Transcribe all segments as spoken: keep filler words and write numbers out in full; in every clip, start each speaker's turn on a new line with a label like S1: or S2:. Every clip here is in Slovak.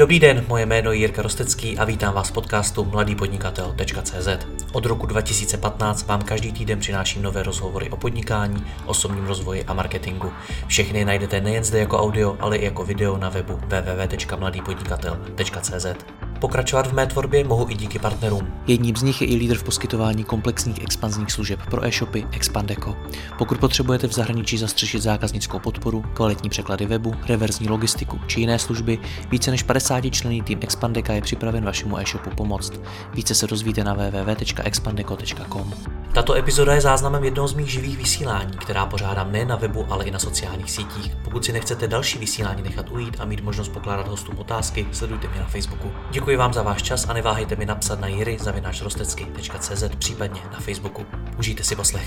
S1: Dobrý den, moje jméno je Jirka Rostecký a vítám vás v podcastu mladý podnikatel tečka cé zet. Od roku dva tisíce patnáct vám každý týden přináším nové rozhovory o podnikání, osobním rozvoji a marketingu. Všechny najdete nejen zde jako audio, ale i jako video na webu w w w tečka mladý podnikatel tečka cé zet. Pokračovat v mé tvorbě mohu i díky partnerům. Jedním z nich je i lídr v poskytování komplexních expanzních služeb pro e-shopy Expandeco. Pokud potřebujete v zahraničí zastřešit zákaznickou podporu, kvalitní překlady webu, reverzní logistiku či jiné služby, více než padesátičlenný tým Expandeca je připraven vašemu e-shopu pomoct. Více se dozvíte na w w w tečka expandeco tečka com. Tato epizoda je záznamem jednoho z mých živých vysílání, která pořádám nejen na webu, ale i na sociálních sítích. Pokud si nechcete další vysílání nechat ujít a mít možnost pokládat hostům otázky, sledujte mě na Facebooku. Děkuji vám za váš čas a neváhejte mi napsat na jiry zavináč rostecky tečka cé zet, případně na Facebooku. Užijte si poslech.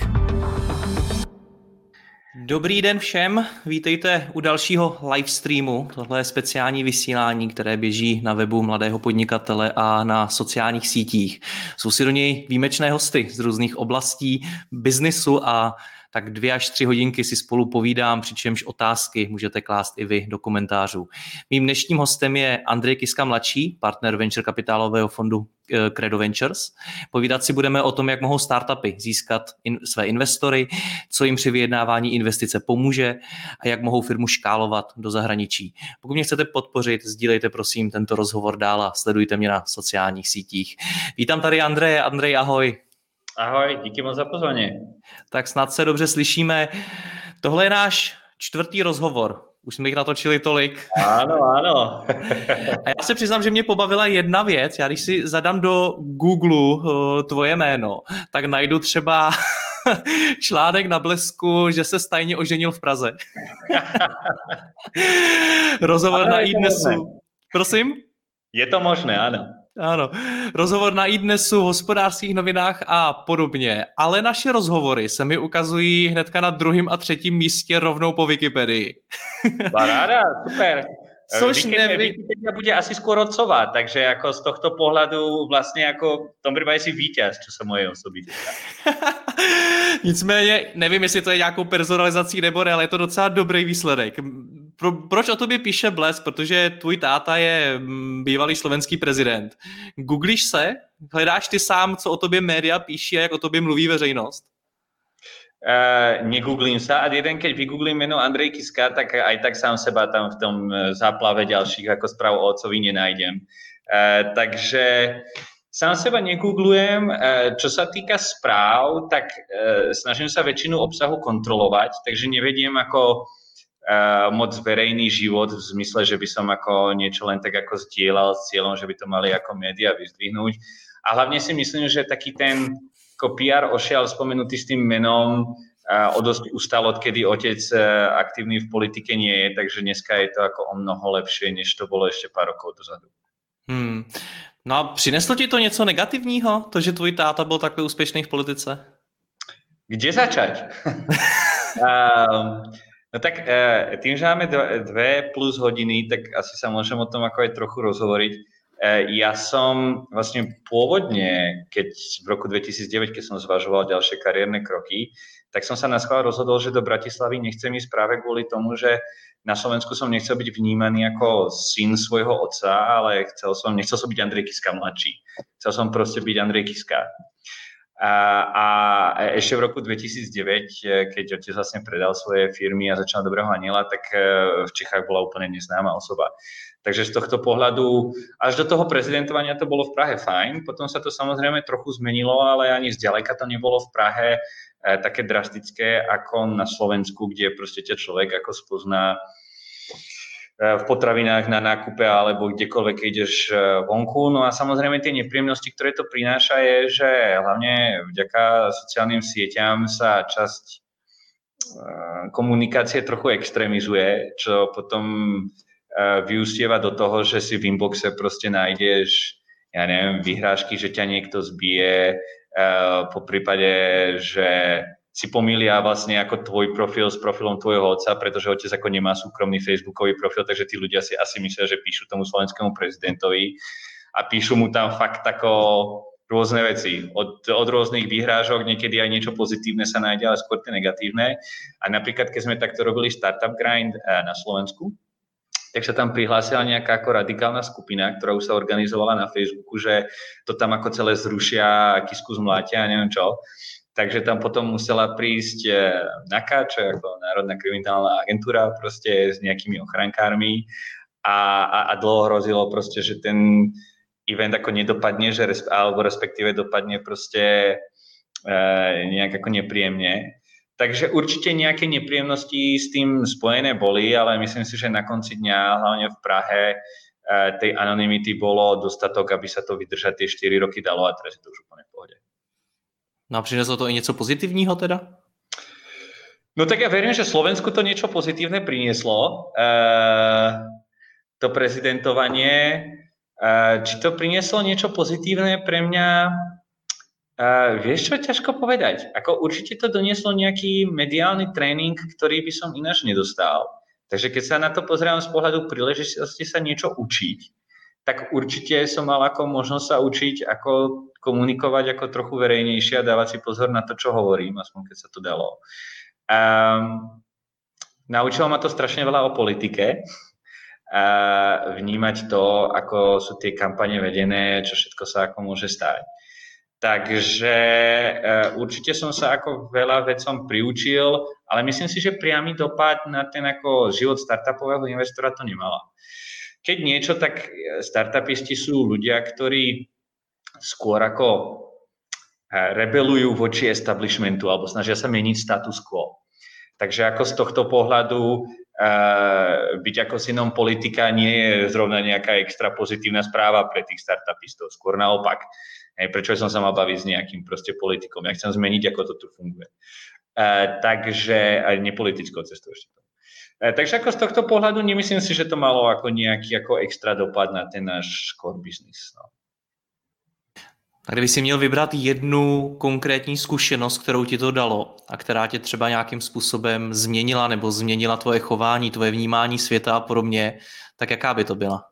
S1: Dobrý den všem, vítejte u dalšího livestreamu. Tohle je speciální vysílání, které běží na webu Mladého podnikatele a na sociálních sítích. Jsou si do něj výjimečné hosty z různých oblastí biznisu a tak dvě až tři hodinky si spolu povídám, přičemž otázky můžete klást i vy do komentářů. Mým dnešním hostem je Andrej Kiska mladší, partner venture kapitálového fondu Credo Ventures. Povídat si budeme o tom, jak mohou startupy získat in, své investory, co jim při vyjednávání investice pomůže a jak mohou firmu škálovat do zahraničí. Pokud mě chcete podpořit, sdílejte prosím tento rozhovor dál a sledujte mě na sociálních sítích. Vítám tady Andreje. Andrej, ahoj.
S2: Ahoj, díky moc za pozvání.
S1: Tak snad se dobře slyšíme. Tohle je náš čtvrtý rozhovor. Už jsme jich natočili tolik.
S2: Ano, ano.
S1: A já se přiznám, že mě pobavila jedna věc. Já když si zadám do Google uh, tvoje jméno, tak najdu třeba článek na Blesku, že se tajně oženil v Praze. Rozhovor ano, na iDnesu. Prosím?
S2: Je to možné, ano.
S1: Ano, rozhovor na iDnesu, hospodářských novinách a podobně, ale naše rozhovory se mi ukazují hnedka na druhém a třetím místě rovnou po Wikipedii.
S2: Paráda, super.
S1: Což nevím.
S2: Wikipedia bude asi skôr odcovať, takže jako z tohto pohledu vlastně jako v tom případě si vítěz, čo se moje osoby týká.
S1: Nicméně, nevím, jestli to je nějakou personalizací nebo ne, ale je to docela dobrý výsledek. Pro, proč o tobě píše Blesk? Protože tvůj táta je bývalý slovenský prezident. Googlíš se? Hledáš ty sám, co o tobě média píší a jak o tobě mluví veřejnost?
S2: Uh, negooglím sa a jeden, keď vygooglím meno Andrej Kiska, tak aj tak sám seba tam v tom záplave ďalších ako správ o otcovi nenájdem. Uh, takže sám seba negooglujem. Uh, čo sa týka správ, tak uh, snažím sa väčšinu obsahu kontrolovať, takže nevediem ako uh, moc verejný život v zmysle, že by som ako niečo len tak ako zdieľal s cieľom, že by to mali ako média vyzdvihnúť. A hlavne si myslím, že taký ten ako pé er ošial spomenutý s tým menom o dosť ustal, odkedy otec aktívny v politike nie je, takže dneska je to ako o mnoho lepšie, než to bolo ešte pár rokov dozadu. Hmm.
S1: No a přineslo ti to něco negativního, to, že tvůj táta byl takhle úspěšný v politice?
S2: Kde začať? um, no tak tým, že máme dve plus hodiny, tak asi sa môžem o tom ako aj trochu rozhovoriť. Ja som vlastne pôvodne, keď v roku dvetisícdeväť, keď som zvažoval ďalšie kariérne kroky, tak som sa na schvál rozhodol, že do Bratislavy nechcem ísť práve kvôli tomu, že na Slovensku som nechcel byť vnímaný ako syn svojho otca, ale chcel som, nechcel som byť Andrej Kiska mladší. Chcel som proste byť Andrej Kiska. A, a ešte v roku dvetisícdeväť, keď otec vlastne predal svoje firmy a začal Dobrého aniela, tak v Čechách bola úplne neznáma osoba. Takže z tohto pohľadu až do toho prezidentovania to bolo v Prahe fajn, potom sa to samozrejme trochu zmenilo, ale ani zďaleka to nebolo v Prahe e, také drastické ako na Slovensku, kde proste ťa človek ako spozná e, v potravinách na nákupe alebo kdekoľvek ideš vonku. No a samozrejme tie nepríjemnosti, ktoré to prináša, je, že hlavne vďaka sociálnym sieťam sa časť e, komunikácie trochu extrémizuje, čo potom vyústieva do toho, že si v inboxe proste nájdeš, ja neviem, vyhrážky, že ťa niekto zbije, po prípade, že si pomýlia vlastne ako tvoj profil s profilom tvojho otca, pretože otec ako nemá súkromný facebookový profil, takže tí ľudia si asi myslia, že píšu tomu slovenskému prezidentovi a píšu mu tam fakt ako rôzne veci. Od, od rôznych výhrážok, niekedy aj niečo pozitívne sa nájde, ale skôr tie negatívne. A napríklad, keď sme takto robili Startup Grind na Slovensku, tak sa tam prihlásila nejaká ako radikálna skupina, ktorá už sa organizovala na Facebooku, že to tam ako celé zrušia, kisku zmlátia a neviem čo. Takže tam potom musela prísť NAKA, čo je ako Národná kriminálna agentúra, proste s nejakými ochrankármi a, a, a dlho hrozilo proste, že ten event ako nedopadne, že res, alebo respektíve dopadne proste e, nejak ako nepríjemne. Takže určite nejaké nepríjemnosti s tým spojené boli, ale myslím si, že na konci dňa, hlavne v Prahe, tej anonymity bolo dostatok, aby sa to vydržať tie štyri roky dalo a teraz je to už úplne v pohode.
S1: No a přineslo to i něco pozitivního teda?
S2: No tak ja verím, že Slovensku to niečo pozitívne prinieslo. E, to prezidentovanie. E, či to prinieslo niečo pozitívne pre mňa? Uh, vieš čo, ťažko povedať. Ako určite to donieslo nejaký mediálny tréning, ktorý by som ináč nedostal. Takže keď sa na to pozerám z pohľadu príležitosti sa niečo učiť, tak určite som mal ako možnosť sa učiť, ako komunikovať ako trochu verejnejšie a dávať si pozor na to, čo hovorím, aspoň keď sa to dalo. Um, naučilo ma to strašne veľa o politike. Uh, vnímať to, ako sú tie kampane vedené, čo všetko sa ako môže stať. Takže uh, určite som sa ako veľa vecom priučil, ale myslím si, že priamy dopad na ten ako život startupového investora to nemala. Keď niečo, tak startupisti sú ľudia, ktorí skôr ako rebelujú voči establishmentu alebo snažia sa meniť status quo. Takže ako z tohto pohľadu uh, byť ako synom politika nie je zrovna nejaká extra pozitívna správa pre tých startupistov, skôr naopak. Hej, prečo som sa mal baviť s nejakým proste politikom? Ja chcem zmeniť, ako to tu funguje. Uh, takže, aj nepolitickou cestou ešte to. Uh, takže ako z tohto pohľadu nemyslím si, že to malo ako nejaký ako extra dopad na ten náš core business. No.
S1: A kdyby si měl vybrat jednu konkrétní zkušenost, kterou ti to dalo a která tě třeba nějakým způsobem změnila nebo změnila tvoje chování, tvoje vnímání světa a podobně, tak jaká by to byla?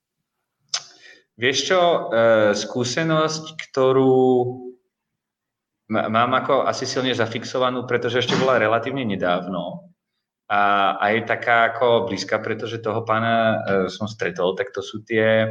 S2: Vieš čo, skúsenosť, ktorú mám ako asi silne zafixovanú, pretože ešte bola relatívne nedávno a, a je taká ako blízka, pretože toho pána som stretol, tak to sú tie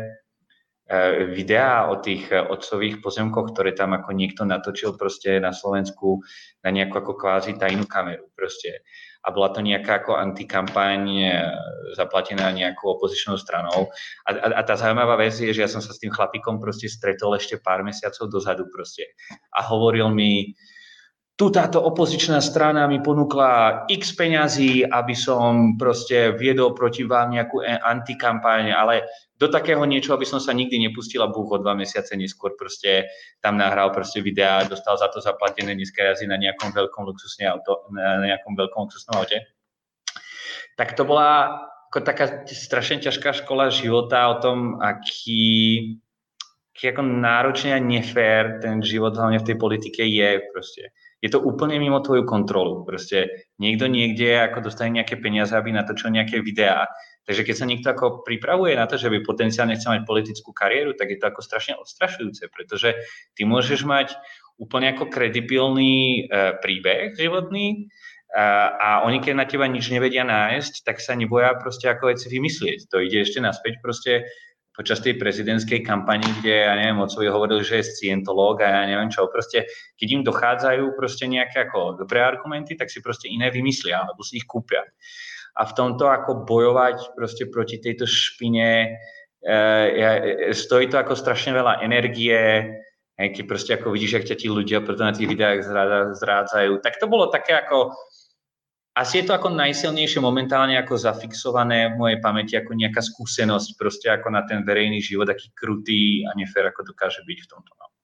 S2: videá o tých otcových pozemkoch, ktoré tam ako niekto natočil proste na Slovensku na nejakú ako kvázi tajnú kameru proste. A bola to nejaká ako antikampaň zaplatená nejakou opozičnou stranou. A, a, a tá zaujímavá vec je, že ja som sa s tým chlapíkom proste stretol ešte pár mesiacov dozadu proste. A hovoril mi, tu táto opozičná strana mi ponúkla x peňazí, aby som proste viedol proti vám nejakú antikampaň, ale do takého niečo, aby som sa nikdy nepustil a búch o dva mesiace neskôr proste tam nahral proste videá, dostal za to zaplatené, dneska jazdí na nejakom veľkom luxusnom auto, na nejakom veľkom luxusnom aute. Tak to bola ako taká strašne ťažká škola života o tom, aký, aký ako náročne a nefér ten život hlavne v tej politike je proste. Je to úplne mimo tvoju kontrolu. Proste niekto niekde ako dostane nejaké peniaze, aby natočil nejaké videá. Takže keď sa niekto ako pripravuje na to, že by potenciálne chcel mať politickú kariéru, tak je to ako strašne odstrašujúce, pretože ty môžeš mať úplne ako kredibilný e, príbeh životný e, a oni keď na teba nič nevedia nájsť, tak sa neboja proste ako veci vymyslieť. To ide ešte naspäť proste počas tej prezidentskej kampani, kde, ja neviem, otcovi hovoril, že je scientológ a ja neviem čo, proste, keď im dochádzajú proste nejaké ako dobré argumenty, tak si proste iné vymyslia, alebo si ich kúpia. A v tomto ako bojovať proste proti tejto špine, e, stojí to ako strašne veľa energie, e, keď proste ako vidíš, jak ťa tí ľudia preto na tých videách zrádzajú. Tak to bolo také ako, asi je to ako najsilnejšie momentálne ako zafixované v mojej pamäti, ako nejaká skúsenosť proste ako na ten verejný život, aký krutý a nefér, ako dokáže byť v tomto. No.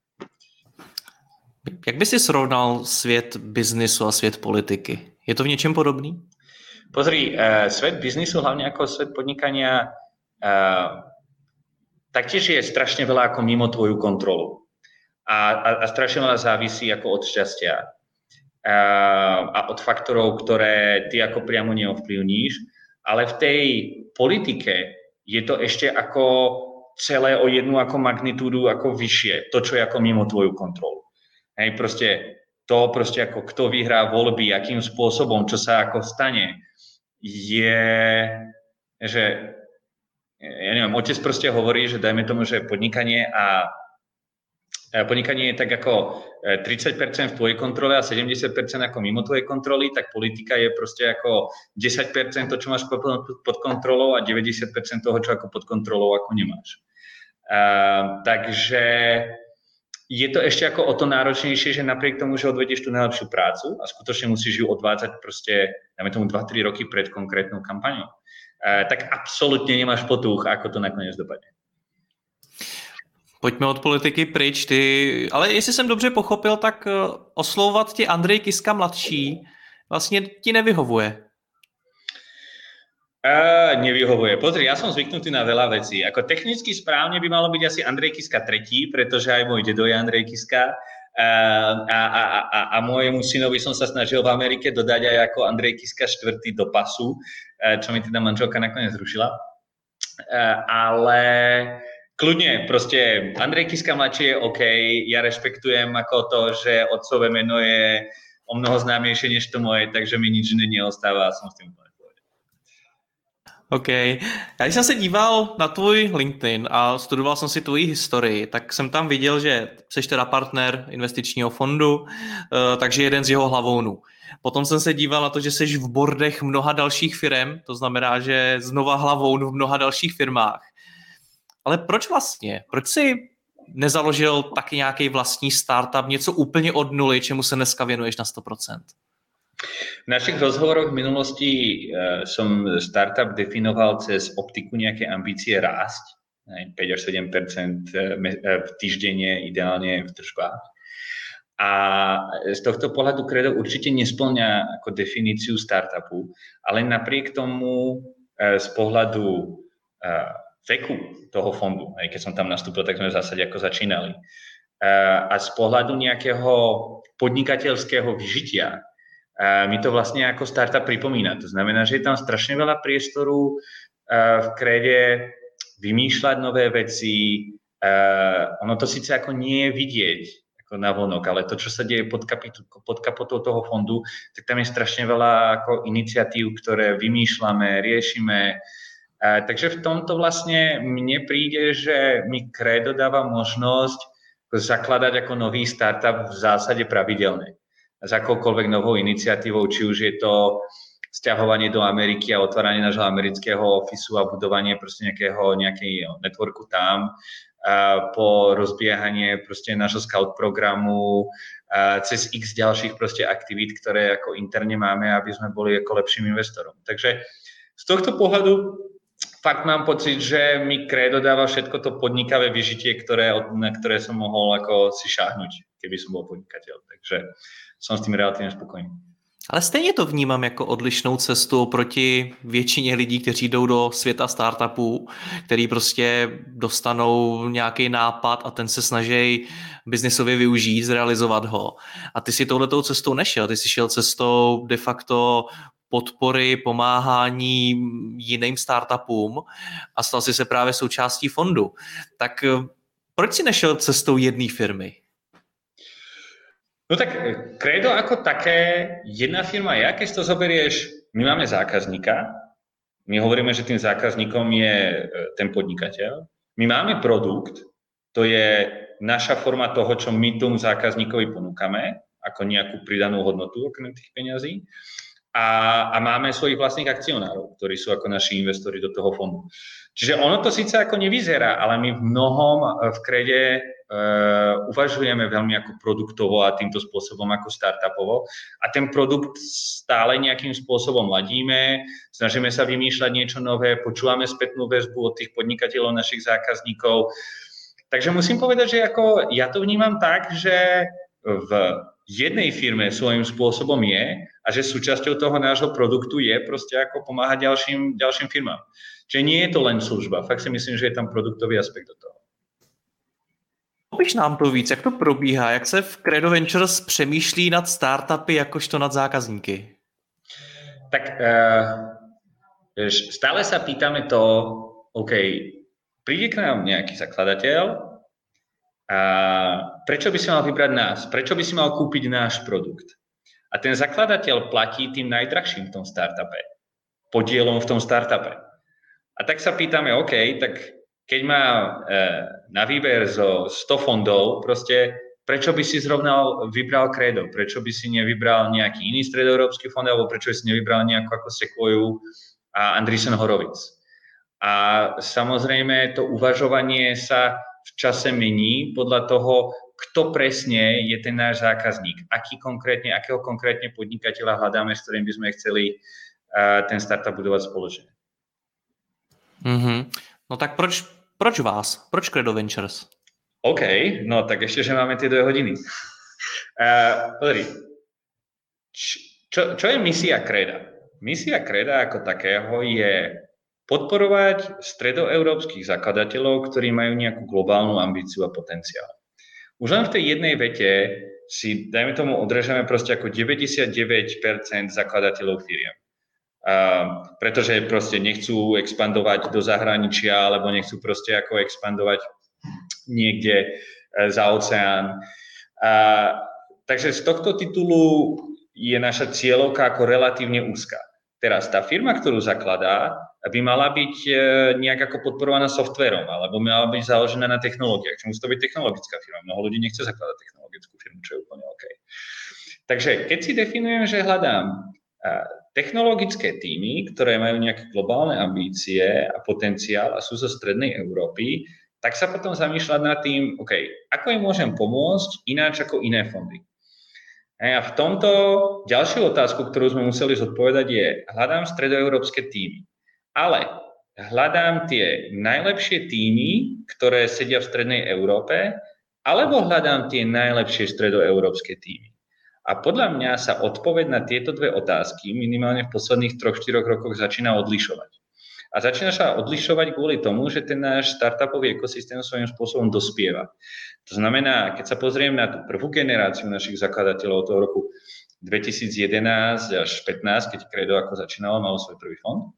S1: Jak by si srovnal svět biznisu a svět politiky? Je to v něčem podobný?
S2: Pozri, uh, svet biznisu, hlavne ako svet podnikania, uh, taktiež je strašne veľa ako mimo tvoju kontrolu. A, a, a strašne veľa závisí ako od šťastia. Uh, a od faktorov, ktoré ty ako priamo neovplyvníš. Ale v tej politike je to ešte ako celé o jednu ako magnitúdu ako vyššie. To, čo je ako mimo tvoju kontrolu. Hej, proste to proste ako kto vyhrá voľby, akým spôsobom, čo sa ako stane, je, že ja neviem, otec proste hovorí, že dajme tomu, že podnikanie a podnikanie je tak ako tridsať percent v tvojej kontrole a sedemdesiat percent ako mimo tvojej kontroly, tak politika je proste ako desať percent to, čo máš pod kontrolou a deväťdesiat percent toho, čo ako pod kontrolou, ako nemáš. Uh, takže je to ešte ako o to náročnejšie, že napriek tomu, že odvedieš tú najlepšiu prácu a skutočne musíš ju odvádzať proste, dáme tomu dva tri roky pred konkrétnou kampaňou, uh, tak absolútne nemáš potuch, ako to nakoniec dopadne.
S1: Pojďme od politiky pryč. Ty, ale jestli jsem dobře pochopil, tak oslovovat tě Andrej Kiska mladší vlastně ti nevyhovuje.
S2: Uh, nevyhovuje. Pozri, ja som zvyknutý na veľa vecí. Ako technicky správne by malo byť asi Andrej Kiska tretí, pretože aj môj dedo je Andrej Kiska. Uh, a, a, a, a môjemu synovi som sa snažil v Amerike dodať aj ako Andrej Kiska štvrtý do pasu, uh, čo mi teda manželka nakoniec zrušila. Uh, ale kľudne, proste Andrej Kiska mladší je OK, ja rešpektujem ako to, že otcové meno je o mnoho známejšie než to moje, takže mi nič iné neostáva a som s tým úplne povedal.
S1: OK. Já když jsem se díval na tvůj LinkedIn a studoval jsem si tvoji historii, tak jsem tam viděl, že jsi teda partner investičního fondu, takže jeden z jeho hlavounů. Potom jsem se díval na to, že jsi v boardech mnoha dalších firem, to znamená, že znova hlavoun v mnoha dalších firmách. Ale proč vlastně? Proč jsi nezaložil taky nějaký vlastní startup, něco úplně od nuly, čemu se dneska věnuješ na sto procent?
S2: V našich rozhovoroch v minulosti uh, som startup definoval cez optiku nejaké ambície rásť, päť až sedem percent týždenne, ideálne v tržbách. A z tohto pohľadu Credo určite nesplňa ako definíciu startupu, ale napriek tomu uh, z pohľadu uh, veku toho fondu, aj keď som tam nastúpil, tak sme v zásade ako začínali. Uh, a z pohľadu nejakého podnikateľského vyžitia mi to vlastne ako startup pripomína. To znamená, že je tam strašne veľa priestoru v Crede vymýšľať nové veci. Ono to síce ako nie je vidieť ako navonok, ale to, čo sa deje pod, kapitu, pod kapotou toho fondu, tak tam je strašne veľa ako iniciatív, ktoré vymýšľame, riešime. Takže v tomto vlastne mne príde, že mi Credo dáva možnosť zakladať ako nový startup v zásade pravidelne. S akoukoľvek novou iniciatívou, či už je to sťahovanie do Ameriky a otváranie nášho amerického ofisu a budovanie proste nejakého, nejakého networku tam, a po rozbiehanie proste nášho scout programu, a cez x ďalších proste aktivít, ktoré ako interne máme, aby sme boli ako lepším investorom. Takže z tohto pohľadu fakt mám pocit, že mi Credo dáva všetko to podnikavé vyžitie, ktoré, na ktoré som mohol ako si šáhnuť, keby som bol podnikateľ. Takže jsem s tím relativně spokojený.
S1: Ale stejně to vnímám jako odlišnou cestu proti většině lidí, kteří jdou do světa startupů, který prostě dostanou nějaký nápad a ten se snaží biznisově využít, zrealizovat ho. A ty si touhletou cestou nešel, ty si šel cestou de facto podpory, pomáhání jiným startupům a stal si se právě součástí fondu. Tak proč si nešel cestou jedné firmy?
S2: No tak Credo ako také jedna firma je, keď to zoberieš, my máme zákazníka, my hovoríme, že tým zákazníkom je ten podnikateľ, my máme produkt, to je naša forma toho, čo my tomu zákazníkovi ponúkame, ako nejakú pridanú hodnotu okrem tých peňazí a, a máme svojich vlastných akcionárov, ktorí sú ako naši investori do toho fondu. Čiže ono to síce ako nevyzerá, ale my v mnohom v Crede Uh, uvažujeme veľmi ako produktovo a týmto spôsobom ako startupovo a ten produkt stále nejakým spôsobom ladíme, snažíme sa vymýšľať niečo nové, počúvame spätnú väzbu od tých podnikateľov, našich zákazníkov. Takže musím povedať, že ako ja to vnímam tak, že v jednej firme svojím spôsobom je a že súčasťou toho nášho produktu je proste ako pomáhať ďalším, ďalším firmám. Čiže nie je to len služba, fakt si myslím, že je tam produktový aspekt do toho.
S1: Popiš nám to víc, jak to probíhá, jak se v Credo Ventures přemýšlí nad startupy jakožto nad zákazníky?
S2: Tak uh, stále sa pýtame to, OK, príde k nám nejaký zakladateľ a prečo by si mal vybrať nás? Prečo by si mal kúpiť náš produkt? A ten zakladateľ platí tým najdrahším v tom startupe, podielom v tom startupe. A tak sa pýtame, OK, tak keď má e, na výber zo sto fondov, proste prečo by si zrovna vybral Credo? Prečo by si nevybral nejaký iný stredoeurópsky fond, alebo prečo by si nevybral nejakú ako Sequoia a Andreessen Horowitz? A samozrejme to uvažovanie sa v čase mení podľa toho, kto presne je ten náš zákazník, aký konkrétne, akého konkrétne podnikateľa hľadáme, s ktorým by sme chceli uh, ten startup budovať spoločne.
S1: Mm-hmm. No tak proč, proč vás? Proč Credo Ventures?
S2: OK, no tak ešte, že máme tie dve hodiny. Uh, pozri, čo, čo je misia Creda? Misia Creda ako takého je podporovať stredoeurópskych zakladateľov, ktorí majú nejakú globálnu ambíciu a potenciál. Už len v tej jednej vete si, dajme tomu, odrežeme proste ako deväťdesiatdeväť percent zakladateľov firiem. Uh, pretože proste nechcú expandovať do zahraničia, alebo nechcú proste ako expandovať niekde uh, za oceán. Uh, takže z tohto titulu je naša cieľovka ako relatívne úzka. Teraz tá firma, ktorú zakladá, by mala byť nejak ako podporovaná softvérom, alebo mala byť založená na technológiách. Čo musí to byť technologická firma. Mnoho ľudí nechce zakladať technologickú firmu, čo je úplne OK. Takže keď si definujem, že hľadám technologické týmy, ktoré majú nejaké globálne ambície a potenciál a sú zo strednej Európy, tak sa potom zamýšľať nad tým, OK, ako im môžem pomôcť ináč ako iné fondy. A v tomto ďalšiu otázku, ktorú sme museli zodpovedať, je, hľadám stredoeurópske týmy. Ale hľadám tie najlepšie týmy, ktoré sedia v strednej Európe, alebo hľadám tie najlepšie stredoeurópske týmy. A podľa mňa sa odpoveď na tieto dve otázky minimálne v posledných troch štyroch rokoch začína odlišovať. A začína sa odlišovať kvôli tomu, že ten náš startupový ekosystém svojím spôsobom dospieva. To znamená, keď sa pozriem na tú prvú generáciu našich zakladateľov toho roku dvetisíc jedenásť až pätnásť, keď Credo ako začínalo, malo svoj prvý fond,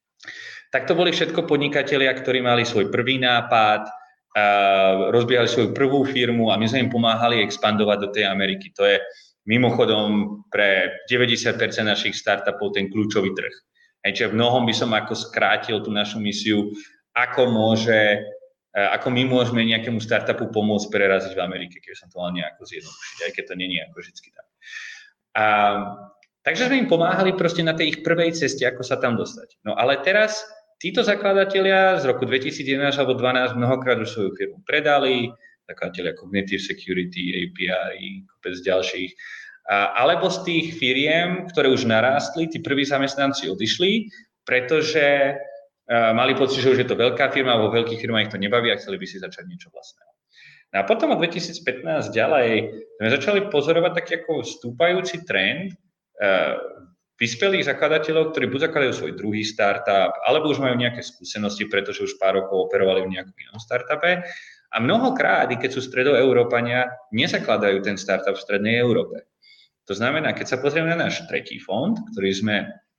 S2: tak to boli všetko podnikatelia, ktorí mali svoj prvý nápad, rozbiehali svoju prvú firmu a my sme im pomáhali expandovať do tej Ameriky. To je mimochodom pre deväťdesiat percent našich startupov ten kľúčový trh. Čiže v mnohom by som ako skrátil tú našu misiu, ako môže, ako my môžeme nejakému startupu pomôcť preraziť v Amerike, keď som to mal nejako zjednodušiť, aj keď to nie je ako vždycky tak. A, takže sme im pomáhali proste na tej ich prvej ceste, ako sa tam dostať. No ale teraz títo zakladatelia z roku dvetisíc jedenásť alebo dvanásť mnohokrát už svoju firmu predali, zakladatelia Cognitive Security, A P I, kopec ďalších, alebo z tých firiem, ktoré už narástli, tí prví zamestnanci odišli, pretože mali pocit, že už je to veľká firma, vo veľkých firmách ich to nebaví a chceli by si začať niečo vlastného. No a potom od dvetisíc pätnásť ďalej sme začali pozorovať taký ako stúpajúci trend vyspelých zakladateľov, ktorí buď zakladajú svoj druhý startup, alebo už majú nejaké skúsenosti, pretože už pár rokov operovali v nejakom inom startupe. A mnohokrát, keď sú stredoeurópania, nezakladajú ten startup v strednej Európe. To znamená, keď sa pozrieme na náš tretí fond, ktorý sme,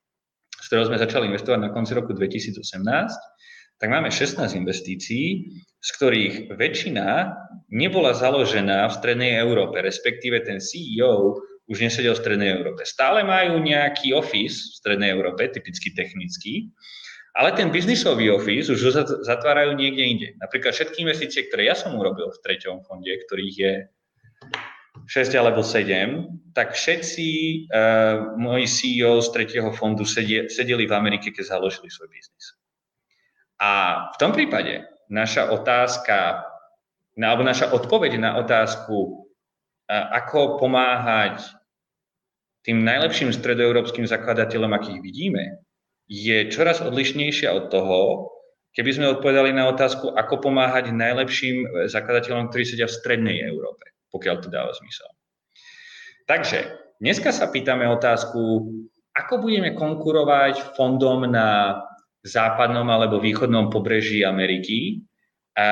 S2: z ktorého sme začali investovať na konci roku dvetisíc osemnásť, tak máme šestnásť investícií, z ktorých väčšina nebola založená v strednej Európe, respektíve ten C E O už nesedel v strednej Európe. Stále majú nejaký office v strednej Európe, typicky technický, ale ten biznisový office už zatvárajú niekde inde. Napríklad všetky investície, ktoré ja som urobil v treťom fonde, ktorých je šesť alebo sedem, tak všetci uh, moji C E O z tretieho fondu sedie, sedeli v Amerike, keď založili svoj biznis. A v tom prípade naša otázka, alebo naša odpoveď na otázku, uh, ako pomáhať tým najlepším stredoeurópskym zakladateľom, akých vidíme, je čoraz odlišnejšia od toho, keby sme odpovedali na otázku, ako pomáhať najlepším zakladateľom, ktorí sedia v strednej Európe, pokiaľ to dáva zmysel. Takže dneska sa pýtame otázku, ako budeme konkurovať fondom na západnom alebo východnom pobreží Ameriky a,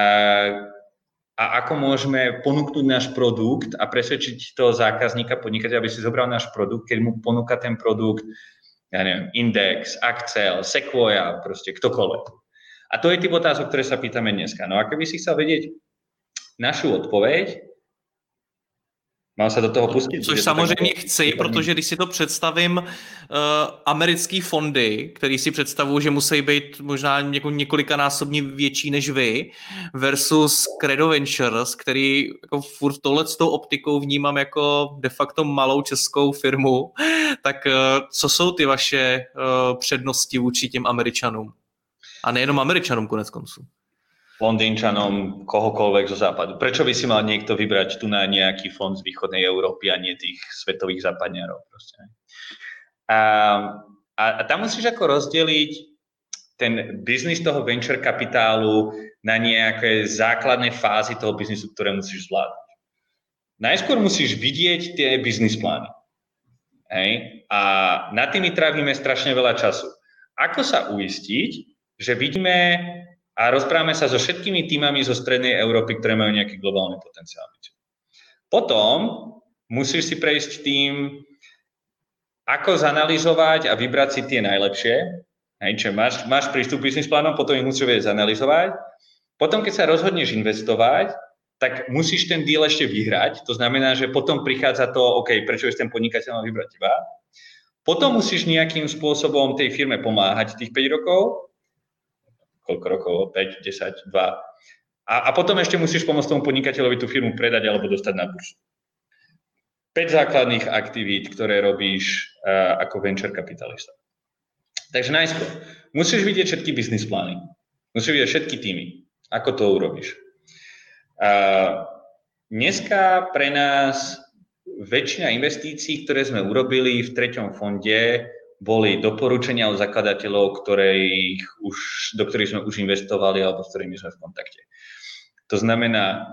S2: a ako môžeme ponúknuť náš produkt a presvedčiť toho zákazníka, podnikateľa, aby si zobral náš produkt, keď mu ponúka ten produkt, ja neviem, Index, Accel, Sequoia, proste ktokoľvek. A to je typ otázok, ktoré sa pýtame dneska. No a keby si chcel vedieť našu odpoveď, Mám se do toho pustit.
S3: Což samozřejmě chci, protože když si to představím, uh, americký fondy, který si představují, že musí být možná něko, několikanásobně větší než vy, versus Credo Ventures, který jako furt tohle s tou optikou vnímám jako de facto malou českou firmu, tak uh, co jsou ty vaše uh, přednosti vůči těm Američanům? A nejenom Američanům konec konců.
S2: Londýnčanom, kohokoľvek zo západu. Prečo by si mal niekto vybrať tu na nejaký fond z východnej Európy a nie tých svetových západňarov? Proste. A, a, a tam musíš ako rozdeliť ten biznis toho venture kapitálu na nejaké základné fázy toho biznisu, ktoré musíš zvládať. Najskôr musíš vidieť tie biznis plány. Hej? A na tými trávime strašne veľa času. Ako sa uistiť, že vidíme a rozprávame sa so všetkými týmami zo strednej Európy, ktoré majú nejaký globálny potenciál. Potom musíš si prejsť tým, ako zanalizovať a vybrať si tie najlepšie. Hej, čiže máš, máš prístup k business plánom, potom ich musíš vedieť zanalizovať. Potom, keď sa rozhodneš investovať, tak musíš ten deal ešte vyhrať. To znamená, že potom prichádza to, OK, prečo je ten podnikateľ mal vybrať teba. Potom musíš nejakým spôsobom tej firme pomáhať tých päť rokov, koľko rokov, päť, desať, dva. A, a potom ešte musíš pomôcť tomu podnikateľovi tú firmu predať alebo dostať na burzu. päť základných aktivít, ktoré robíš uh, ako venture kapitalista. Takže najskôr, musíš vidieť všetky business plány. Musíš vidieť všetky týmy. Ako to urobíš? Uh, dneska pre nás väčšina investícií, ktoré sme urobili v treťom fonde, boli doporučenia od zakladateľov, ktorých už, do ktorých sme už investovali alebo s ktorými sme v kontakte. To znamená,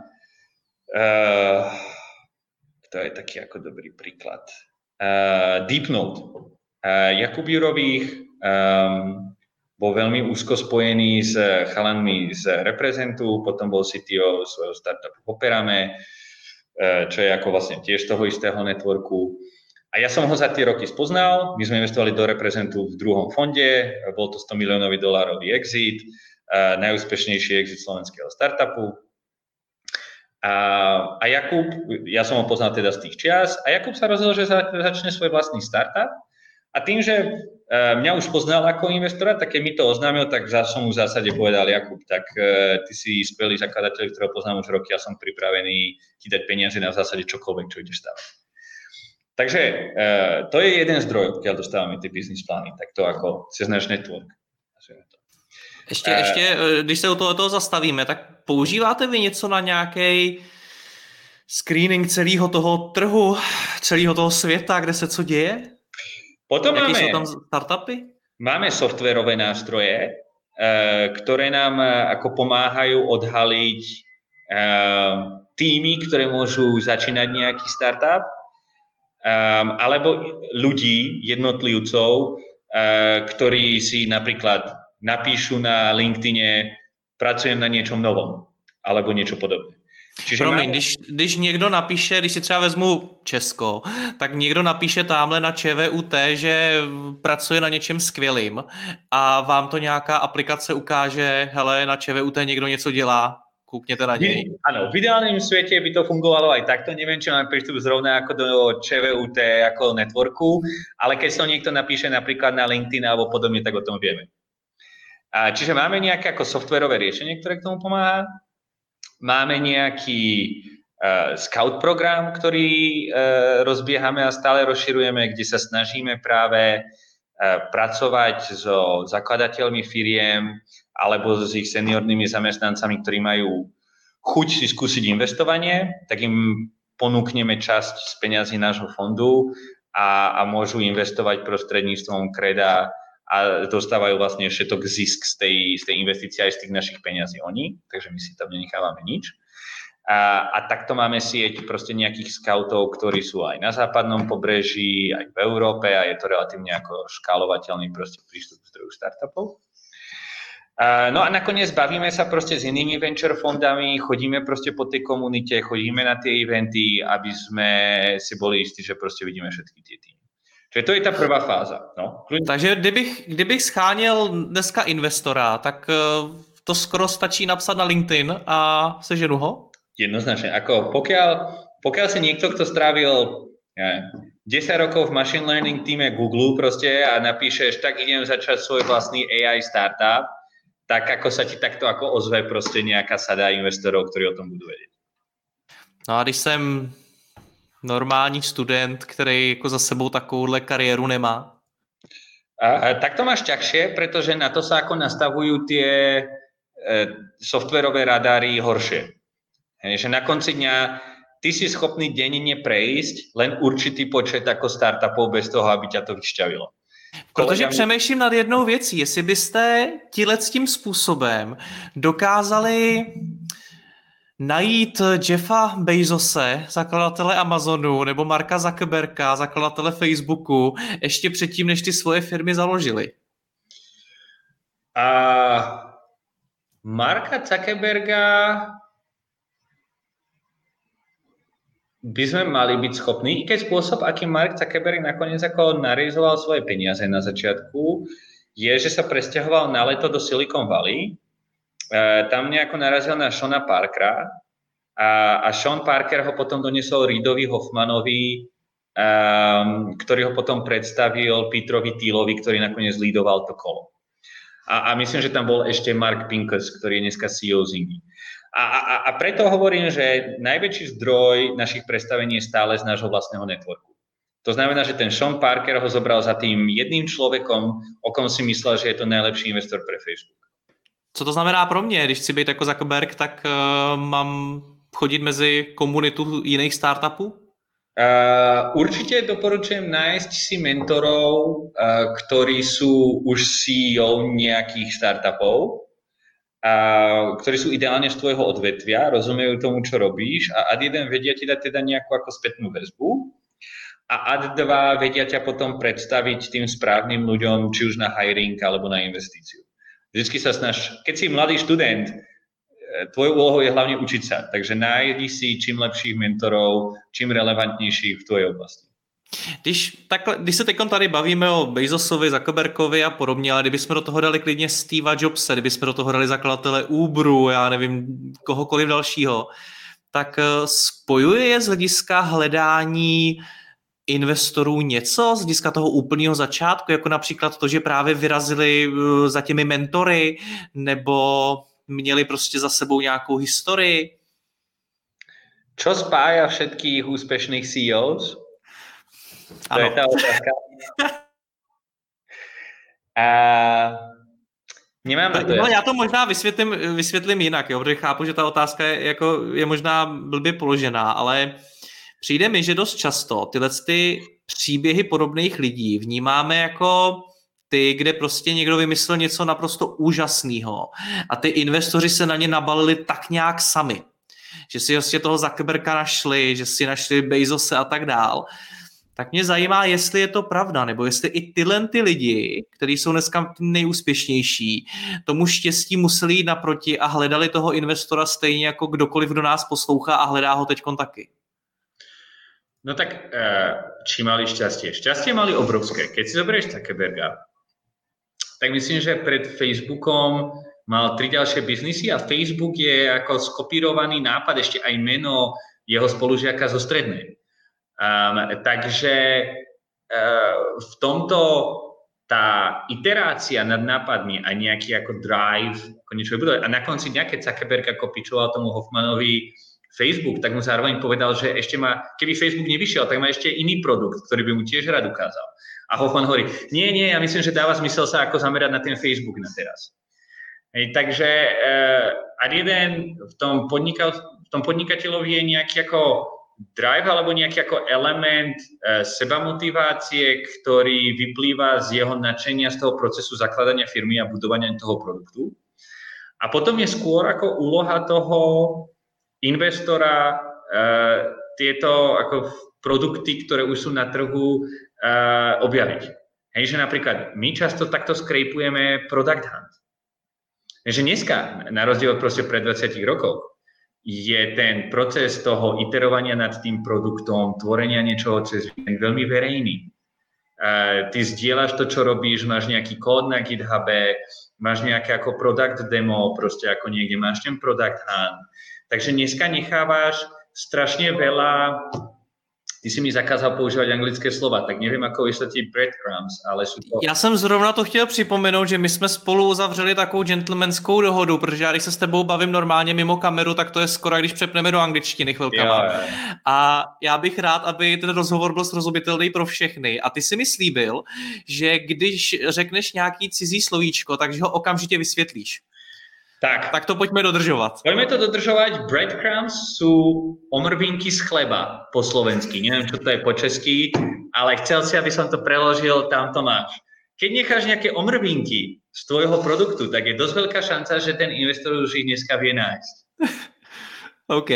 S2: uh, to je taký ako dobrý príklad. Uh, Deepnote. Uh, Jakub Jurových um, bol veľmi úzko spojený s chalanmi z Reprezentu, potom bol C T O svojho startupu Operame, uh, čo je ako vlastne tiež toho istého networku. A ja som ho za tie roky spoznal, my sme investovali do Reprezentu v druhom fonde, bol to sto miliónový dolárový exit, uh, najúspešnejší exit slovenského startupu. A, a Jakub, ja som ho poznal teda z tých čias, a Jakub sa rozhodol, že za, začne svoj vlastný startup. A tým, že uh, mňa už poznal ako investora, tak keď mi to oznámil, tak som mu v zásade povedal, Jakub, tak uh, ty si skvelý zakladateľ, ktorého poznám už roky, ja som pripravený ti dať peniaze na v zásade čokoľvek, čo ideš stavať. Takže uh, to je jeden zdroj, keď dostávame tie business plány, tak to ako cez náš network.
S3: Ještě, uh, ještě, když se u toho zastavíme, tak používáte vy něco na nějaký screening celého toho trhu, celého toho světa, kde se co děje?
S2: Potom
S3: Jaký
S2: máme,
S3: jsou tam startupy?
S2: Máme softwarové nástroje, uh, ktoré nám uh, ako pomáhajú odhaliť uh, týmy, ktoré môžu začínať nejaký startup, Um, alebo ľudí, jednotlivcov, uh, ktorí si napríklad napíšu na LinkedIne, pracujem na niečom novom, alebo niečo podobné. Čiže
S3: Promiň,
S2: máme...
S3: když, když někdo napíše, když si třeba vezmu Česko, tak někdo napíše tamhle na ČVUT, že pracuje na něčem skvělým a vám to nějaká aplikace ukáže, hele, na ČVUT někdo něco dělá, kúknete na nej.
S2: Áno, v ideálnom svete by to fungovalo aj takto. Neviem, či máme prístup zrovna ako do ČVUT, ako networku, ale keď sa niekto napíše napríklad na LinkedIn alebo podobne, tak o tom vieme. A čiže máme nejaké ako softwarové riešenie, ktoré k tomu pomáha. Máme nejaký uh, scout program, ktorý uh, rozbiehame a stále rozširujeme, kde sa snažíme práve uh, pracovať so zakladateľmi firiem alebo s ich seniornými zamestnancami, ktorí majú chuť si skúsiť investovanie, tak im ponúkneme časť z peňazí nášho fondu a, a môžu investovať prostredníctvom Creda a dostávajú vlastne všetok zisk z tej, z tej investície aj z tých našich peňazí oni, takže my si tam nenechávame nič. A, a takto máme sieť proste nejakých scoutov, ktorí sú aj na západnom pobreží, aj v Európe a je to relatívne ako škálovateľný proste prístup k zdroju startupov. Uh, no a nakoniec bavíme sa proste s inými venture fondami, chodíme proste po tej komunite, chodíme na tie eventy, aby sme si boli istí, že proste vidíme všetky tie týmy. Čiže to je ta prvá fáza. No.
S3: Takže kdybych, kdybych scháněl dneska investora, tak uh, to skoro stačí napsat na LinkedIn a seženu ho?
S2: Jednoznačne. Ako pokiaľ pokiaľ si niekto, kto strávil ja, desať rokov v machine learning týme Google proste a napíšeš, tak idem začať svoj vlastný á í startup, tak ako sa ti takto ako ozve proste nejaká sada investorov, ktorí o tom budú vedieť.
S3: No a když jsem normální student, který jako za sebou takovouhle kariéru nemá?
S2: A, a tak to máš ťažšie, pretože na to sa ako nastavujú tie e, softwarové radary horšie. Hej, že na konci dňa ty si schopný denne prejsť len určitý počet ako startupov bez toho, aby ťa to vyšťavilo.
S3: Protože přemýšlím nad jednou věcí, jestli byste tímhle s tím způsobem dokázali najít Jeffa Bezose, zakladatele Amazonu, nebo Marka Zuckerberga, zakladatele Facebooku, ještě předtím, než ty svoje firmy založili.
S2: A Marka Zuckerberga by sme mali byť schopní, i keď spôsob, akým Mark Zuckerberg nakoniec ako narealizoval svoje peniaze na začiatku, je, že sa presťahoval na leto do Silicon Valley. E, tam nejako narazil na Seana Parkera a, a Sean Parker ho potom doniesol Reidovi Hoffmanovi, um, ktorý ho potom predstavil Petrovi Thielovi, ktorý nakoniec lídoval to kolo. A, a myslím, že tam bol ešte Mark Pincus, ktorý je dneska C E O Zingy. A, a, a preto hovorím, že najväčší zdroj našich predstavení je stále z nášho vlastného networku. To znamená, že ten Sean Parker ho zobral za tým jedným človekom, o kom si myslel, že je to najlepší investor pre Facebook.
S3: Co to znamená pro mě? Když chci být jako Zuckerberg, tak uh, mám chodit mezi komunitu jiných startupů?
S2: Uh, určite doporučujem nájsť si mentorov, uh, ktorí sú už C E O nejakých startupov, a ktorí sú ideálne z tvojho odvetvia, rozumejú tomu, čo robíš a ad jeden vedia ti dať teda nejakú ako spätnú väzbu a ad dva vedia ťa potom predstaviť tým správnym ľuďom, či už na hiring alebo na investíciu. Vždycky sa snaž, keď si mladý študent, tvojou úlohou je hlavne učiť sa, takže nájdi si čím lepších mentorov, čím relevantnějších v tvojej oblasti.
S3: Když, takhle, když se teď tady bavíme o Bezosovi, Zuckerbergovi a podobně, ale kdybychom do toho dali klidně Steva Jobse, kdybychom do toho dali zakladatele Uberu, já nevím, kohokoliv dalšího, tak spojuje je z hlediska hledání investorů něco, z hlediska toho úplného začátku, jako například to, že právě vyrazili za těmi mentory, nebo měli prostě za sebou nějakou historii?
S2: Čo spája všetkých úspešných C E Os? To ano. Je tá otázka. A nemám na to.
S3: No, já to možná vysvětlím, vysvětlím jinak, jo, protože chápu, že ta otázka je, jako, je možná blbě položená, ale přijde mi, že dost často tyhle ty příběhy podobných lidí vnímáme jako ty, kde prostě někdo vymyslel něco naprosto úžasného a ty investoři se na ně nabalili tak nějak sami. Že si vlastně toho Zuckerberga našli, že si našli Bezose a tak dál. Tak mě zajímá, jestli je to pravda, nebo jestli i tyhle ty lidi, kteří jsou dneska nejúspěšnější, tomu štěstí museli jít naproti a hledali toho investora stejně jako kdokoliv, kdo nás poslouchá a hledá ho teďkon taky.
S2: No tak, či mali šťastie? Šťastie mali obrovské. Keď si zoberieš Zuckerberga, tak myslím, že pred Facebookom mal tri ďalšie biznisy a Facebook je ako skopírovaný nápad, ešte aj meno jeho spolužiaka zo strednej. Um, takže uh, v tomto tá iterácia nad nápadmi a nejaký ako drive, ako niečo vybudovať. A na konci dňa, keď Zuckerberg ako pičoval tomu Hoffmanovi Facebook, tak mu zároveň povedal, že ešte má, keby Facebook nevyšiel, tak má ešte iný produkt, ktorý by mu tiež rád ukázal. A Hoffman hovorí, nie, nie, ja myslím, že dáva zmysel sa ako zamerať na ten Facebook na teraz. Hej, takže uh, ad jeden v tom, podnika, v tom podnikateľovi je nejaký ako drive alebo nejaký ako element uh, sebamotivácie, ktorý vyplýva z jeho nadšenia z toho procesu zakladania firmy a budovania toho produktu. A potom je skôr ako úloha toho investora uh, tieto ako produkty, ktoré už sú na trhu, uh, objaviť. Hej, že napríklad my často takto skrejpujeme product hunt. Že dneska, na rozdiel proste pred dvadsiatich rokoch, je ten proces toho iterovania nad tým produktom, tvorenia niečoho cez víkend veľmi verejný. Uh, ty zdieľaš to, čo robíš, máš nejaký kód na GitHube, máš nejaké ako product demo, proste ako niekde máš ten product hunt. Takže dneska nechávaš strašne veľa... Ty si mi zakázal používať anglické slova, tak nevím, ako vysvětlit breadcrumbs, ale jsou to...
S3: Já jsem zrovna to chtěl připomenout, že my jsme spolu uzavřeli takovou gentlemanskou dohodu, protože já když se s tebou bavím normálně mimo kameru, tak to je skoro, když přepneme do angličtiny chvilkama. Jo, jo. A já bych rád, aby ten rozhovor byl srozumitelný pro všechny. A ty si mi slíbil, že když řekneš nějaký cizí slovíčko, takže ho okamžitě vysvětlíš.
S2: Tak.
S3: tak to pojďme dodržovat.
S2: Pojďme to dodržovat. Breadcrumbs jsou omrvinky z chleba po slovensky. Nevím, čo to je po česky, ale chcel si, aby som to preložil, tam to máš. Keď necháš nejaké omrvinky z tvojho produktu, tak je dosť veľká šanca, že ten investor už ich dneska vie nájsť.
S3: OK.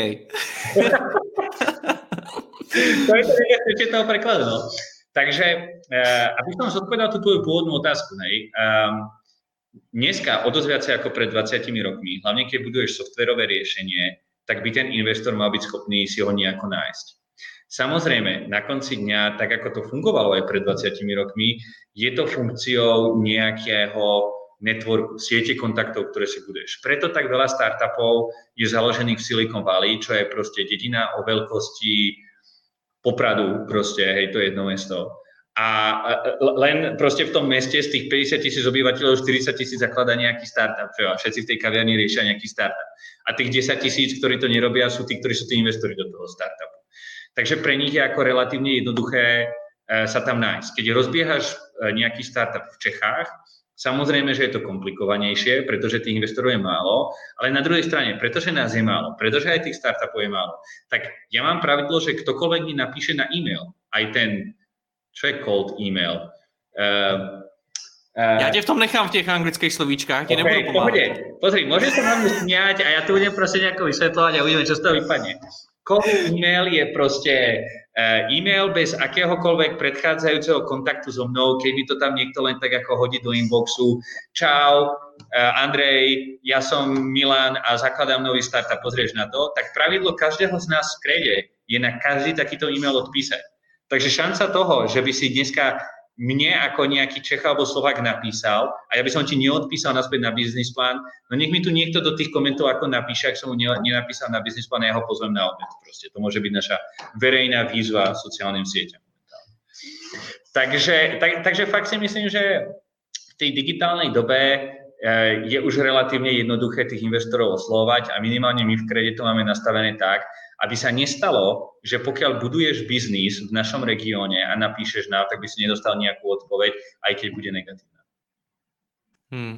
S2: To je to nebezpečie toho prekladu. No. Takže, uh, aby som zodpovedal tú tvoju pôvodnú otázku, hej, um, dneska o dosť viacej ako pred dvadsiatimi rokmi, hlavne keď buduješ softverové riešenie, tak by ten investor mal byť schopný si ho nejako nájsť. Samozrejme, na konci dňa, tak ako to fungovalo aj pred dvadsiatimi rokmi, je to funkciou nejakého networku, siete kontaktov, ktoré si buduješ. Preto tak veľa startupov je založených v Silicon Valley, čo je proste dedina o veľkosti Popradu, proste, hej, to je jedno mesto. A len proste v tom meste z tých päťdesiat tisíc obyvateľov štyridsať tisíc zakladá nejaký startup. A všetci v tej kaviarni riešia nejaký startup. A tých desať tisíc, ktorí to nerobia, sú tí, ktorí sú tí investori do toho startupu. Takže pre nich je ako relatívne jednoduché sa tam nájsť. Keď rozbiehaš nejaký startup v Čechách, samozrejme, že je to komplikovanejšie, pretože tých investorov je málo, ale na druhej strane, pretože nás je málo, pretože aj tých startupov je málo, tak ja mám pravidlo, že ktokoľvek mi napíše na e-mail, aj ten čo je cold email. Uh, uh,
S3: Já tě v tom nechám v těch anglických slovíčkách, ti okay, nebudu pomáhat.
S2: Pohodě. Pozri, môžeš sa na mňa smiať a ja to budem proste nejako vysvetľovať a uvidíme, čo z toho vypadne. Cold email je proste uh, e-mail bez akéhokoľvek predchádzajúceho kontaktu so mnou, keď mi to tam niekto len tak ako hodí do inboxu. Čau, uh, Andrej, ja som Milan a zakladám nový startup, pozrieš na to. Tak pravidlo každého z nás v Krede je na každý takýto e-mail odpísať. Takže šanca toho, že by si dneska mne ako nejaký Čech alebo Slovák napísal a ja by som ti neodpísal naspäť na business plán, no nech mi tu niekto do tých komentov ako napíše, ak som mu nenapísal na business plán, ja ho pozvem na obed. Proste. To môže byť naša verejná výzva sociálnym sieťam. Takže, tak, takže fakt si myslím, že v tej digitálnej dobe je už relatívne jednoduché tých investorov oslovať a minimálne my v Krede to máme nastavené tak, aby sa nestalo, že pokiaľ buduješ biznis v našom regióne a napíšeš nám, tak by si nedostal nejakú odpoveď, aj keď bude negatívna.
S3: Hmm.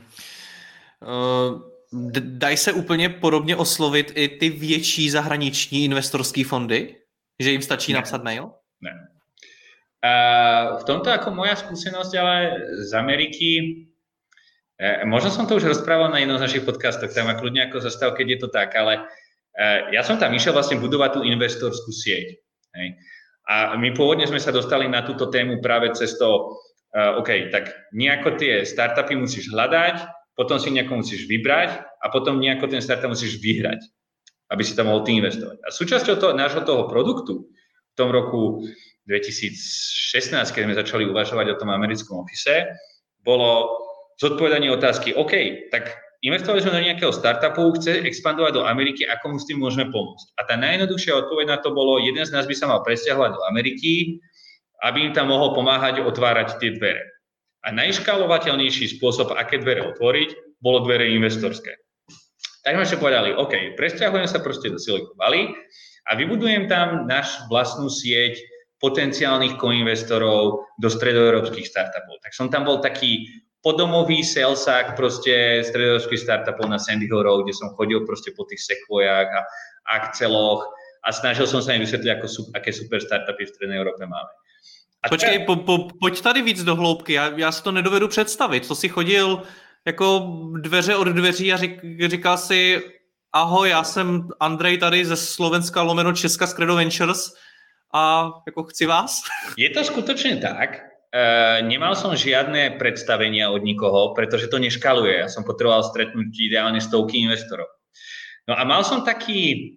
S3: Uh, dají se úplně podobně oslovit i ty větší zahraniční investorské fondy? Že jim stačí ne. napsat mail?
S2: Ne. Uh, v tomto ako moja skúsenosť, ale z Ameriky, uh, možno som to už rozprával na jednom z našich podcastov, tak ma kľudne ako zastav, keď je to tak, ale ja som tam išiel vlastne budovať tú investorskú sieť. Hej. A my pôvodne sme sa dostali na túto tému práve cez to, uh, OK, tak nejako tie startupy musíš hľadať, potom si nejako musíš vybrať a potom nejako ten startup musíš vyhrať, aby si tam mohol ty investovať. A súčasťou toho, nášho toho produktu v tom roku dvetisícšestnásť, keď sme začali uvažovať o tom americkom office, bolo zodpovedanie otázky, OK, tak investovali sme do nejakého startupu, chce expandovať do Ameriky, ako mu s tým môžeme pomôcť. A tá najjednoduchšia odpoveď na to bolo, jeden z nás by sa mal presťahovať do Ameriky, aby im tam mohol pomáhať otvárať tie dvere. A najškálovateľnejší spôsob, aké dvere otvoriť, bolo dvere investorské. Tak sme si povedali, OK, presťahujem sa proste do Silicon Valley a vybudujem tam náš vlastnú sieť potenciálnych koinvestorov do stredoeurópskych startupov. Tak som tam bol taký podomový salesák proste stredoeurópskych startupov na Sandy Hill Road, kde som chodil proste po tých Sequoiách a Axeloch a snažil som sa im vysvetliť, ako, aké super startupy v strednej Európe máme. A
S3: Počkej, po, po, pojď tady víc do hloubky, já, já si to nedovedu představit. To si chodil jako dveře od dveří a řík, říkal si, ahoj, já jsem Andrej tady ze Slovenska lomeno Česka z Credo Ventures a jako chci vás?
S2: Je to skutočne tak. Uh, nemal som žiadne predstavenia od nikoho, pretože to neškaluje. Ja som potreboval stretnúť ideálne stovky investorov. No a mal som taký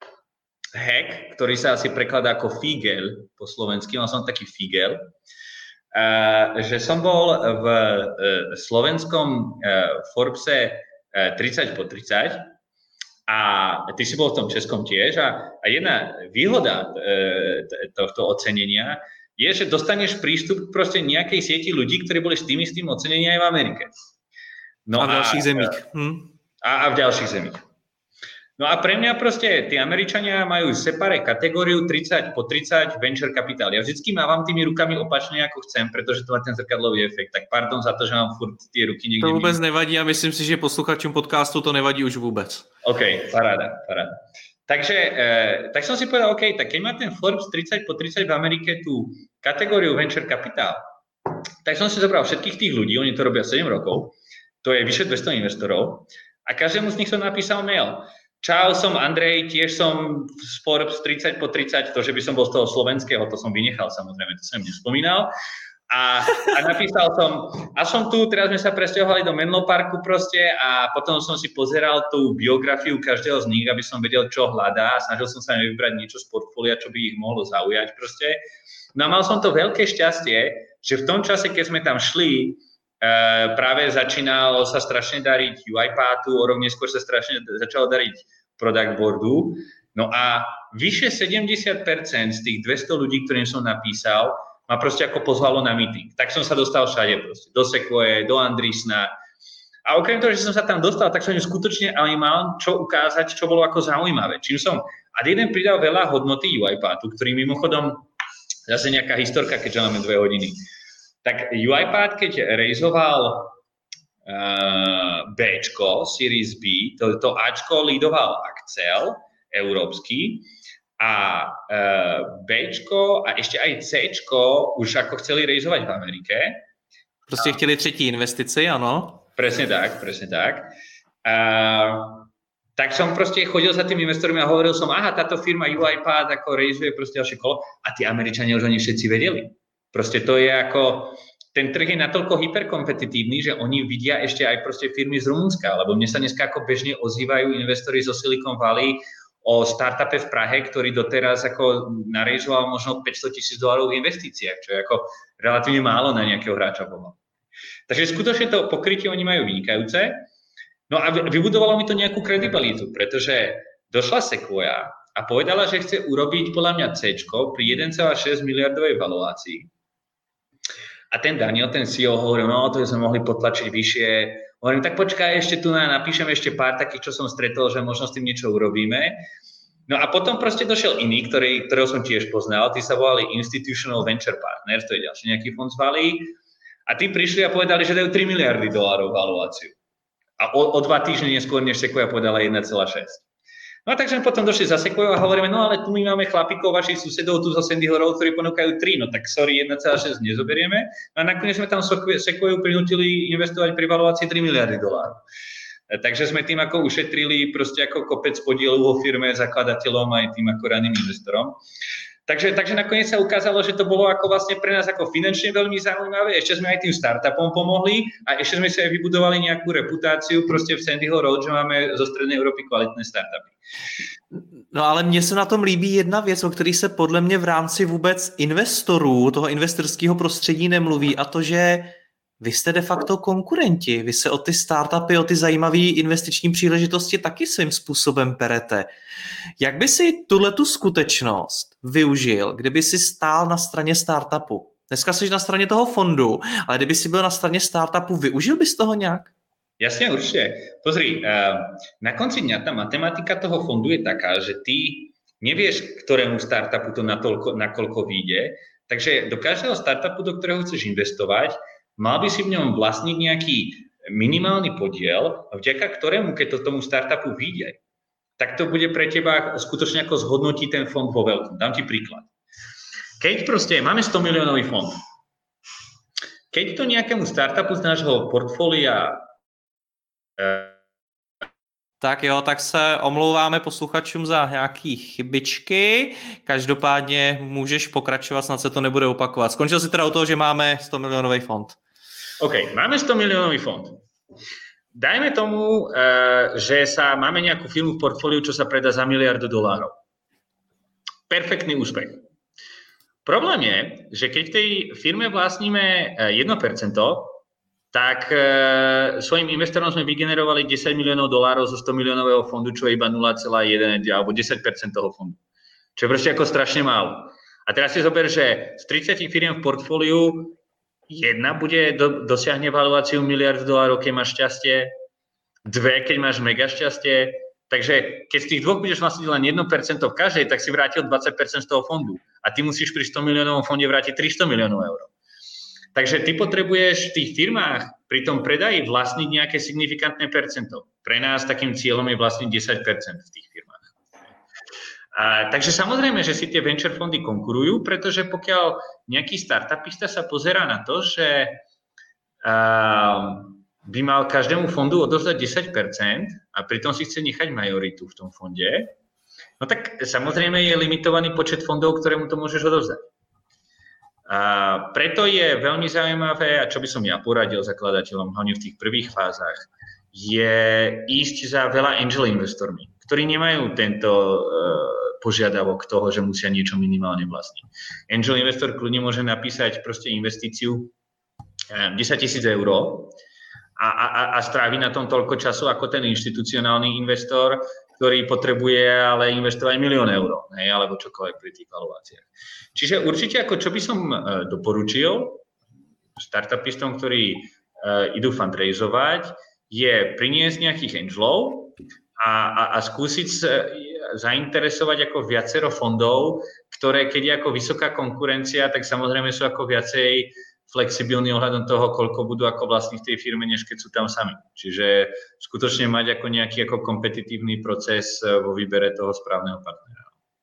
S2: hack, ktorý sa asi prekladá ako figel po slovensky. Mal som taký figel, uh, že som bol v uh, slovenskom uh, Forbese uh, tridsať po tridsať A ty si bol v tom českom tiež a, a jedna výhoda e, tohto ocenenia je, že dostaneš prístup k proste nejakej sieti ľudí, ktorí boli s tým istým ocenením aj v Amerike. No
S3: a v ďalších
S2: a,
S3: zemích. Hm.
S2: A, a v ďalších zemích. No a pre mňa proste tí Američania majú separé kategóriu tridsať po tridsať venture capital. Ja vždycky mávam tými rukami opačne, ako chcem, pretože to má ten zrkadlový efekt. Tak pardon za to, že mám furt tie ruky niekde.
S3: To vôbec nevadí a myslím si, že posluchačům podcastu to nevadí už vôbec.
S2: OK, paráda, paráda. Takže, e, tak som si povedal, OK, tak keď má ten Forbes tridsať po tridsať v Amerike tú kategóriu venture capital, tak som si zobral všetkých tých ľudí, oni to robia sedem rokov, to je vyše dvesto investorov a každému z nich som napísal mail. Čau, som Andrej, tiež som z Forbes tridsať po tridsať, to, že by som bol z toho slovenského, to som vynechal samozrejme, to som nespomínal. A, a napísal som, a som tu, teraz sme sa presťahovali do Menlo Parku proste a potom som si pozeral tú biografiu každého z nich, aby som vedel, čo hľadá a snažil som sa vybrať niečo z portfólia, čo by ich mohlo zaujať proste. No a mal som to veľké šťastie, že v tom čase, keď sme tam šli, Uh, práve začínalo sa strašne dariť UiPathu, o rok neskôr sa strašne začalo dariť Product Boardu. No a vyše sedemdesiat percent z tých dvesto ľudí, ktorým som napísal, ma proste ako pozvalo na meeting. Tak som sa dostal všade proste, do Sequoie, do Andreessena. A okrem toho, že som sa tam dostal, tak som im skutočne ale mal čo ukázať, čo bolo ako zaujímavé. Čím som, a jeden pridal veľa hodnoty UiPathu, ktorý mimochodom, zase nejaká historka, keďže máme dve hodiny. Tak UiPath, keď rejzoval uh, Bčko, Series B, to, to Ačko lídoval Accel, európsky, a uh, Bčko a ešte aj Cčko už ako chceli rejzovať v Amerike.
S3: Proste chceli třetí investici, ano.
S2: Presne tak, presne tak. Uh, tak som proste chodil za tými investormi a hovoril som, aha, táto firma UiPath ako rejzuje proste ďalšie kolo a tí Američania už oni všetci vedeli. Proste to je ako, ten trh je natoľko hyperkompetitívny, že oni vidia ešte aj proste firmy z Rumunska, lebo mne sa dneska ako bežne ozývajú investori zo Silicon Valley o startupe v Prahe, ktorý doteraz ako narejzoval možno päťsto tisíc dolárov v investíciách, čo je ako relatívne málo na nejakého hráča pomaly. Takže skutočne to pokrytie oni majú vynikajúce. No a vybudovalo mi to nejakú kredibilitu, pretože došla Sequoia a povedala, že chce urobiť podľa mňa Cčko pri jeden celá šesť miliardovej valuácii. A ten Daniel, ten C E O, hovoril, no to sme mohli potlačiť vyššie. Hovorím, tak počkaj, ešte tu napíšem ešte pár takých, čo som stretol, že možno s tým niečo urobíme. No a potom proste došiel iný, ktorý, ktorého som tiež poznal, tí sa volali Institutional Venture Partners, to je ďalší nejaký fond z Bali. A tí prišli a povedali, že dajú tri miliardy dolárov valuáciu. A o, o dva týždne neskôr, než Sequoia povedala jeden celá šesť. No a takže potom došli za Sequoia a hovoríme, no ale tu my máme chlapíkov, vašich susedov tu zo Sandy Hook, ktorí ponúkajú tri, no tak sorry, jeden celá šesť nezoberieme. No a nakoniec sme tam Sequoiu prinútili investovať pri valuácii tri miliardy dolárov. Takže sme tým ako ušetrili proste ako kopec podielu vo firme, zakladateľom aj tým ako raným investorom. Takže, takže nakoniec sa ukázalo, že to bolo ako vlastne pre nás ako finančne veľmi zaujímavé. Ešte sme aj tým startupom pomohli a ešte sme si aj vybudovali nejakú reputáciu proste v Sandy Road, že máme zo strednej Európy kvalitné startupy.
S3: No ale mně se na tom líbí jedna věc, o který se podle mě v rámci vůbec investorů, toho investorského prostředí nemluví, a to, že vy jste de facto konkurenti. Vy se o ty startupy, o ty zajímavé investiční příležitosti taky svým způsobem perete. Jak by si tuhletu skutečnost využil, kdyby si stál na straně startupu? Dneska jsi na straně toho fondu, ale kdyby si byl na straně startupu, využil bys toho nějak?
S2: Jasne, určite. Pozri, na konci dňa tá matematika toho fondu je taká, že ty nevieš, ktorému startupu to natoľko, nakoľko vyjde, takže do každého startupu, do ktorého chceš investovať, mal by si v ňom vlastniť nejaký minimálny podiel, vďaka ktorému, keď to tomu startupu vyjde, tak to bude pre teba skutočne ako zhodnotí ten fond vo veľkom. Dám ti príklad. Keď proste máme sto miliónový fond, keď to nejakému startupu z nášho portfólia
S3: Tak jo, tak se omlouváme posluchačům za nějaký chybičky. Každopádně můžeš pokračovat, snad se to nebude opakovat. Skončil si teda u toho, že máme sto milionový fond.
S2: OK, máme sto milionový fond. Dajme tomu, že sa máme nejakú firmu v portfóliu, čo sa predá za miliardu dolárov. Perfektný úspech. Problém je, že keď tej firme vlastníme jedno percento, tak e, svojim investorom sme vygenerovali desať miliónov dolárov zo sto miliónového fondu, čo je iba nula celá jeden alebo desať percent toho fondu. Čo je proste ako strašne málo. A teraz si zober, že z tridsať firiem v portfóliu jedna bude, do, dosiahne valuáciu miliard dolárov, keď máš šťastie, dve, keď máš mega šťastie. Takže keď z tých dvoch budeš vlastniť len jedno percento v každej, tak si vrátil dvadsať percent z toho fondu. A ty musíš pri sto miliónovom fonde vrátiť tristo miliónov eur. Takže ty potrebuješ v tých firmách pri tom predaji vlastniť nejaké signifikantné percento. Pre nás takým cieľom je vlastniť desať percent v tých firmách. A, takže samozrejme, že si tie venture fondy konkurujú, pretože pokiaľ nejaký startupista sa pozerá na to, že uh, by mal každému fondu odovzdať desať percent a pritom si chce nechať majoritu v tom fonde, no tak samozrejme je limitovaný počet fondov, ktorému to môžeš odovzdať. A preto je veľmi zaujímavé, a čo by som ja poradil zakladateľom hlavne v tých prvých fázach, je ísť za veľa angel investormi, ktorí nemajú tento uh, požiadavok toho, že musia niečo minimálne vlastniť. Angel investor kľudne môže napísať proste investíciu desať tisíc eur a, a, a strávi na tom toľko času ako ten inštitucionálny investor, ktorý potrebuje ale investovať milión eur, hej, alebo čokoľvek pri tých valuáciách. Čiže určite ako čo by som doporučil startupistom, ktorí uh, idú fundraizovať, je priniesť nejakých angelov a, a, a skúsiť zainteresovať ako viacero fondov, ktoré keď je ako vysoká konkurencia, tak samozrejme sú ako viacej flexibilní ohľadom toho, koľko budú ako vlastní v tej firme, než keď sú tam sami. Čiže skutočne mať ako nejaký ako kompetitívny proces vo výbere toho správneho partnera.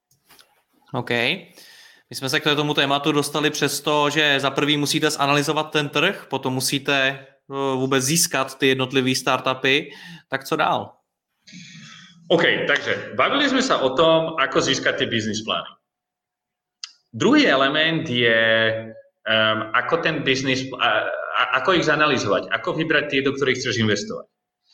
S3: OK. My jsme se k tomu tématu dostali přes to, že za prvý musíte zanalyzovat ten trh, potom musíte vůbec získat ty jednotlivé startupy. Tak co dál?
S2: OK, takže bavili sme sa o tom, ako získať tie business plány. Druhý element je, um, ako ten business, uh, ako ich zanalizovať, ako vybrať tie, do ktorých chceš investovať.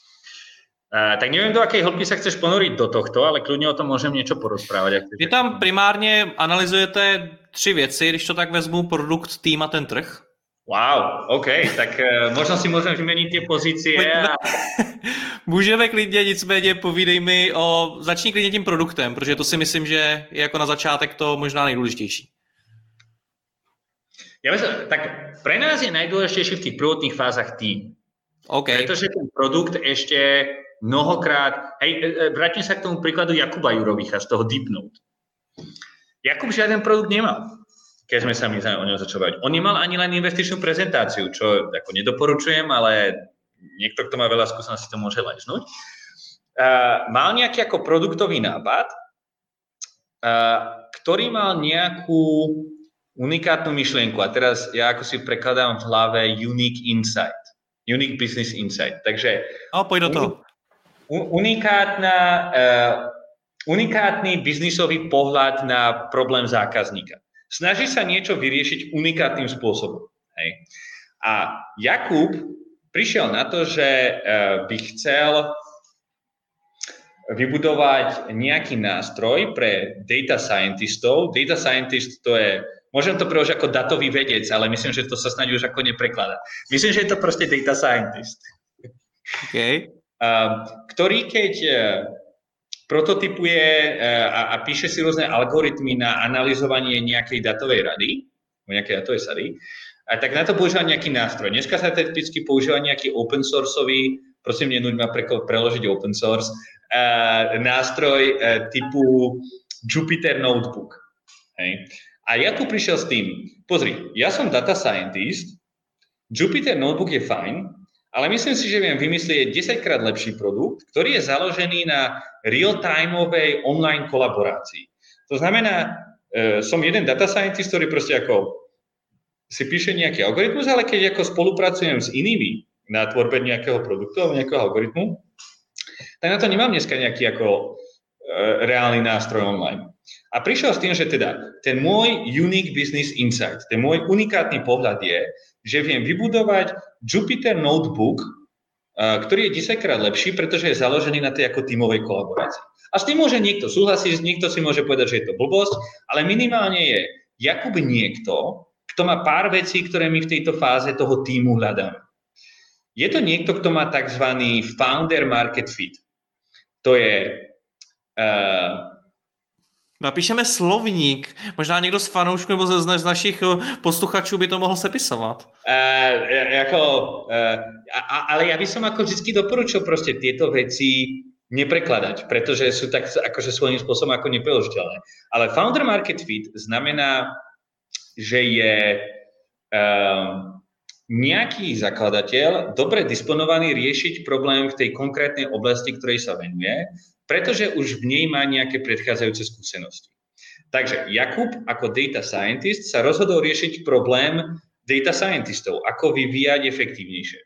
S2: Uh, tak neviem, do akej hĺbky sa chceš ponoriť do tohto, ale kľudne o tom môžem niečo porozprávať.
S3: Vy tam primárně analyzujete tři věci, když to tak vezmu, produkt, tým a ten trh.
S2: Wow, OK, tak uh, možno si môžem vymeniť tie pozície. A...
S3: Můžeme klidně, nicméně povídej mi o, začni klidně tím produktem, protože to si myslím, že je jako na začátek to možná nejdůležitější.
S2: Ja myslím, tak pre nás je najdôležitejší v tých prvotných fázach tým.
S3: Okay.
S2: Pretože ten produkt ešte mnohokrát, hej, vrátim sa k tomu príkladu Jakuba Jurovicha z toho Deepnote. Jakub žiaden produkt nemal, keď sme sa my o ňom začali bavit. On nemal ani len investičnú prezentáciu, čo ako nedoporučujem, ale niekto, kto má veľa skúseností, to môže lajznúť. Uh, mal nejaký ako produktový nápad, uh, ktorý mal nejakú unikátnu myšlienku. A teraz ja ako si prekladám v hlave unique insight. Unique business insight. Takže
S3: no, pojď do toho.
S2: Unikátna, uh, unikátny biznisový pohľad na problém zákazníka. Snaží sa niečo vyriešiť unikátnym spôsobom. Hej. A Jakub prišiel na to, že by chcel vybudovať nejaký nástroj pre data scientistov. Data scientist to je, môžem to preložiť ako datový vedec, ale myslím, že to sa snáď už ako neprekladá. Myslím, že je to proste data scientist.
S3: Okay.
S2: Ktorý keď prototypuje a, a píše si rôzne algoritmy na analyzovanie nejakej datovej rady, nejakej datovej sady, a tak na to používa nejaký nástroj. Dneska sa typicky používa nejaký open sourceový, prosím, nenúď ma pre, preložiť open source, uh, nástroj uh, typu Jupyter Notebook. Hej. A ja tu prišiel s tým, pozri, ja som data scientist, Jupyter Notebook je fajn, ale myslím si, že viem vymyslieť desaťkrát lepší produkt, ktorý je založený na real-timeovej online kolaborácii. To znamená, uh, som jeden data scientist, ktorý proste ako si píše nejaký algoritmus, ale keď ako spolupracujem s inými na tvorbe nejakého produktu alebo nejakého algoritmu, tak na to nemám dneska nejaký ako e, reálny nástroj online. A prišiel s tým, že teda ten môj unique business insight, ten môj unikátny pohľad je, že viem vybudovať Jupyter Notebook, e, ktorý je desaťkrát lepší, pretože je založený na tej ako tímovej kolaborácii. A s tým môže niekto súhlasiť, niekto si môže povedať, že je to blbosť, ale minimálne je Jakub niekto, kto má pár vecí, ktoré my v tejto fáze toho tímu hľadáme. je to niekto, kto má tzv. Founder market fit. To je... Uh,
S3: Napíšeme slovník. Možná někdo z fanoušků nebo z, z našich posluchačů by to mohl sepisovat.
S2: Uh, jako, uh, a, ale ja by som ako vždy doporučil proste tieto veci neprekladať, pretože sú tak akože svojím spôsobom ako nepreložiteľné. Ale founder market fit znamená, že je um, nejaký zakladateľ dobre disponovaný riešiť problém v tej konkrétnej oblasti, ktorej sa venuje, pretože už v nej má nejaké predchádzajúce skúsenosti. Takže Jakub ako data scientist sa rozhodol riešiť problém data scientistov, ako vyvíjať efektívnejšie.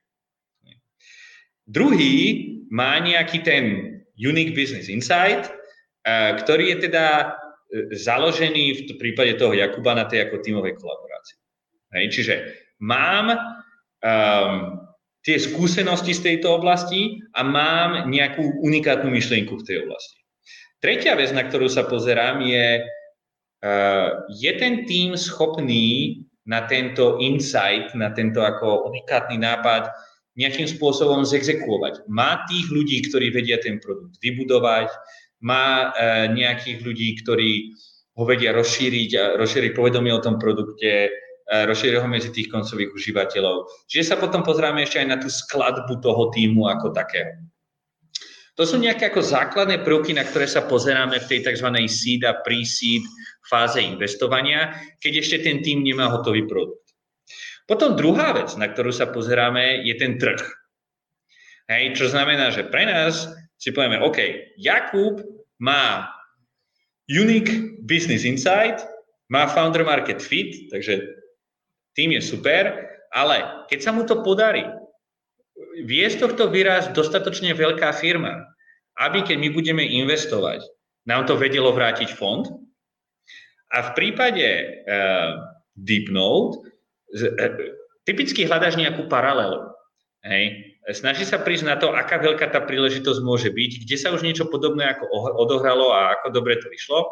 S2: Druhý má nejaký ten unique business insight, ktorý je teda založený v prípade toho Jakuba na tej ako tímovej kolaborácii. Hej, čiže mám um, tie skúsenosti z tejto oblasti a mám nejakú unikátnu myšlienku v tej oblasti. Tretia vec, na ktorú sa pozerám, je, uh, je ten tím schopný na tento insight, na tento ako unikátny nápad nejakým spôsobom zexekuovať. Má tých ľudí, ktorí vedia ten produkt vybudovať, má uh, nejakých ľudí, ktorí ho vedia rozšíriť a rozšíriť povedomie o tom produkte, rozšíriť ho medzi tých koncových užívateľov. Čiže sa potom pozrieme ešte aj na tú skladbu toho týmu ako takého. To sú nejaké ako základné prvky, na ktoré sa pozeráme v tej tzv. Seed a pre-seed fáze investovania, keď ešte ten tím nemá hotový produkt. Potom druhá vec, na ktorú sa pozeráme, je ten trh. Hej, čo znamená, že pre nás si povieme, OK, Jakub má unique business insight, má founder market fit, takže tým je super, ale keď sa mu to podarí, vie z tohto výraz dostatočne veľká firma, aby keď my budeme investovať, nám to vedelo vrátiť fond. A v prípade uh, DeepNote uh, typicky hľadáš nejakú paralelu. Hej. Snaží sa prísť na to, aká veľká tá príležitosť môže byť, kde sa už niečo podobné ako odohralo a ako dobre to vyšlo.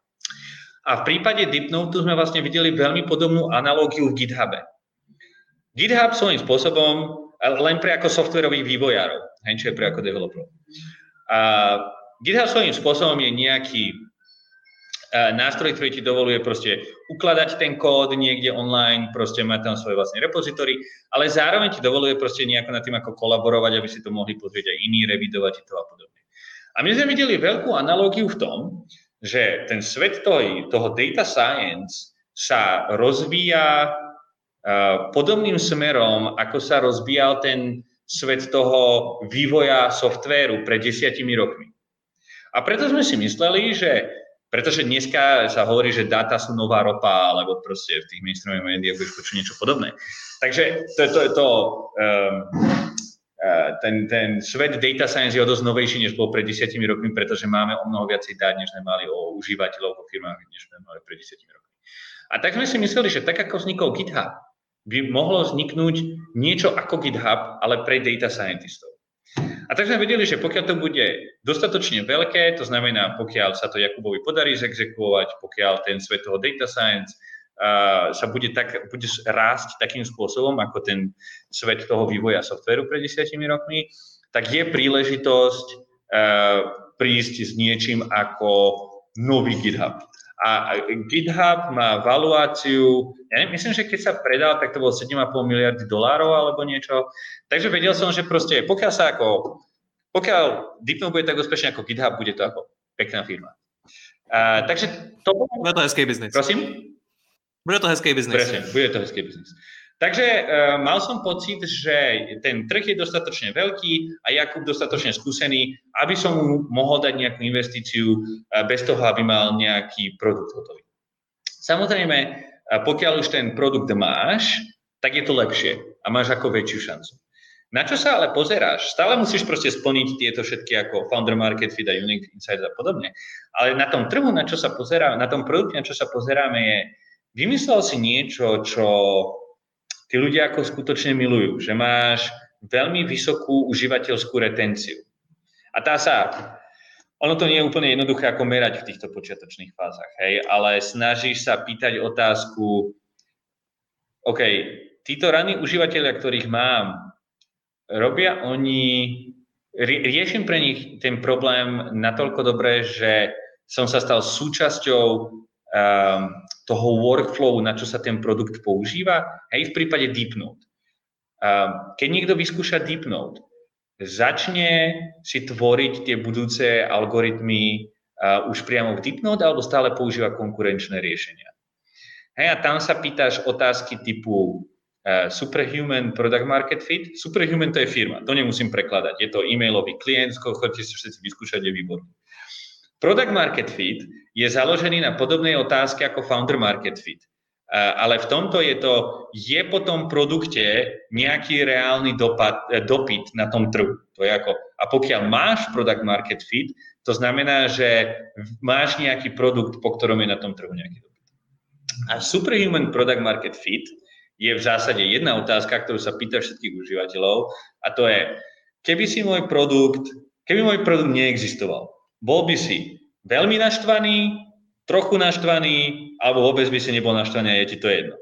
S2: A v prípade DeepNote sme vlastne videli veľmi podobnú analógiu v GitHube. GitHub svojím spôsobom len pre ako softwarových vývojárov, hej, čo je pre ako developerov. A GitHub svojím spôsobom je nejaký uh, nástroj, ktorý ti dovoluje proste ukladať ten kód niekde online, proste mať tam svoje vlastné repozitory, ale zároveň ti dovoluje proste nejako nad tým ako kolaborovať, aby si to mohli pozrieť aj iní, revidovať to a podobne. A my sme videli veľkú analógiu v tom, že ten svet toho, toho data science sa rozvíja uh, podobným smerom, ako sa rozvíjal ten svet toho vývoja softvéru pred desiatimi rokmi. A preto sme si mysleli, že pretože dneska sa hovorí, že dáta sú nová ropa, alebo proste v tých mainstreamových médiách budeš počuť niečo podobné. Takže to je to, to um, Uh, ten, ten svet data science je o dosť novejší, než bol pred desiatimi rokmi, pretože máme o mnoho viacej dát, než sme mali o užívateľov vo firmách, než sme mali pred desiatimi rokmi. A tak sme si mysleli, že tak ako vznikol GitHub, by mohlo vzniknúť niečo ako GitHub, ale pre data scientistov. A tak sme vedeli, že pokiaľ to bude dostatočne veľké, to znamená, pokiaľ sa to Jakubovi podarí zexekuovať, pokiaľ ten svet toho data science Uh, sa bude, tak, bude rásť takým spôsobom, ako ten svet toho vývoja softvéru pred desiatimi rokmi, tak je príležitosť uh, prísť s niečím ako nový GitHub. A GitHub má valuáciu, ja neviem, myslím, že keď sa predal, tak to bolo sedem a pol miliardy dolárov alebo niečo. Takže vedel som, že proste pokiaľ sa ako, pokiaľ DeepNote bude tak úspešne ako GitHub, bude to ako pekná firma. Uh, takže to...
S3: Bude to hezký biznis.
S2: Prosím?
S3: Bude to hezký biznis.
S2: Presne, bude to hezký biznis. Takže uh, mal som pocit, že ten trh je dostatočne veľký a Jakub dostatočne skúsený, aby som mu mohol dať nejakú investíciu uh, bez toho, aby mal nejaký produkt hotový. Samozrejme, uh, pokiaľ už ten produkt máš, tak je to lepšie a máš ako väčšiu šancu. Na čo sa ale pozeráš? Stále musíš proste splniť tieto všetky ako founder market fit a unique insights a podobne. Ale na tom trhu, na čo sa pozeráme, na tom produkte, na čo sa pozeráme je, vymyslel si niečo, čo tí ľudia ako skutočne milujú, že máš veľmi vysokú užívateľskú retenciu. A tá sa, ono to nie je úplne jednoduché ako merať v týchto počiatočných fázach, hej, ale snažíš sa pýtať otázku, OK, títo ranní užívateľia, ktorých mám, robia oni, riešim pre nich ten problém natoľko dobre, že som sa stal súčasťou um, toho workflowu, na čo sa ten produkt používa, hej, v prípade DeepNote. Um, keď niekto vyskúša DeepNote, začne si tvoriť tie budúce algoritmy uh, už priamo v DeepNote, alebo stále používa konkurenčné riešenia. Hej, a tam sa pýtaš otázky typu uh, Superhuman Product Market Fit. Superhuman to je firma, to nemusím prekladať. Je to e-mailový klient, chodite si všetci vyskúšať, je výborný. Product Market Fit je založený na podobnej otázke ako Founder Market Fit. Uh, ale v tomto je to, je po tom produkte nejaký reálny dopad, eh, dopyt na tom trhu. To je ako, a pokiaľ máš Product Market Fit, to znamená, že máš nejaký produkt, po ktorom je na tom trhu nejaký dopyt. A Superhuman Product Market Fit je v zásade jedna otázka, ktorú sa pýta všetkých užívateľov, a to je, keby si môj produkt, keby môj produkt neexistoval, bol by si veľmi naštvaný, trochu naštvaný, alebo vôbec by si nebol naštvaný a je ti to jedno.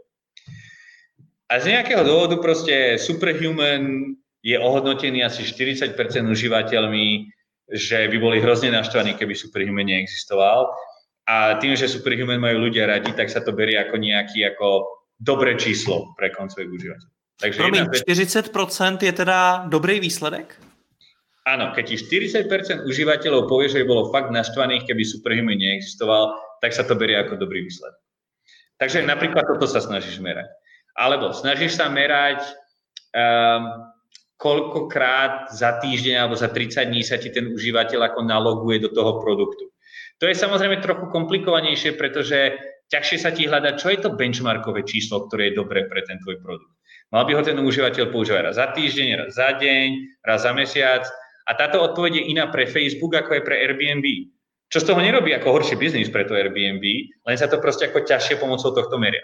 S2: A z nejakého dôvodu proste Superhuman je ohodnotený asi štyridsať percent užívateľmi, že by boli hrozne naštvaní, keby Superhuman neexistoval. A tým, že Superhuman majú ľudia radi, tak sa to berie ako nejaký ako dobré číslo pre koncových užívateľov. Takže
S3: Promiň, štyridsať percent je teda dobrý výsledek?
S2: Áno, keď ti štyridsať percent užívateľov povie, že by bolo fakt naštvaných, keby Superhuman neexistoval, tak sa to berie ako dobrý výsledok. Takže napríklad toto sa snažíš merať. Alebo snažíš sa merať, um, koľkokrát za týždeň alebo za tridsať dní sa ti ten užívateľ ako naloguje do toho produktu. To je samozrejme trochu komplikovanejšie, pretože ťažšie sa ti hľadať, čo je to benchmarkové číslo, ktoré je dobré pre ten tvoj produkt. Mal by ho ten užívateľ používať raz za týždeň, raz za deň, raz za mesiac. A táto odpoveď je iná pre Facebook, ako je pre Airbnb. Čo z toho nerobí ako horší biznis pre to Airbnb, len sa to proste ako ťažšie pomocou tohto meria.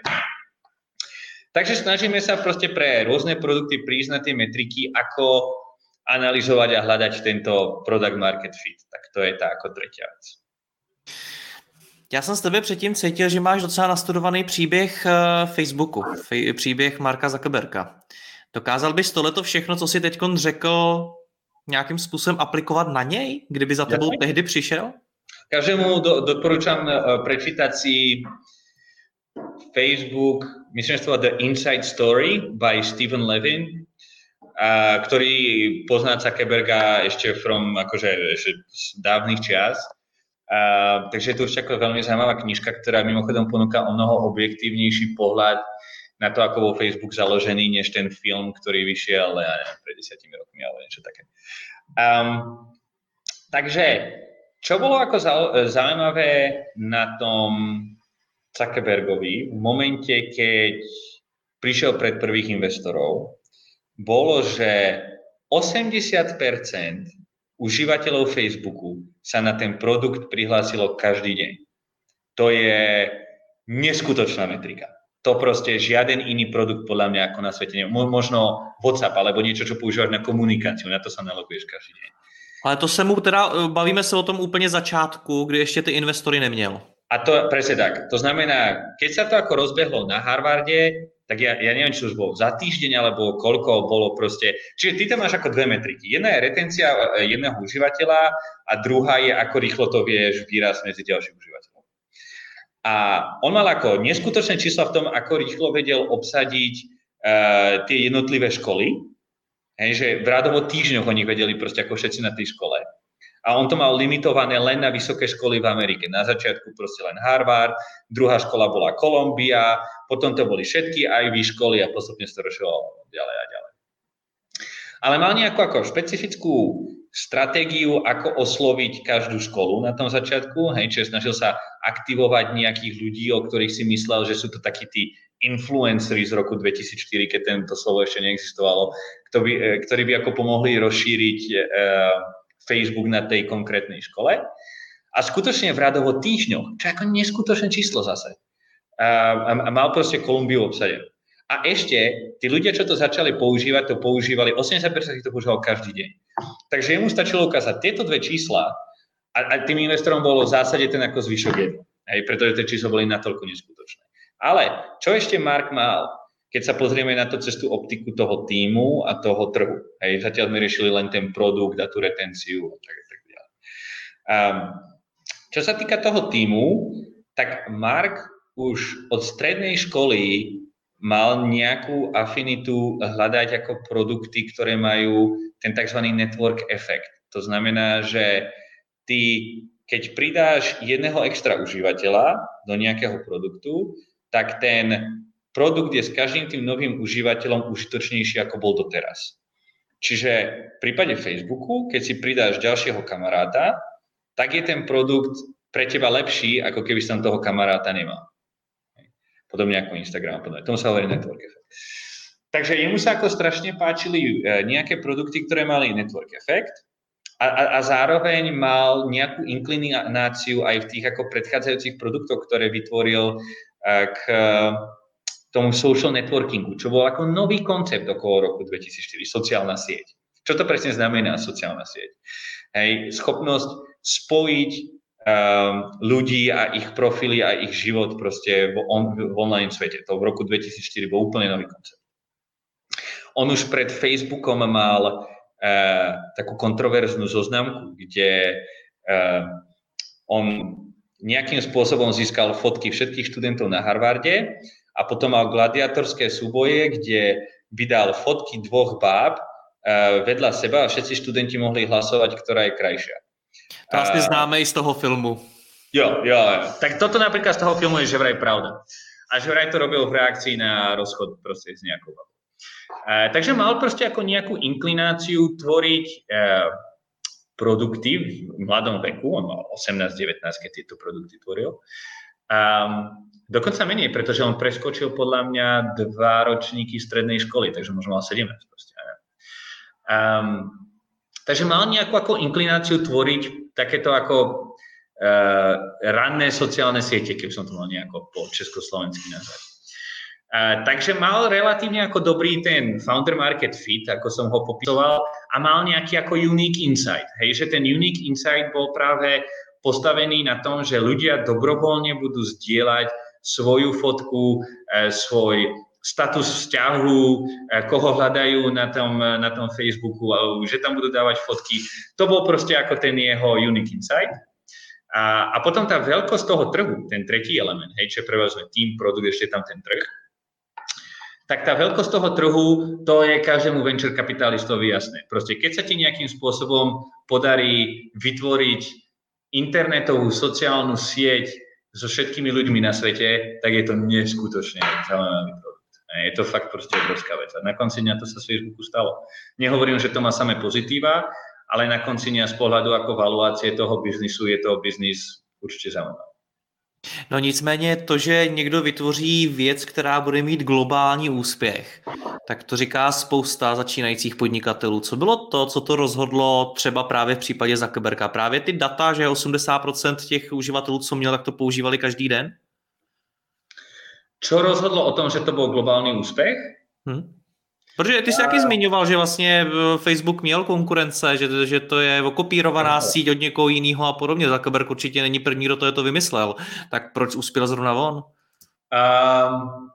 S2: Takže snažíme sa proste pre rôzne produkty prísť na tie metriky, ako analyzovať a hľadať tento product market fit. Tak to je tá ako tretia vec.
S3: Já jsem s tebe předtím cítil, že máš docela nastudovaný příběh Facebooku, příběh Marka Zuckerberga. Dokázal bys tohleto všechno, co jsi teďkon řekl, nějakým způsobem aplikovat na něj, kdyby za tebou ja. tehdy přišel?
S2: Každému do, doporučám prečítať si Facebook, myslím, že to The Inside Story by Stephen Levin, a, ktorý pozná Zuckerberga ešte from akože ešte z dávnych čias. A, takže je to určite ako veľmi zaujímavá knižka, ktorá mimochodom ponúka o mnoho objektívnejší pohľad na to, ako bol Facebook založený, než ten film, ktorý vyšiel ja neviem, pred desiatimi rokmi, alebo niečo také. Um, takže, čo bolo ako zaujímavé na tom Zuckerbergovi v momente, keď prišiel pred prvých investorov, bolo, že osemdesiat percent užívateľov Facebooku sa na ten produkt prihlásilo každý deň. To je neskutočná metrika. To proste žiaden iný produkt podľa mňa ako na svete. Možno WhatsApp alebo niečo, čo používaš na komunikáciu. Na to sa naloguješ každý deň.
S3: Ale to se mu teda, bavíme se o tom úplně začátku, kdy ještě ty investory neměl.
S2: A to presne tak. To znamená, keď sa to ako rozbehlo na Harvarde, tak ja, ja neviem, či už bolo za týždeň, alebo koľko bolo proste. Čiže ty tam máš ako dve metriky. Jedna je retencia jedného užívateľa a druhá je, ako rýchlo to vieš výraz medzi ďalším užívateľom. A on mal ako neskutočné čísla v tom, ako rýchlo vedel obsadiť uh, tie jednotlivé školy. Hej, že v rádovo týždňoch oni vedeli proste ako všetci na tej škole. A on to mal limitované len na vysoké školy v Amerike. Na začiatku proste len Harvard, druhá škola bola Columbia, potom to boli všetky í vé školy a postupne sa to rozširovalo ďalej a ďalej. Ale mal nejakú ako špecifickú stratégiu, ako osloviť každú školu na tom začiatku. Hej, čiže snažil sa aktivovať nejakých ľudí, o ktorých si myslel, že sú to takí tí influenceri z roku dvetisícštyri, keď tento slovo ešte neexistovalo, ktorí, ktorí by ako pomohli rozšíriť uh, Facebook na tej konkrétnej škole. A skutočne v rádovo týždňoch, čo je ako neskutočné číslo zase, a, a mal proste Kolumbiu obsadenú. A ešte, tí ľudia, čo to začali používať, to používali, osemdesiat percent to používalo každý deň. Takže jemu stačilo ukázať tieto dve čísla a, a tým investorom bolo v zásade ten ako zvyšok jedno. Hej, pretože tie čísla boli natoľko neskutočné. Ale čo ešte Mark mal? keď sa pozrieme na to cez tú optiku toho tímu a toho trhu. Hej, zatiaľ sme riešili len ten produkt a tú retenciu a tak, tak ďalej. Um, čo sa týka toho tímu, tak Mark už od strednej školy mal nejakú afinitu hľadať ako produkty, ktoré majú ten tzv. Network efekt. To znamená, že ty, keď pridáš jedného extra užívateľa do nejakého produktu, tak ten produkt je s každým tým novým užívateľom užitočnejší, ako bol doteraz. Čiže v prípade Facebooku, keď si pridáš ďalšieho kamaráta, tak je ten produkt pre teba lepší, ako keby si tam toho kamaráta nemal. Podobne ako Instagram. Podobne. Tomu sa hovorí network effect. Takže jemu sa ako strašne páčili nejaké produkty, ktoré mali network effect a, a, a zároveň mal nejakú inklináciu aj v tých ako predchádzajúcich produktoch, ktoré vytvoril k tomu social networkingu, čo bol ako nový koncept okolo roku dvetisícštyri, sociálna sieť. Čo to presne znamená sociálna sieť? Hej, schopnosť spojiť Um, ľudí a ich profily a ich život proste v, on, v online svete. To v roku dvetisícštyri bol úplne nový koncept. On už pred Facebookom mal uh, takú kontroverznú zoznamku, kde uh, on nejakým spôsobom získal fotky všetkých študentov na Harvarde a potom mal gladiatorské súboje, kde vydal fotky dvoch báb uh, vedľa seba a všetci študenti mohli hlasovať, ktorá je krajšia.
S3: To asi známe i z toho filmu.
S2: Jo, jo, jo. Tak toto napríklad z toho filmu je že vraj pravda. A že vraj to robil v reakcii na rozchod proste s nejakou babou. Uh, takže mal proste ako nejakú inklináciu tvoriť uh, produkty v mladom veku. On mal osemnásť devätnásť, keď tieto produkty tvoril. Um, dokonca menej, pretože on preskočil podľa mňa dva ročníky strednej školy, takže možno mal sedemnásť proste. Um, takže mal nejakú ako inklináciu tvoriť takéto ako uh, ranné sociálne siete, keby som to mal nejako po československy nazvať. Uh, takže mal relatívne ako dobrý ten founder market fit, ako som ho popisoval, a mal nejaký ako unique insight. Hej, že ten unique insight bol práve postavený na tom, že ľudia dobrovoľne budú zdieľať svoju fotku, uh, svoj status vzťahu, koho hľadajú na tom, na tom Facebooku, že tam budú dávať fotky. To bol proste ako ten jeho unique insight. A, a potom tá veľkosť toho trhu, ten tretí element, hej, čo je prevažne tým produkt, ešte tam ten trh, tak tá veľkosť toho trhu, to je každému venture kapitalistovi jasné. Proste keď sa ti nejakým spôsobom podarí vytvoriť internetovú sociálnu sieť so všetkými ľuďmi na svete, tak je to neskutočne zaujímavý produkt. Je to fakt proste obrovská vec. A na konci dňa to sa z Facebooku stalo. Nehovorím, že to má samé pozitíva, ale na konci dňa z pohľadu ako valuácie toho biznisu je to biznis určitě zaujímavý.
S3: No nicméně to, že někdo vytvoří věc, která bude mít globální úspěch, tak to říká spousta začínajících podnikatelů. Co bylo to, co to rozhodlo třeba právě v případě Zuckerberga? Právě ty data, že osmdesát procent těch uživatelů, co měl, tak to používali každý den?
S2: Čo rozhodlo o tom, že to byl globální úspěch?
S3: Hmm. Protože ty jsi taky zmiňoval, že vlastně Facebook měl konkurence, že, že to je okopírovaná síť od někoho jiného a podobně. Zuckerberg určitě není první, kdo to, je to vymyslel. Tak proč uspěl zrovna on?
S2: Um,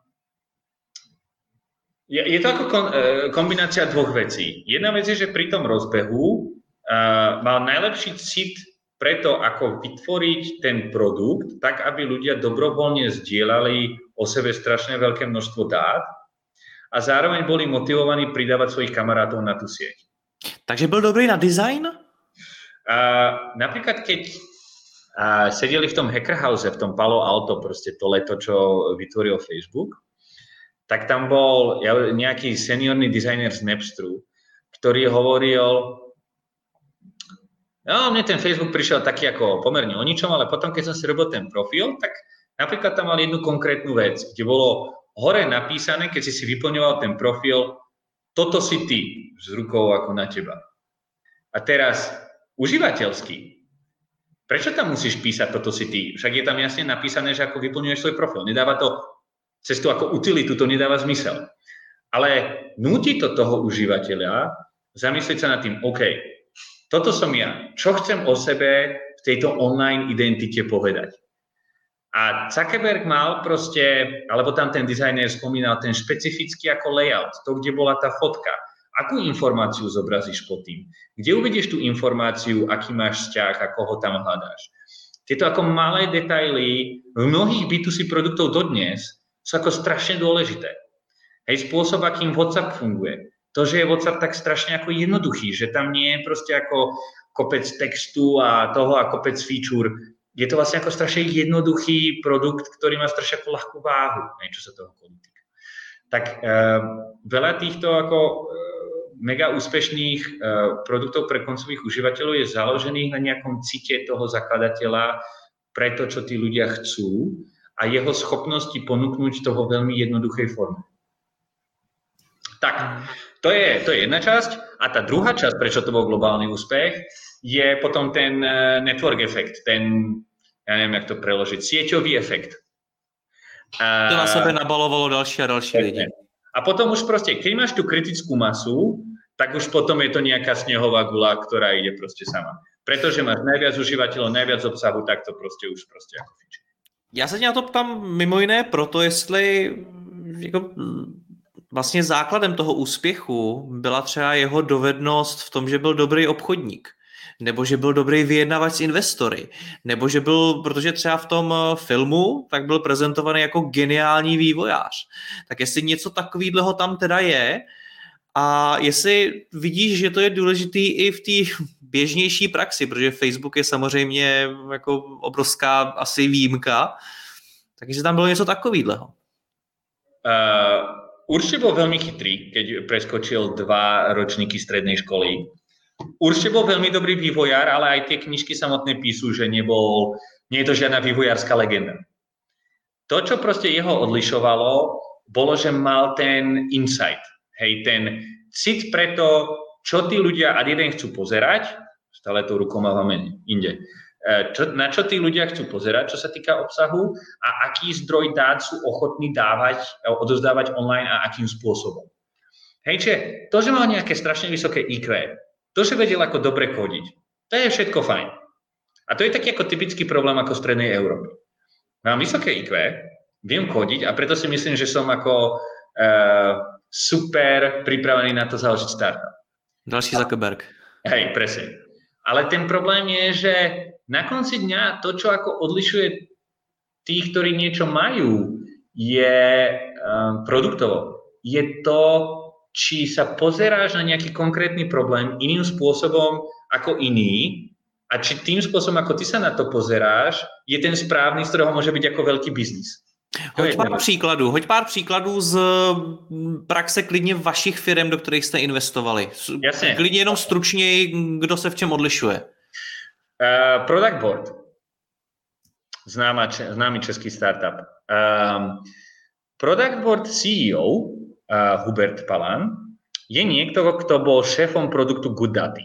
S2: je, je to jako kon, kombinácia dvoch vecí. Jedna vec je, že pri tom rozbehu uh, mal najlepší cit preto, ako vytvoriť ten produkt, tak aby ľudia dobrovoľne zdieľali o sebe strašne veľké množstvo dát a zároveň boli motivovaní pridávať svojich kamarátov na tú sieť.
S3: Takže byl dobrý na design?
S2: Uh, napríklad, keď uh, sedeli v tom Hacker House, v tom Palo Alto, proste to leto, čo vytvoril Facebook, tak tam bol nejaký seniorný dizajner z Napsteru, ktorý hovoril, no, mne ten Facebook prišiel taký ako pomerne o ničom, ale potom, keď som si robil ten profil, tak napríklad tam mal jednu konkrétnu vec, kde bolo hore napísané, keď si si vyplňoval ten profil, toto si ty, s rukou ako na teba. A teraz, užívateľský, prečo tam musíš písať toto si ty? Však je tam jasne napísané, že ako vyplňuješ svoj profil. Nedáva to cestu ako utilitu, to nedáva zmysel. Ale núti to toho užívateľa zamyslieť sa nad tým, OK, toto som ja. Čo chcem o sebe v tejto online identite povedať? A Zuckerberg mal proste, alebo tam ten dizajner spomínal ten špecifický ako layout, to, kde bola tá fotka. Akú informáciu zobrazíš pod tým? Kde uvidíš tú informáciu, aký máš vzťah a koho tam hľadáš? Tieto ako malé detaily v mnohých bé dva cé produktov dodnes sú ako strašne dôležité. Hej, spôsob, akým WhatsApp funguje. To, že je WhatsApp tak strašne ako jednoduchý, že tam nie je proste ako kopec textu a toho a kopec feature. Je to vlastne ako strašne jednoduchý produkt, ktorý má strašne ako ľahkú váhu, hej, čo sa toho týka. Tak e, veľa týchto ako e, mega úspešných e, produktov pre koncových užívateľov je založených na nejakom cite toho zakladateľa pre to, čo tí ľudia chcú a jeho schopnosti ponúknuť to vo veľmi jednoduchej forme. Tak, to je, to je jedna časť. A tá druhá časť, prečo to bol globálny úspech, je potom ten network efekt, ten, ja neviem, jak to preložiť, sieťový efekt.
S3: To na sebe nabalovalo další a další lidi.
S2: A potom už proste, keď máš tú kritickú masu, tak už potom je to nejaká snehová guľa, ktorá ide proste sama. Pretože máš najviac užívateľov, najviac obsahu, tak to proste už proste ako fičí.
S3: Já se tě na to ptám mimo jiné proto, jestli jako, vlastně základem toho úspěchu byla třeba jeho dovednost v tom, že byl dobrý obchodník, nebo že byl dobrý vyjednavač s investory, nebo že byl, protože třeba v tom filmu, tak byl prezentovaný jako geniální vývojář. Tak jestli něco takového tam teda je a jestli vidíš, že to je důležitý i v té běžnější praxi, protože Facebook je samozřejmě jako obrovská asi výjimka, takže tam bylo něco takového.
S2: Uh... Určite bol veľmi chytrý, keď preskočil dva ročníky strednej školy. Určite bol veľmi dobrý vývojár, ale aj tie knižky samotné píšu, že nebol, nie je to žiadna vývojárska legenda. To, čo proste jeho odlišovalo, bolo, že mal ten insight, hej, ten cit pre to, čo tí ľudia ad jeden chcú pozerať, stále tou rukou mávame inde, Čo, na čo tí ľudia chcú pozerať, čo sa týka obsahu a aký zdroj dát sú ochotní dávať, odozdávať online a akým spôsobom. Hej, čiže to, že mal nejaké strašne vysoké í kvé, to, že vedel ako dobre kodiť, to je všetko fajn. A to je taký ako typický problém ako v strednej Európy. Mám vysoké í kvé, viem kodiť a preto si myslím, že som ako uh, super pripravený na to založiť startup.
S3: Další Zuckerberg.
S2: Hej, presne. Ale ten problém je, že na konci dňa to, čo ako odlišuje tých, ktorí niečo majú, je um, produktovo. Je to, či sa pozeráš na nejaký konkrétny problém iným spôsobom ako iný a či tým spôsobom, ako ty sa na to pozeráš, je ten správny, z ktorého môže byť ako veľký biznis.
S3: Hoď pár příkladů, hoď pár příkladů z praxe klidně vašich firm, do kterých jste investovali.
S2: Jasně.
S3: Klidně jenom stručněji, kdo se v čem odlišuje.
S2: Uh, Product Board. Známa, známy český startup. Um, Product Board C E O uh, Hubert Palan je niekto, kto bol šéfom produktu GoodDaddy.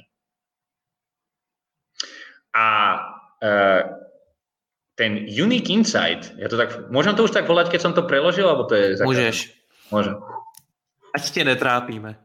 S2: A uh, ten Unique Insight, ja to tak, môžem to už tak volať, keď som to preložil, alebo to je...
S3: Môžeš.
S2: Môžem.
S3: Ať te netrápíme.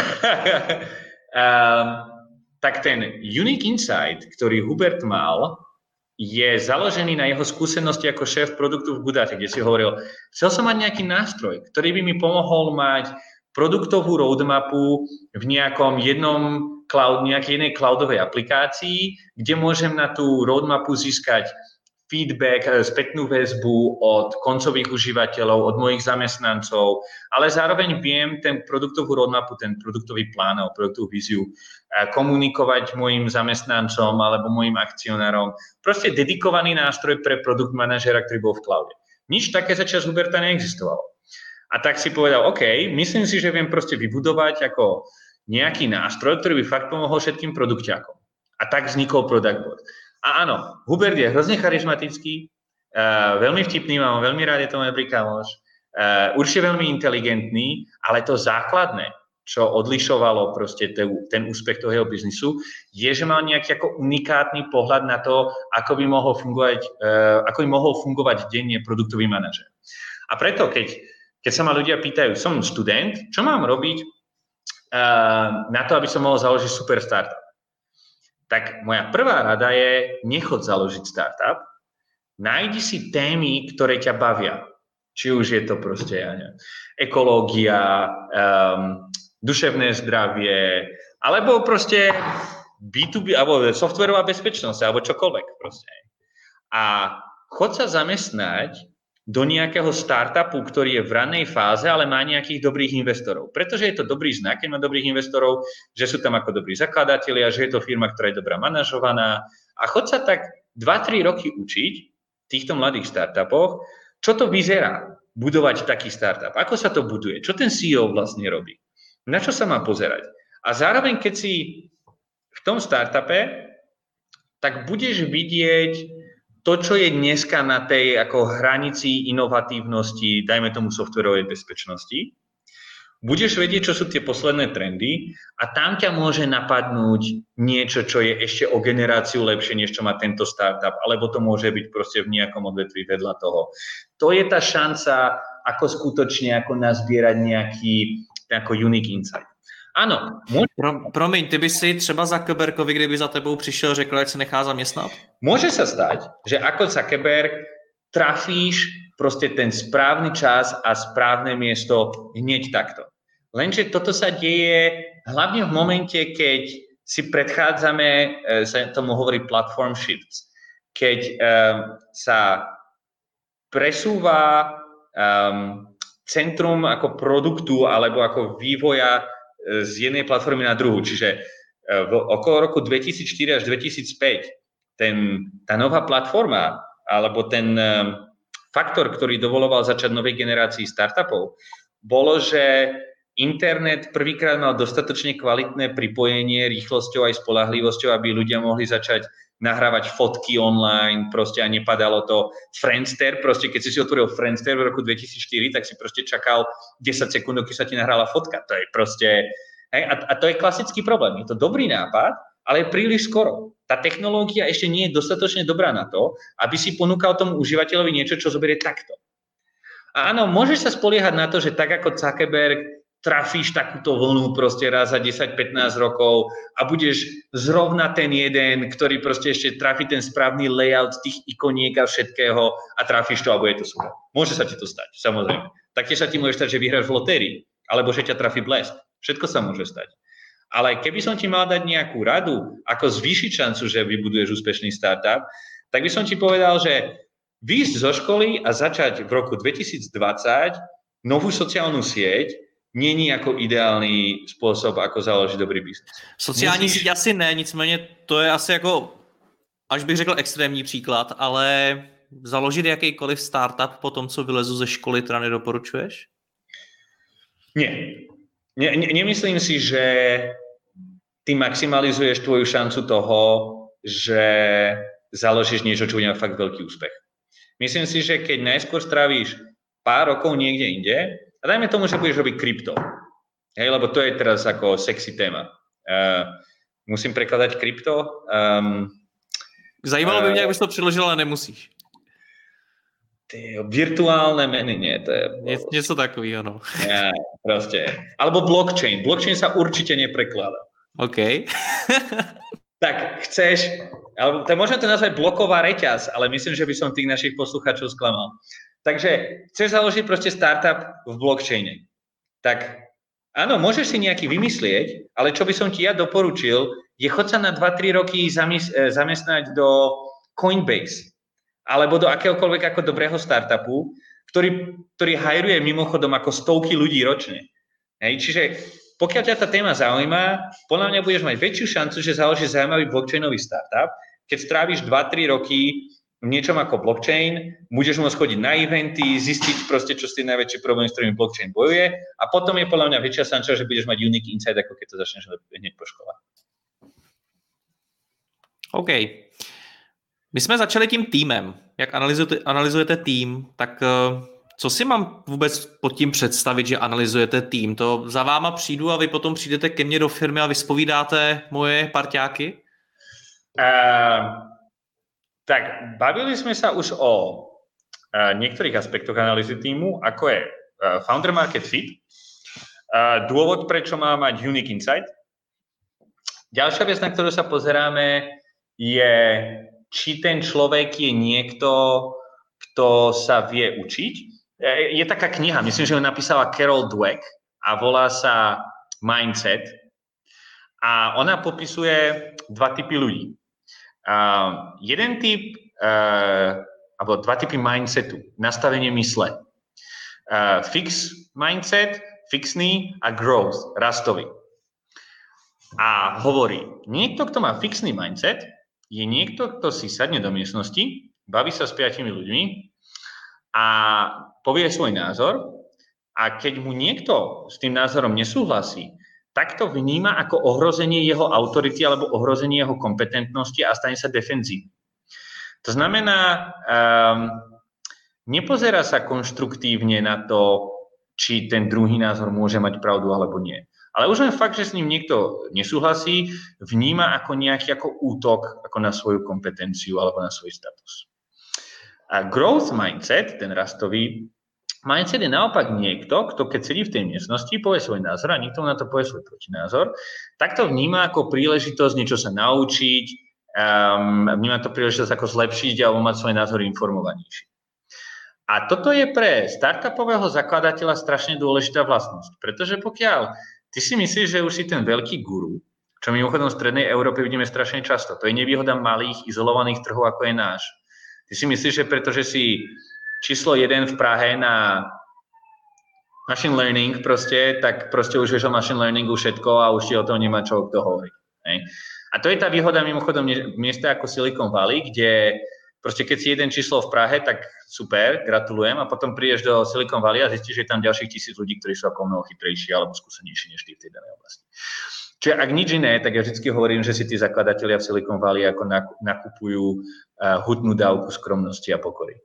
S2: um, tak ten Unique Insight, ktorý Hubert mal, je založený na jeho skúsenosti ako šéf produktu v GoodDaddy, kde si hovoril, chcel som mať nejaký nástroj, ktorý by mi pomohol mať produktovú roadmapu v nejakom jednom cloud, nejakej jednej cloudovej aplikácii, kde môžem na tú roadmapu získať feedback, spätnú väzbu od koncových užívateľov, od mojich zamestnancov, ale zároveň viem ten produktovú roadmapu, ten produktový plán alebo produktovú víziu komunikovať mojim zamestnancom alebo mojim akcionárom. Proste dedikovaný nástroj pre produkt manažera, ktorý bol v cloude. Nič také za čas Huberta neexistovalo. A tak si povedal, OK, myslím si, že viem proste vybudovať ako nejaký nástroj, ktorý by fakt pomohol všetkým produkťákom. A tak vznikol Product Board. A áno, Hubert je hrozne charizmatický, uh, veľmi vtipný, mám veľmi rád, je to môj dobrý kamoš, uh, určite veľmi inteligentný, ale to základné, čo odlišovalo proste te, ten úspech toho jeho biznisu, je, že mal nejaký ako unikátny pohľad na to, ako by mohol fungovať, uh, ako by mohol fungovať denne produktový manažer. A preto, keď, keď sa ma ľudia pýtajú, som študent, čo mám robiť uh, na to, aby som mohol založiť super startup? Tak moja prvá rada je nechod založiť startup, Nájdi si témy, ktoré ťa bavia. Či už je to proste, ja neviem, ekológia, um, duševné zdravie, alebo proste bé dva bé, alebo softwarová bezpečnosť, alebo čokoľvek proste. A chod sa zamestnať do nejakého startupu, ktorý je v ranej fáze, ale má nejakých dobrých investorov. Pretože je to dobrý znak, keď má dobrých investorov, že sú tam ako dobrí zakladatelia, že je to firma, ktorá je dobrá manažovaná. A chod sa tak dva tri roky učiť v týchto mladých startupoch, čo to vyzerá budovať taký startup, ako sa to buduje, čo ten sí í ó vlastne robí, na čo sa má pozerať. A zároveň, keď si v tom startupe, tak budeš vidieť to, čo je dneska na tej ako hranici inovatívnosti, dajme tomu softwarovej bezpečnosti. Budeš vedieť, čo sú tie posledné trendy a tam ťa môže napadnúť niečo, čo je ešte o generáciu lepšie, než čo má tento startup, alebo to môže byť proste v nejakom odvetví vedľa toho. To je tá šanca, ako skutočne ako nazbierať nejaký ako unique insight. Ano. Může...
S3: Pro, promiň, ty by si třeba Zuckerbergovi, kdyby za tebou přišel, řekl, ať se nechá zaměstnat?
S2: Môže sa stať, že ako Zuckerberg trafíš proste ten správny čas a správne miesto hneď takto. Lenže toto sa deje hlavne v momente, keď si predchádzame, sa tomu hovorí platform shifts, keď um, sa presúva um, centrum ako produktu alebo ako vývoja z jednej platformy na druhú. Čiže v okolo roku dvetisícštyri až dvetisícpäť ten, tá nová platforma alebo ten um, faktor, ktorý dovoloval začať novej generácii startupov, bolo, že internet prvýkrát mal dostatočne kvalitné pripojenie rýchlosťou aj spoľahlivosťou, aby ľudia mohli začať nahrávať fotky online, proste a nepadalo to. Friendster, proste keď si si otvoril Friendster v roku dvetisícštyri, tak si proste čakal desať sekúnd, keď sa ti nahrála fotka. To je proste... Hej, a, a to je klasický problém. Je to dobrý nápad, ale je príliš skoro. Tá technológia ešte nie je dostatočne dobrá na to, aby si ponúkal tomu užívateľovi niečo, čo zoberie takto. A áno, môžeš sa spoliehať na to, že tak ako Zuckerberg trafíš takúto vlnu proste raz za desať pätnásť rokov a budeš zrovna ten jeden, ktorý proste ešte trafí ten správny layout tých ikoniek a všetkého a trafíš to a bude to super. Môže sa ti to stať, samozrejme. Taktiež sa ti môže stať, že vyhráš v lotérii, alebo že ťa trafí blesk. Všetko sa môže stať. Ale keby som ti mal dať nejakú radu, ako zvýšiť šancu, že vybuduješ úspešný startup, tak by som ti povedal, že výjsť zo školy a začať v roku dvetisícdvadsať novú sociálnu sieť není jako ideální způsob, ako založit dobrý biznes.
S3: Sociální síť asi ne, nicméně to je asi jako, až bych řekl extrémní příklad, ale založit jakýkoliv startup po tom, co vylezu ze školy, teda nedoporučuješ?
S2: Nie. Ne, ne, nemyslím si, že ty maximalizuješ tvoju šancu toho, že založíš niečo, čo bude mať fakt veľký úspech. Myslím si, že keď najskôr strávíš pár rokov niekde inde, a dajme tomu, že budeš robiť krypto, hej, lebo to je teraz ako sexy téma. Uh, musím prekladať krypto. Um,
S3: Zajímalo by mě, jak bys to přeložil, ale nemusíš.
S2: Ty, virtuálne meny, nie, to je...
S3: Ně, něco takového, no.
S2: Ja, proste. Alebo blockchain. Blockchain sa určite neprekladá.
S3: OK.
S2: Tak chceš, alebo to možno to nazvať bloková reťaz, ale myslím, že by som tých našich poslucháčov sklamal. Takže chceš založiť proste startup v blockchaine. Tak áno, môžeš si nejaký vymyslieť, ale čo by som ti ja doporučil, je chod sa na dva tri roky zamestnať do Coinbase alebo do akéhokoľvek ako dobrého startupu, ktorý, ktorý hajruje mimochodom ako stovky ľudí ročne. Hej, čiže pokiaľ ťa tá téma zaujíma, podľa mňa budeš mať väčšiu šancu, že založíš zaujímavý blockchainový startup, keď stráviš dva tri roky v niečom ako blockchain, budeš môcť chodiť na eventy, zistiť proste, čo sú tie najväčšie problémy, s ktorými blockchain bojuje a potom je podľa mňa väčšia šanca, že budeš mať unique insight, ako keď to začneš hneď po škole.
S3: OK. My jsme začali tím týmem. Jak analyzujete, analyzujete tým, tak co si mám vůbec pod tím představit, že analyzujete tým? To za váma přijdu a vy potom přijdete ke mně do firmy a vyspovídáte moje parťáky?
S2: Uh, tak bavili sme sa už o uh, niektorých aspektoch analýzy týmu, ako je uh, founder market fit, uh, dôvod, prečo má mať unique insight. Ďalšia vec, na ktorú sa pozeráme, je či ten človek je niekto, kto sa vie učiť. Je taká kniha, myslím, že ju napísala Carol Dweck a volá sa Mindset. A ona popisuje dva typy ľudí. Uh, jeden typ, uh, alebo dva typy mindsetu, nastavenie mysle. Uh, fix mindset, fixný a growth, rastový. A hovorí, niekto, kto má fixný mindset, je niekto, kto si sadne do miestnosti, baví sa s piatimi ľuďmi a povie svoj názor a keď mu niekto s tým názorom nesúhlasí, tak to vníma ako ohrozenie jeho autority alebo ohrozenie jeho kompetentnosti a stane sa defenzívnym. To znamená, um, nepozerá sa konštruktívne na to, či ten druhý názor môže mať pravdu alebo nie. Ale už len fakt, že s ním niekto nesúhlasí, vníma ako nejaký ako útok ako na svoju kompetenciu alebo na svoj status. A growth mindset, ten rastový mindset je naopak niekto, kto keď sedí v tej miestnosti, povie svoj názor a niekto na to povie svoj protinázor, tak to vníma ako príležitosť niečo sa naučiť, um, vníma to príležitosť ako zlepšiť alebo mať svoj názor informovanejší. A toto je pre startupového zakladateľa strašne dôležitá vlastnosť, pretože pokiaľ ty si myslíš, že už si ten veľký guru, čo mimochodom v strednej Európe vidíme strašne často, to je nevýhoda malých, izolovaných trhov, ako je náš. Ty si myslíš, že pretože si číslo jeden v Prahe na machine learning proste, tak proste už vieš o machine learningu všetko a už ti o tom nemá čo kto hovoriť. A to je tá výhoda mimochodom miesta ako Silicon Valley, kde proste keď si jeden číslo v Prahe, tak super, gratulujem, a potom prídeš do Silicon Valley a zistíš, že je tam ďalších tisíc ľudí, ktorí sú ako mnoho chytrejší alebo skúsenejší než ty v tej danej oblasti. Čiže ak nič iné, tak ja vždy hovorím, že si tí zakladatelia v Silicon Valley ako nakupujú uh, hutnú dávku skromnosti a pokory.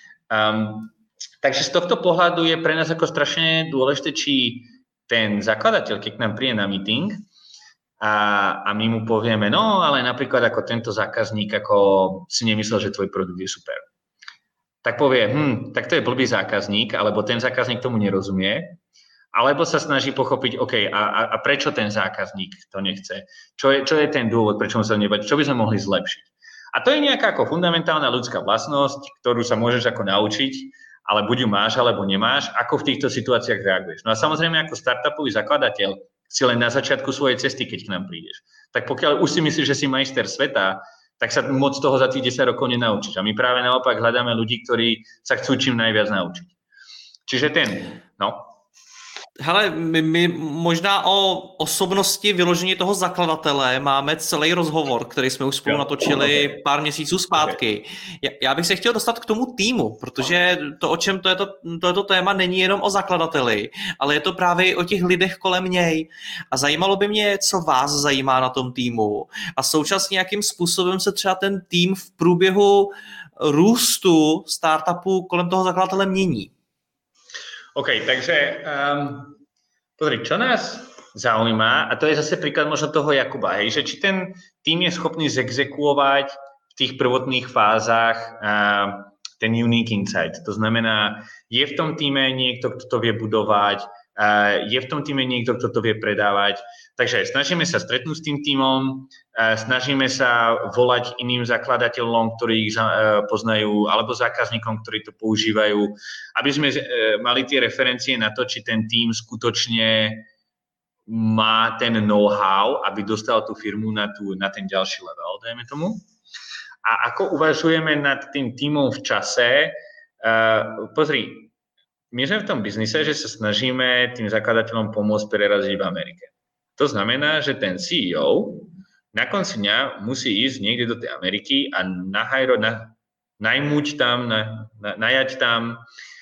S2: Um, takže z tohto pohľadu je pre nás ako strašne dôležité, či ten zakladateľ, keď k nám príde na meeting a, a my mu povieme, no ale napríklad ako tento zákazník ako si nemyslel, že tvoj produkt je super. Tak povie, hm, tak to je blbý zákazník, alebo ten zákazník tomu nerozumie, alebo sa snaží pochopiť, OK, a, a prečo ten zákazník to nechce? Čo je, čo je ten dôvod, prečo mu sa nebať? Čo by sme mohli zlepšiť? A to je nejaká ako fundamentálna ľudská vlastnosť, ktorú sa môžeš ako naučiť, ale buď ju máš, alebo nemáš, ako v týchto situáciách reaguješ. No a samozrejme ako startupový zakladateľ si len na začiatku svojej cesty, keď k nám prídeš. Tak pokiaľ už si myslíš, že si majster sveta, tak sa moc toho za tých desať rokov nenaučíš. A my práve naopak hľadáme ľudí, ktorí sa chcú čím najviac naučiť. Čiže ten, no...
S3: Hele, my, my možná o osobnosti vyložení toho zakladatele máme celý rozhovor, který jsme už spolu jo, natočili okay. pár měsíců zpátky. Já, já bych se chtěl dostat k tomu týmu, protože to, o čem to je to, to, je to téma, není jenom o zakladateli, ale je to právě o těch lidech kolem něj. A zajímalo by mě, co vás zajímá na tom týmu. A současně jakým způsobem se třeba ten tým v průběhu růstu startupu kolem toho zakladatele mění.
S2: OK, takže um, pozri, čo nás zaujíma, a to je zase príklad možno toho Jakuba, hej, že či ten tým je schopný zexekuovať v tých prvotných fázach uh, ten unique insight. To znamená, je v tom týme niekto, kto to vie budovať, uh, je v tom týme niekto, kto to vie predávať. Takže snažíme sa stretnúť s tým týmom, uh, snažíme sa volať iným zakladateľom, ktorí ich uh, poznajú, alebo zákazníkom, ktorí to používajú, aby sme uh, mali tie referencie na to, či ten tým skutočne má ten know-how, aby dostal tú firmu na, tú, na ten ďalší level, dajme tomu. A ako uvažujeme nad tým týmom v čase? Uh, pozri, my sme v tom biznise, že sa snažíme tým zakladateľom pomôcť preraziť v Amerike. To znamená, že ten C E O na konci dňa musí ísť niekde do tej Ameriky a nahajro, na, najmuť tam, na, na, najať tam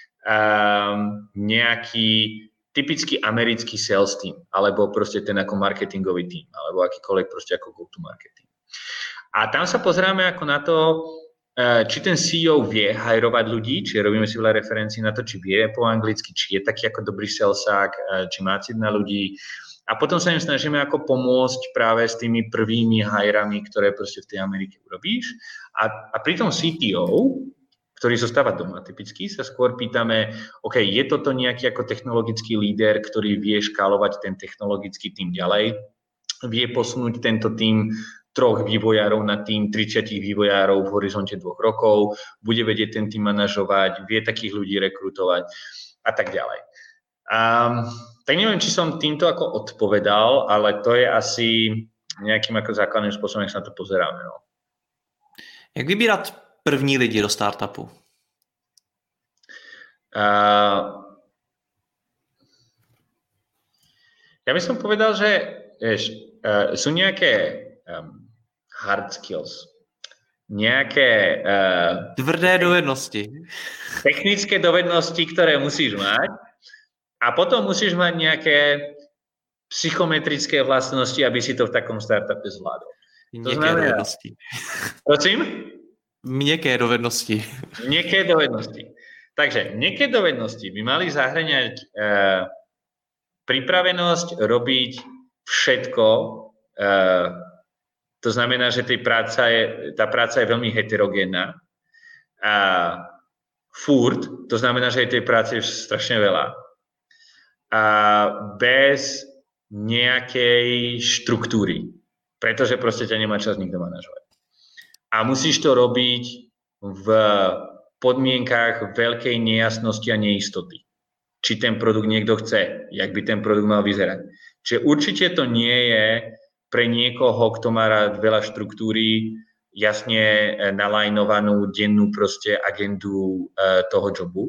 S2: um, nejaký typický americký sales team, alebo proste ten ako marketingový team, alebo akýkoľvek proste ako go-to-market team. A tam sa pozeráme ako na to, či ten C E O vie hajrovať ľudí, či robíme si veľa referencií na to, či vie po anglicky, či je taký ako dobrý salesák, či má cit na ľudí. A potom sa im snažíme ako pomôcť práve s tými prvými hajrami, ktoré proste v tej Amerike urobíš. A, a pri tom C T O, ktorý zostáva doma typicky, sa skôr pýtame, OK, je toto nejaký ako technologický líder, ktorý vie škálovať ten technologický tým ďalej, vie posunúť tento tým troch vývojárov na tým, tridsať vývojárov v horizonte dvoch rokov, bude vedieť ten tým manažovať, vie takých ľudí rekrutovať a tak ďalej. Um, tak neviem, či som týmto ako odpovedal, ale to je asi nejakým ako základným spôsobom, jak sa na to pozeráme. No.
S3: Jak vybírat první lidi do startupu?
S2: Uh, ja by som povedal, že vieš, uh, sú nejaké um, hard skills, nejaké uh,
S3: tvrdé dovednosti.
S2: Technické dovednosti, ktoré musíš mať a potom musíš mať nejaké psychometrické vlastnosti, aby si to v takom startupe zvládol.
S3: Měkké znamená, dovednosti.
S2: Prosím?
S3: Měkké dovednosti.
S2: Měkké dovednosti. Takže měkké dovednosti by mali zahrňať uh, pripravenosť robiť všetko. Uh, to znamená, že tej práca je, tá práca je veľmi heterogénna. A furt, to znamená, že tej práce je strašne veľa. A bez nejakej štruktúry. Pretože proste ťa nemá čas nikto manažovať. A musíš to robiť v podmienkách veľkej nejasnosti a neistoty. Či ten produkt niekto chce, jak by ten produkt mal vyzerať. Čiže určite to nie je pre niekoho, kto má rád veľa štruktúry, jasne nalajnovanú dennú proste agendu uh, toho jobu.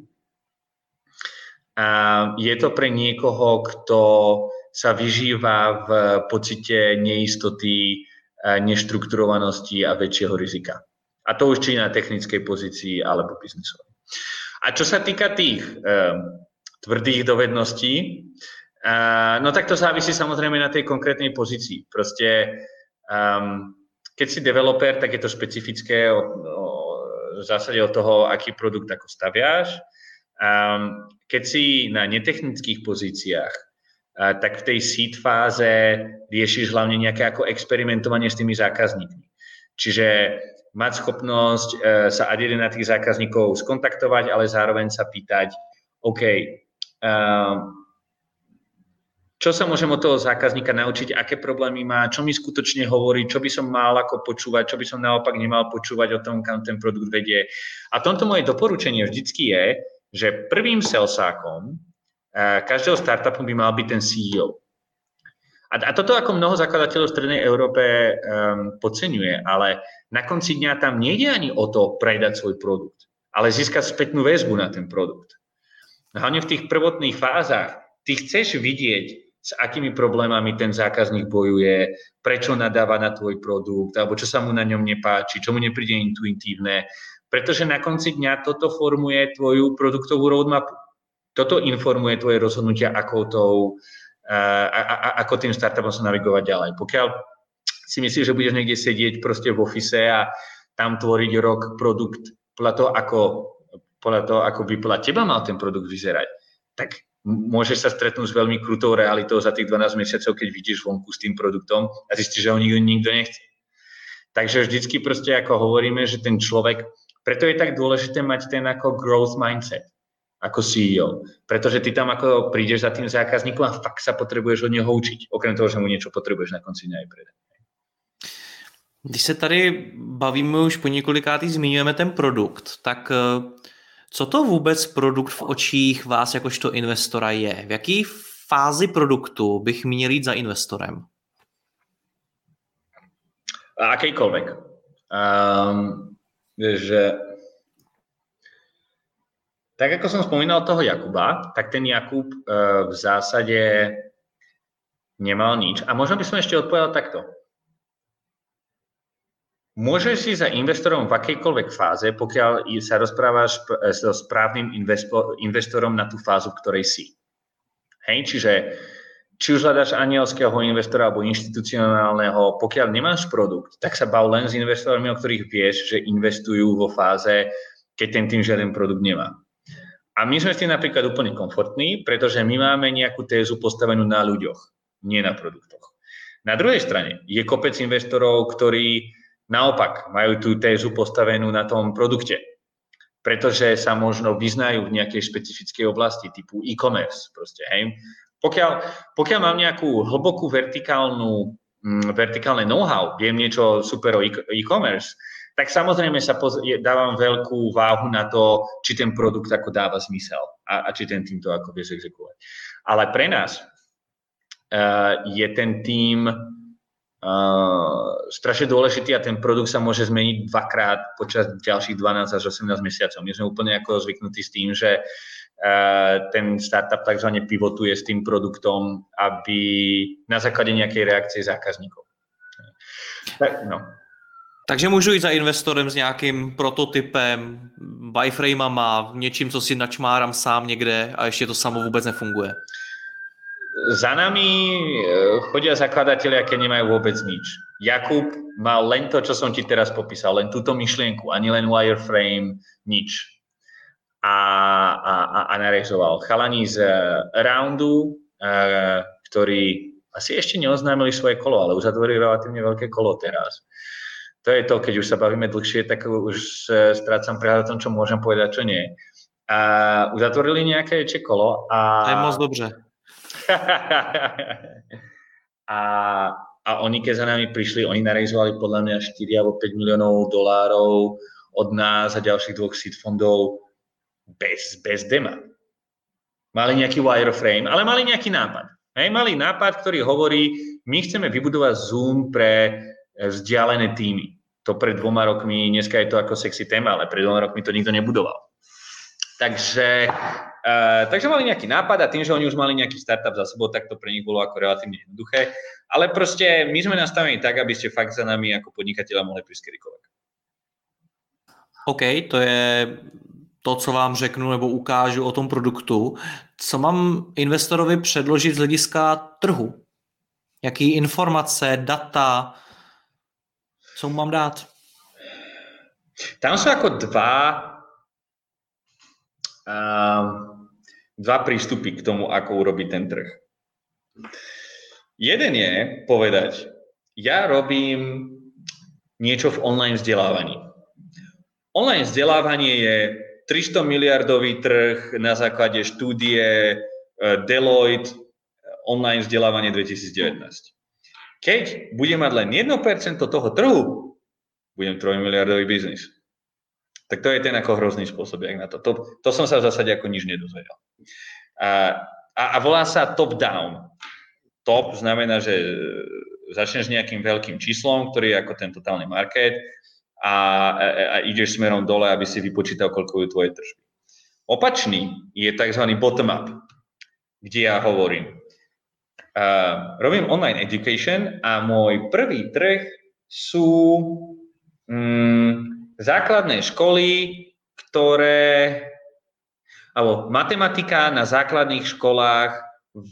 S2: A je to pre niekoho, kto sa vyžíva v pocite neistoty, uh, neštrukturovanosti a väčšieho rizika. A to už či na technickej pozícii alebo biznisovej. A čo sa týka tých um, tvrdých dovedností, uh, no tak to závisí samozrejme na tej konkrétnej pozícii. Proste, um, keď si developer, tak je to špecifické o, o, v zásade od toho, aký produkt ako staviaš. Um, keď si na netechnických pozíciách, uh, tak v tej seed fáze riešiš hlavne nejaké ako experimentovanie s tými zákazníkmi. Čiže mať schopnosť e, sa ad jeden na tých zákazníkov skontaktovať, ale zároveň sa pýtať, OK, e, čo sa môžem od toho zákazníka naučiť, aké problémy má, čo mi skutočne hovorí, čo by som mal ako počúvať, čo by som naopak nemal počúvať o tom, kam ten produkt vedie. A tomto moje doporučenie vždycky je, že prvým salesákom e, každého startupu by mal byť ten C E O. A, a toto ako mnoho zakladateľov v Strednej Európe um, podceňuje, ale na konci dňa tam nejde ani o to predať svoj produkt, ale získať spätnú väzbu na ten produkt. Hlavne v tých prvotných fázach ty chceš vidieť, s akými problémami ten zákazník bojuje, prečo nadáva na tvoj produkt, alebo čo sa mu na ňom nepáči, čo mu nepríde intuitívne, pretože na konci dňa toto formuje tvoju produktovú roadmapu. Toto informuje tvoje rozhodnutia, ako tou A, a, a ako tým startupom sa navigovať ďalej. Pokiaľ si myslíš, že budeš niekde sedieť proste v office a tam tvoriť rok produkt podľa toho, ako, podľa toho, ako by podľa teba mal ten produkt vyzerať, tak môžeš sa stretnúť s veľmi krutou realitou za tých dvanásť mesiacov, keď vidíš vonku s tým produktom a zistíš, že ho nikto, nikto nechce. Takže vždycky proste ako hovoríme, že ten človek, preto je tak dôležité mať ten ako growth mindset ako C E O, pretože ty tam ako prídeš za tým zákazníkom a fakt sa potrebuješ od neho učiť, okrem toho, že mu niečo potrebuješ na konci dňa aj predať.
S3: Když se tady bavíme už po několikátý, zmiňujeme ten produkt, tak co to vůbec produkt v očích vás jakožto investora je? V jaký fázi produktu bych měl jít za investorem?
S2: Akejkoľvek. Um, že Tak ako som spomínal toho Jakuba, tak ten Jakub e, v zásade nemal nič. A možno by som ešte odpovedal takto. Môžeš si za investorom v akejkoľvek fáze, pokiaľ sa rozprávaš so správnym investorom na tú fázu, v ktorej si. Hej, čiže či už hľadáš anielského investora alebo inštitucionálneho, pokiaľ nemáš produkt, tak sa bav len s investormi, o ktorých vieš, že investujú vo fáze, keď ten tým žiaden produkt nemá. A my sme s tým napríklad úplne komfortní, pretože my máme nejakú tézu postavenú na ľuďoch, nie na produktoch. Na druhej strane je kopec investorov, ktorí naopak majú tú tézu postavenú na tom produkte, pretože sa možno vyznajú v nejakej špecifickej oblasti typu e-commerce. Proste, hej. Pokiaľ, pokiaľ mám nejakú hlbokú vertikálnu vertikálne know-how, viem niečo super o e-commerce, tak samozrejme sa poz- dávam veľkú váhu na to, či ten produkt ako dáva zmysel a, a či ten tým to ako vieš exekuovať. Ale pre nás uh, je ten tým uh, strašne dôležitý a ten produkt sa môže zmeniť dvakrát počas ďalších dvanásť až osemnásť mesiacov. My sme úplne ako zvyknutí s tým, že uh, ten startup takzvané pivotuje s tým produktom, aby na základe nejakej reakcie zákazníkov. Tak, no.
S3: Takže můžu jít za investorem s nějakým prototypem, wireframama, něčím, co si načmárám sám někde a ještě to samo vůbec nefunguje.
S2: Za nami chodia zakladatelia, keď nemajú vôbec nič. Jakub mal len to, čo som ti teraz popísal, len túto myšlienku, ani len wireframe, nič. A, a, a narezoval. Chalani z Roundu, ktorí asi ešte neoznámili svoje kolo, ale uzatvorili relatívne veľké kolo teraz. To je to, keď už sa bavíme dlhšie, tak už strácam prehľad o tom, čo môžem povedať, čo nie. A uzatvorili nejaké väčšie kolo. A...
S3: To je moc dobře.
S2: a, a oni, keď za nami prišli, oni narejzovali podľa mňa štyri alebo päť miliónov dolárov od nás a ďalších dvoch seed fondov bez, bez dema. Mali nejaký wireframe, ale mali nejaký nápad. Hej, mali nápad, ktorý hovorí, my chceme vybudovať Zoom pre vzdialené týmy. To pred dvoma rokmi, dneska je to ako sexy téma, ale pred dvoma rokmi to nikto nebudoval. Takže, uh, takže mali nejaký nápad a tým, že oni už mali nejaký startup za sebou, tak to pre nich bolo ako relatívne jednoduché. Ale proste my sme nastavení tak, aby ste fakt za nami ako podnikatelia mohli prísť kedykoľvek.
S3: OK, to je to, co vám řeknu nebo ukážu o tom produktu. Co mám investorovi předložit z hlediska trhu? Jaký informace, data, co mu mám dát?
S2: Tam sú ako dva, uh, dva prístupy k tomu, ako urobiť ten trh. Jeden je povedať, ja robím niečo v online vzdelávaní. Online vzdelávanie je tristo miliardový trh na základe štúdie Deloitte online vzdelávanie dvetisíc devätnásť. Keď budem mať len jedno percento toho trhu, budem trojmiliardový biznis. Tak to je ten ako hrozný spôsob, jak na to. To, to som sa v zásade ako nič nedozvedel. A, a, a volá sa top-down. Top znamená, že začneš nejakým veľkým číslom, ktorý je ako ten totálny market a, a, a ideš smerom dole, aby si vypočítal, koľko je tvoje tržby. Opačný je tzv. Bottom-up, kde ja hovorím, Uh, robím online education a môj prvý trh sú um, základné školy, ktoré, alebo matematika na základných školách v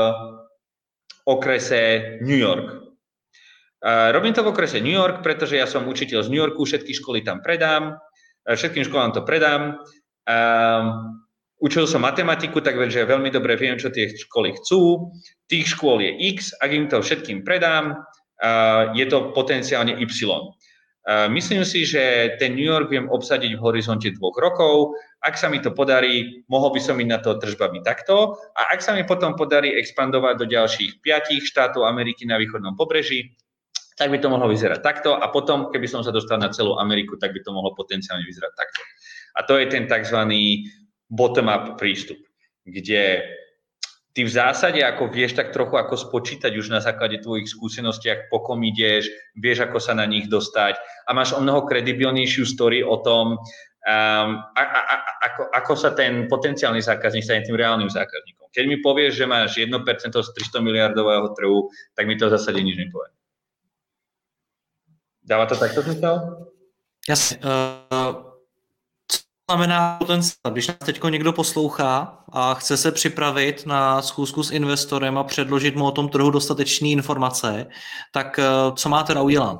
S2: okrese New York. Uh, robím to v okrese New York, pretože ja som učiteľ z New Yorku, všetky školy tam predám, všetkým školám to predám. Uh, Učil som matematiku, takže veľmi dobre viem, čo tie školy chcú. Tých škôl je X, ak im to všetkým predám, je to potenciálne Y. Myslím si, že ten New York viem obsadiť v horizonte dvoch rokov. Ak sa mi to podarí, mohol by som ísť na to tržbami takto. A ak sa mi potom podarí expandovať do ďalších piatich štátov Ameriky na východnom pobreží, tak by to mohlo vyzerať takto. A potom, keby som sa dostal na celú Ameriku, tak by to mohlo potenciálne vyzerať takto. A to je ten takzvaný bottom-up prístup, kde ty v zásade ako vieš tak trochu ako spočítať už na základe tvojich skúsenostiach, po kom ideš, vieš ako sa na nich dostať a máš o mnoho kredibilnejšiu story o tom, um, a, a, a, ako, ako sa ten potenciálny zákazník stane tým reálnym zákazníkom. Keď mi povieš, že máš jedno percento z tristo miliardového trhu, tak mi to v zásade nič nepovie. Dáva to takto zmysel?
S3: Jasne. Uh... znamená potenciál, když nás teď někdo poslouchá a chce se připravit na schůzku s investorem a předložit mu o tom trhu dostatečné informace, tak co má teda udělat?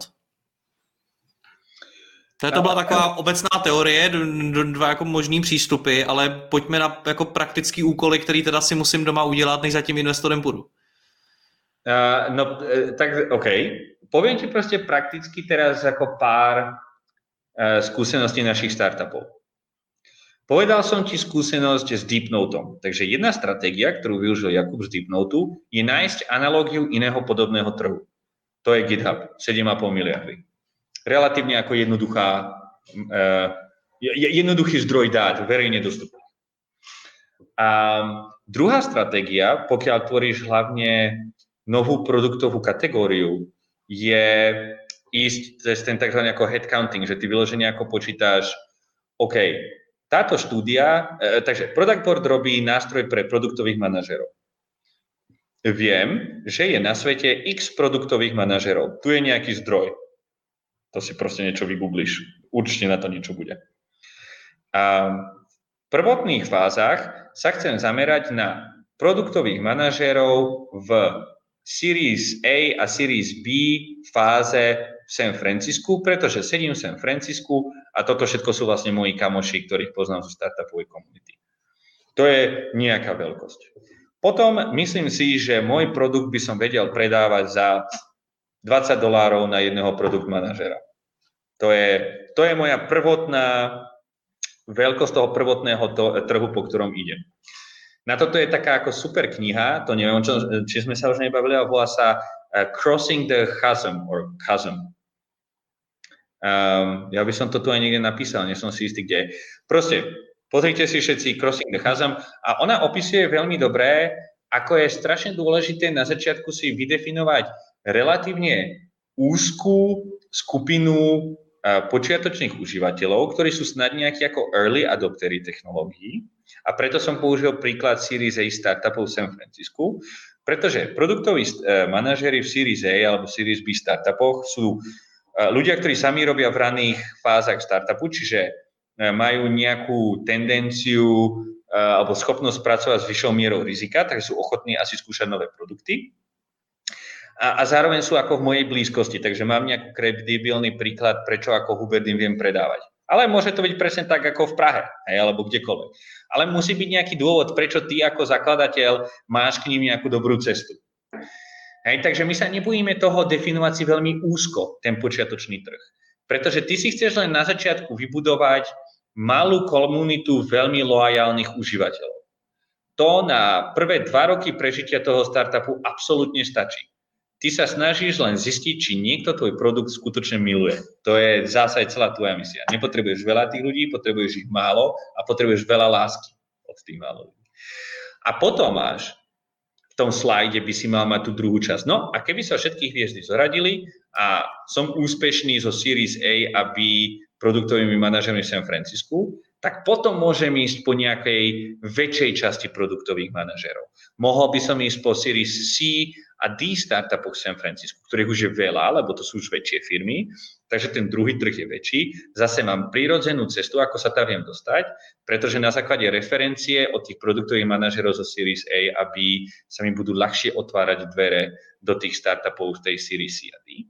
S3: To byla taková obecná teorie, dva jako možný přístupy, ale pojďme na jako praktický úkoly, který teda si musím doma udělat, než za tím investorem půjdu.
S2: Uh, no, tak OK. Poviem ti proste prakticky teraz ako pár uh, skúseností našich startupov. Povedal som ti skúsenosť s DeepNoteom. Takže jedna stratégia, ktorú využil Jakub z DeepNoteu, je nájsť analógiu iného podobného trhu. To je GitHub, sedem a pol miliardy. Relatívne ako jednoduchá, uh, jednoduchý zdroj dát, verejne dostupný. A druhá stratégia, pokiaľ tvoríš hlavne novú produktovú kategóriu, je ísť cez ten tzv. Ako headcounting, že ty vyložene ako počítaš, OK, táto štúdia, uh, takže Product Board robí nástroj pre produktových manažerov. Viem, že je na svete x produktových manažerov. Tu je nejaký zdroj. To si proste niečo vygoogliš. Určite na to niečo bude. A v prvotných fázach sa chcem zamerať na produktových manažerov v Series A a Series B fáze v San Francisku, pretože sedím v San Francisku a toto všetko sú vlastne moji kamoši, ktorých poznám zo startupovej komunity. To je nejaká veľkosť. Potom myslím si, že môj produkt by som vedel predávať za dvadsať dolárov na jedného produkt manažera. To je, to je moja prvotná veľkosť toho prvotného to, trhu, po ktorom idem. Na toto je taká ako super kniha, to neviem, čo, či sme sa už nebavili, ale volá sa uh, Crossing the Chasm, or Chasm. Um, ja by som to tu aj niekde napísal, nie som si istý, kde. Proste, pozrite si všetci Crossing the Chasm a ona opisuje veľmi dobré, ako je strašne dôležité na začiatku si vydefinovať relatívne úzkú skupinu počiatočných užívateľov, ktorí sú snad nejakí ako early adoptery technológií. A preto som použil príklad Series A startupov v San Francisku, pretože produktoví manažéri v Series A alebo Series B startupoch sú ľudia, ktorí sami robia v raných fázach startupu, čiže majú nejakú tendenciu alebo schopnosť pracovať s vyššou mierou rizika, takže sú ochotní asi skúšať nové produkty. A, a zároveň sú ako v mojej blízkosti, takže mám nejaký kredibilný príklad, prečo ako Hubert im viem predávať. Ale môže to byť presne tak ako v Prahe, hej, alebo kdekoľvek. Ale musí byť nejaký dôvod, prečo ty ako zakladateľ máš k ním nejakú dobrú cestu. Hej, takže my sa nebojíme toho definovať si veľmi úzko ten počiatočný trh. Pretože ty si chceš len na začiatku vybudovať malú komunitu veľmi loajálnych užívateľov. To na prvé dva roky prežitia toho startupu absolútne stačí. Ty sa snažíš len zistiť, či niekto tvoj produkt skutočne miluje. To je v zásade celá tvoja misia. Nepotrebuješ veľa tých ľudí, potrebuješ ich málo a potrebuješ veľa lásky od tých málo ľudí. A potom máš v tom slajde by si mal mať tú druhú časť. No a keby sa všetky hviezdy zoradili a som úspešný zo Series A a B produktovými manažermi v San Francisku, tak potom môžem ísť po nejakej väčšej časti produktových manažerov. Mohol by som ísť po Series C a D startupoch v San Francisku, ktorých už je veľa, lebo to sú už väčšie firmy, takže ten druhý trh je väčší. Zase mám prirodzenú cestu, ako sa tam viem dostať, pretože na základe referencie od tých produktových manažerov zo Series A a B sa mi budú ľahšie otvárať dvere do tých startupov z tej Series C a D.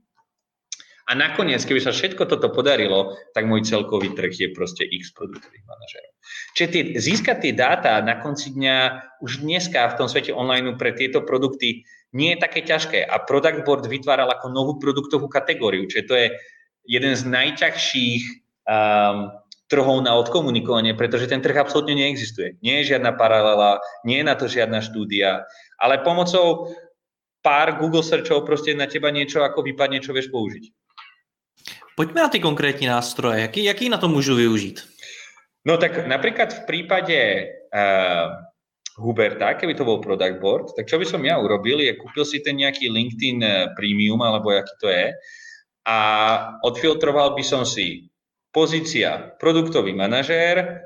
S2: A nakoniec, keby sa všetko toto podarilo, tak môj celkový trh je proste X produktových manažerov. Čiže tie, získať tie dáta na konci dňa už dneska v tom svete online pre tieto produkty nie je také ťažké. A Product Board vytváral ako novú produktovú kategóriu, čiže to je jeden z najťažších um, trhov na odkomunikovanie, pretože ten trh absolútne neexistuje. Nie je žiadna paralela, nie je na to žiadna štúdia, ale pomocou pár Google searchov proste na teba niečo ako vypadne, čo vieš použiť.
S3: Pojďme na ty konkrétní nástroje. Jaký, jaký na to můžu využít?
S2: No tak napríklad v prípade uh, Huberta, keby to bol Product Board, tak čo by som ja urobil, je kúpil si ten nejaký LinkedIn Premium, alebo aký to je, a odfiltroval by som si pozícia produktový manažér,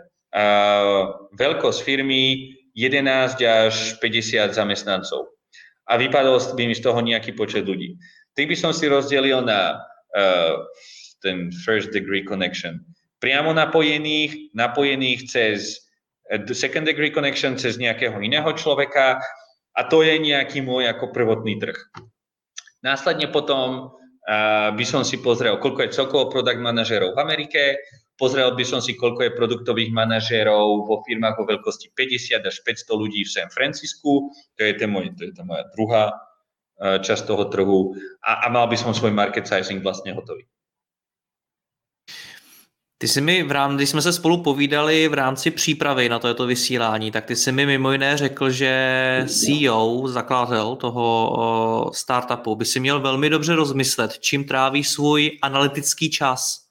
S2: uh, veľkosť firmy jedenásť až päťdesiat zamestnancov. A vypadol by mi z toho nejaký počet ľudí. Tých by som si rozdelil na uh, ten first degree connection. Priamo napojených, napojených cez uh, second degree connection, cez nejakého iného človeka, a to je nejaký môj ako prvotný trh. Následne potom uh, by som si pozrel, koľko je celkovo product manažérov v Amerike, pozrel by som si, koľko je produktových manažérov vo firmách vo veľkosti päťdesiat až päťsto ľudí v San Francisku, to je, ten môj, to je tá moja druhá uh, časť toho trhu, a, a mal by som svoj market sizing vlastne hotový.
S3: Ty jsi mi, v rámci, když jsme se spolu povídali v rámci přípravy na toto vysílání, tak ty jsi mi mimo jiné řekl, že C E O, zakladatel toho startupu, by si měl velmi dobře rozmyslet, čím tráví svůj analytický čas.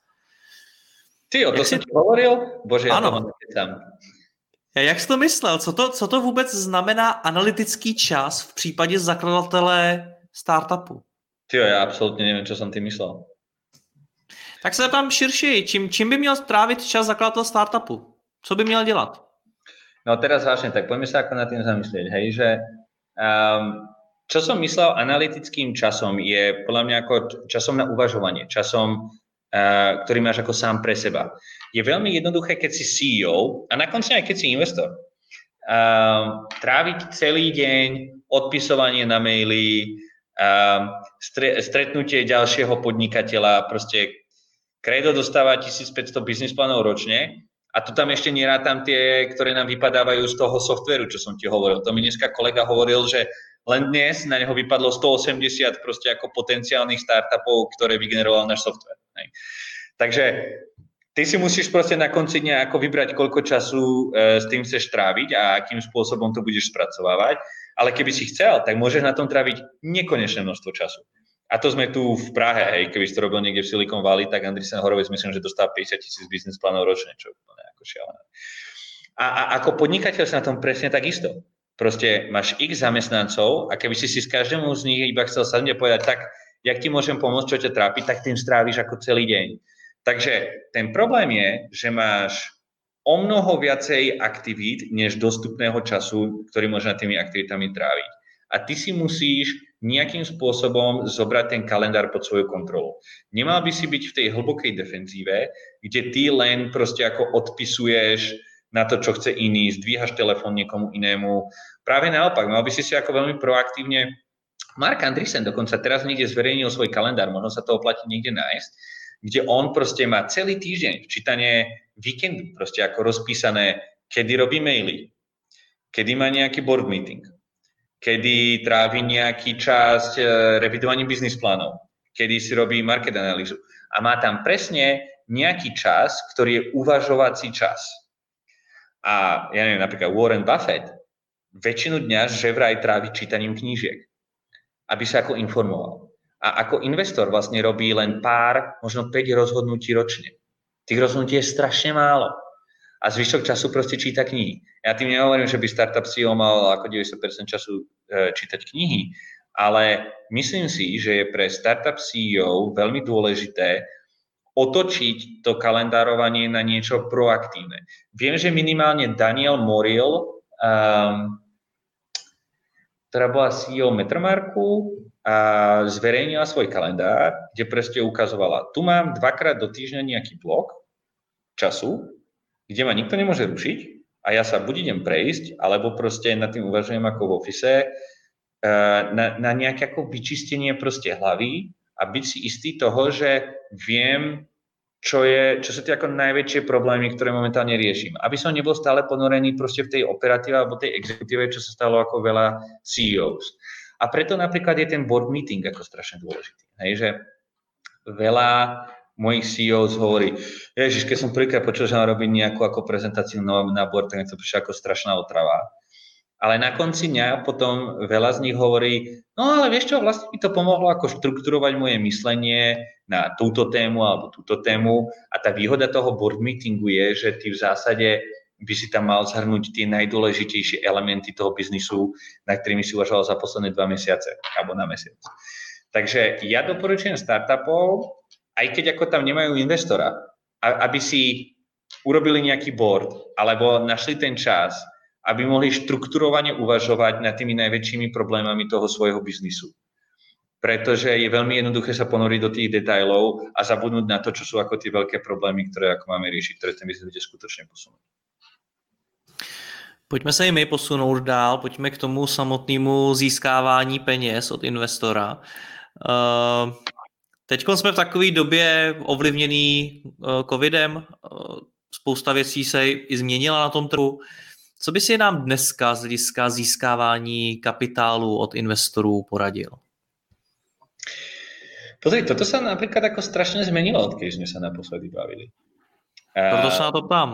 S2: Ty jo, to jsem ti hovoril? Bože, já
S3: ano.
S2: to mám tam.
S3: Jak jsi to myslel? Co to, co to vůbec znamená analytický čas v případě zakladatele startupu?
S2: Ty jo, já absolutně nevím, co jsem ty myslel.
S3: Tak se tam širší. Čím, čím by měl trávit čas zakladatel startupu? Co by měl dělat?
S2: No teraz vážne, tak poďme sa ako na tým zamyslieť, hej, že um, čo som myslel analytickým časom je podľa mňa ako časom na uvažovanie, časom, uh, ktorý máš ako sám pre seba. Je veľmi jednoduché, keď si C E O a nakonec aj keď si investor, um, tráviť celý deň odpisovanie na maily, um, stre, stretnutie ďalšieho podnikateľa, proste Credo dostáva tisícpäťsto business plánov ročne a tu tam ešte nerátam tie, ktoré nám vypadávajú z toho softvéru, čo som ti hovoril. To mi dneska kolega hovoril, že len dnes na neho vypadlo stoosemdesiat proste ako potenciálnych startupov, ktoré vygeneroval náš softvér. Hej. Takže ty si musíš proste na konci dňa ako vybrať, koľko času e, s tým chceš tráviť a akým spôsobom to budeš spracovávať. Ale keby si chcel, tak môžeš na tom tráviť nekonečné množstvo času. A to sme tu v Prahe, hej, keby si to robil niekde v Silicon Valley, tak Andreessen Horowitz myslím, že dostáva päťdesiat tisíc business plánov ročne, čo je úplne ako šialené. A, a ako podnikateľ sa na tom presne takisto. Proste máš x zamestnancov a keby si si s každému z nich iba chcel sadnúť a povedať, tak, jak ti môžem pomôcť, čo ťa trápi, tak tým stráviš ako celý deň. Takže ten problém je, že máš o mnoho viacej aktivít, než dostupného času, ktorý môžeš na tými aktivitami tráviť. A ty si musíš nejakým spôsobom zobrať ten kalendár pod svoju kontrolu. Nemal by si byť v tej hlbokej defenzíve, kde ty len proste ako odpisuješ na to, čo chce iný, zdvíhaš telefón niekomu inému. Práve naopak, mal by si si ako veľmi proaktívne... Mark Andreessen dokonca teraz niekde zverejnil svoj kalendár, možno sa to oplatí niekde nájsť, kde on proste má celý týždeň včítanie víkendu, proste ako rozpísané, kedy robí maily, kedy má nejaký board meeting, kedy trávi nejaký časť revidovaním biznis plánov, kedy si robí market analýzu. A má tam presne nejaký čas, ktorý je uvažovací čas. A ja neviem, napríklad Warren Buffett väčšinu dňa že vraj trávi čítaním knížiek, aby sa ako informoval. A ako investor vlastne robí len pár, možno päť rozhodnutí ročne. Tých rozhodnutí je strašne málo. A zvyšok času proste číta knihy. Ja tým nehovorím, že by startup C E O mal ako deväťdesiat percent času e, čítať knihy, ale myslím si, že je pre startup C E O veľmi dôležité otočiť to kalendárovanie na niečo proaktívne. Viem, že minimálne Daniel Morrill, um, ktorá bola C E O Metromarku, a zverejnila svoj kalendár, kde presne ukazovala, tu mám dvakrát do týždňa nejaký blok času, kde ma nikto nemôže rušiť a ja sa buď idem prejsť, alebo proste nad tým uvažujem ako v office, na, na nejaké ako vyčistenie proste hlavy a byť si istý toho, že viem, čo, je, čo sú tie ako najväčšie problémy, ktoré momentálne riešim. Aby som nebol stále ponorený proste v tej operatíve alebo tej exekutíve, čo sa stalo ako veľa C E Os. A preto napríklad je ten board meeting ako strašne dôležitý. Hej, že veľa mojich C E Os hovorí, ježiš, keď som prvýkrát počul, že mám robiť nejakú ako prezentáciu na board, tak to prišlo ako strašná otrava. Ale na konci dňa potom veľa z nich hovorí, no ale vieš čo, vlastne mi to pomohlo ako štrukturovať moje myslenie na túto tému alebo túto tému. A tá výhoda toho board meetingu je, že ty v zásade by si tam mal zhrnúť tie najdôležitejšie elementy toho biznisu, na ktorými si uvažoval za posledné dva mesiace alebo na mesiac. Takže ja doporučujem startupov, aj keď ako tam nemajú investora, aby si urobili nejaký board alebo našli ten čas, aby mohli štrukturovane uvažovať nad tými najväčšími problémami toho svojho biznisu. Pretože je veľmi jednoduché sa ponoriť do tých detailov a zabudnúť na to, čo sú ako tie veľké problémy, ktoré ako máme riešiť, ktoré ten biznis bude skutočne posunúť.
S3: Pojďme se i my posunout dál, pojďme k tomu samotnému získávání peněz od investora. Teď jsme v takové době ovlivněný covidem, spousta věcí se i změnila na tom trhu. Co by si nám dneska z hlediska získávání kapitálu od investorů poradil?
S2: Pozri, toto sa napríklad ako strašne zmenilo, odkedy sme sa naposledy bavili.
S3: Proto sa na to ptám.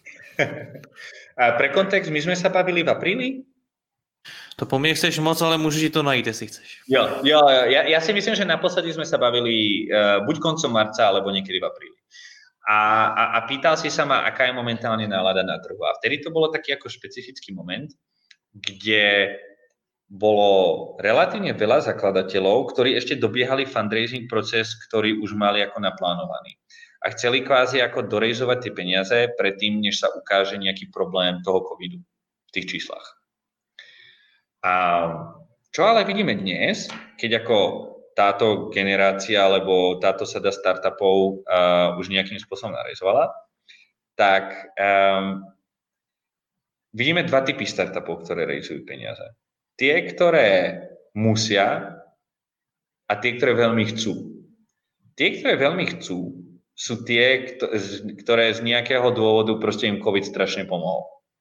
S2: A pre kontext, my sme sa bavili v apríli?
S3: To po mne chceš moc, ale môžeš ti to najít, jestli chceš.
S2: Jo, jo, ja, ja si myslím, že naposledy sme sa bavili uh, buď koncom marca, alebo niekedy v apríli. A, a, a pýtal si sa ma, aká je momentálne nálada na trhu. A vtedy to bolo taký ako špecifický moment, kde bolo relatívne veľa zakladateľov, ktorí ešte dobiehali fundraising proces, ktorý už mali ako naplánovaný. A chceli kvázi ako dorejzovať tie peniaze predtým, než sa ukáže nejaký problém toho covidu v tých číslach. A čo ale vidíme dnes, keď ako táto generácia alebo táto sada startupov uh, už nejakým spôsobom narejzovala, tak um, vidíme dva typy startupov, ktoré rejzujú peniaze. Tie, ktoré musia a tie, ktoré veľmi chcú. Tie, ktoré veľmi chcú, sú tie, ktoré z nejakého dôvodu proste im COVID strašne pomohol.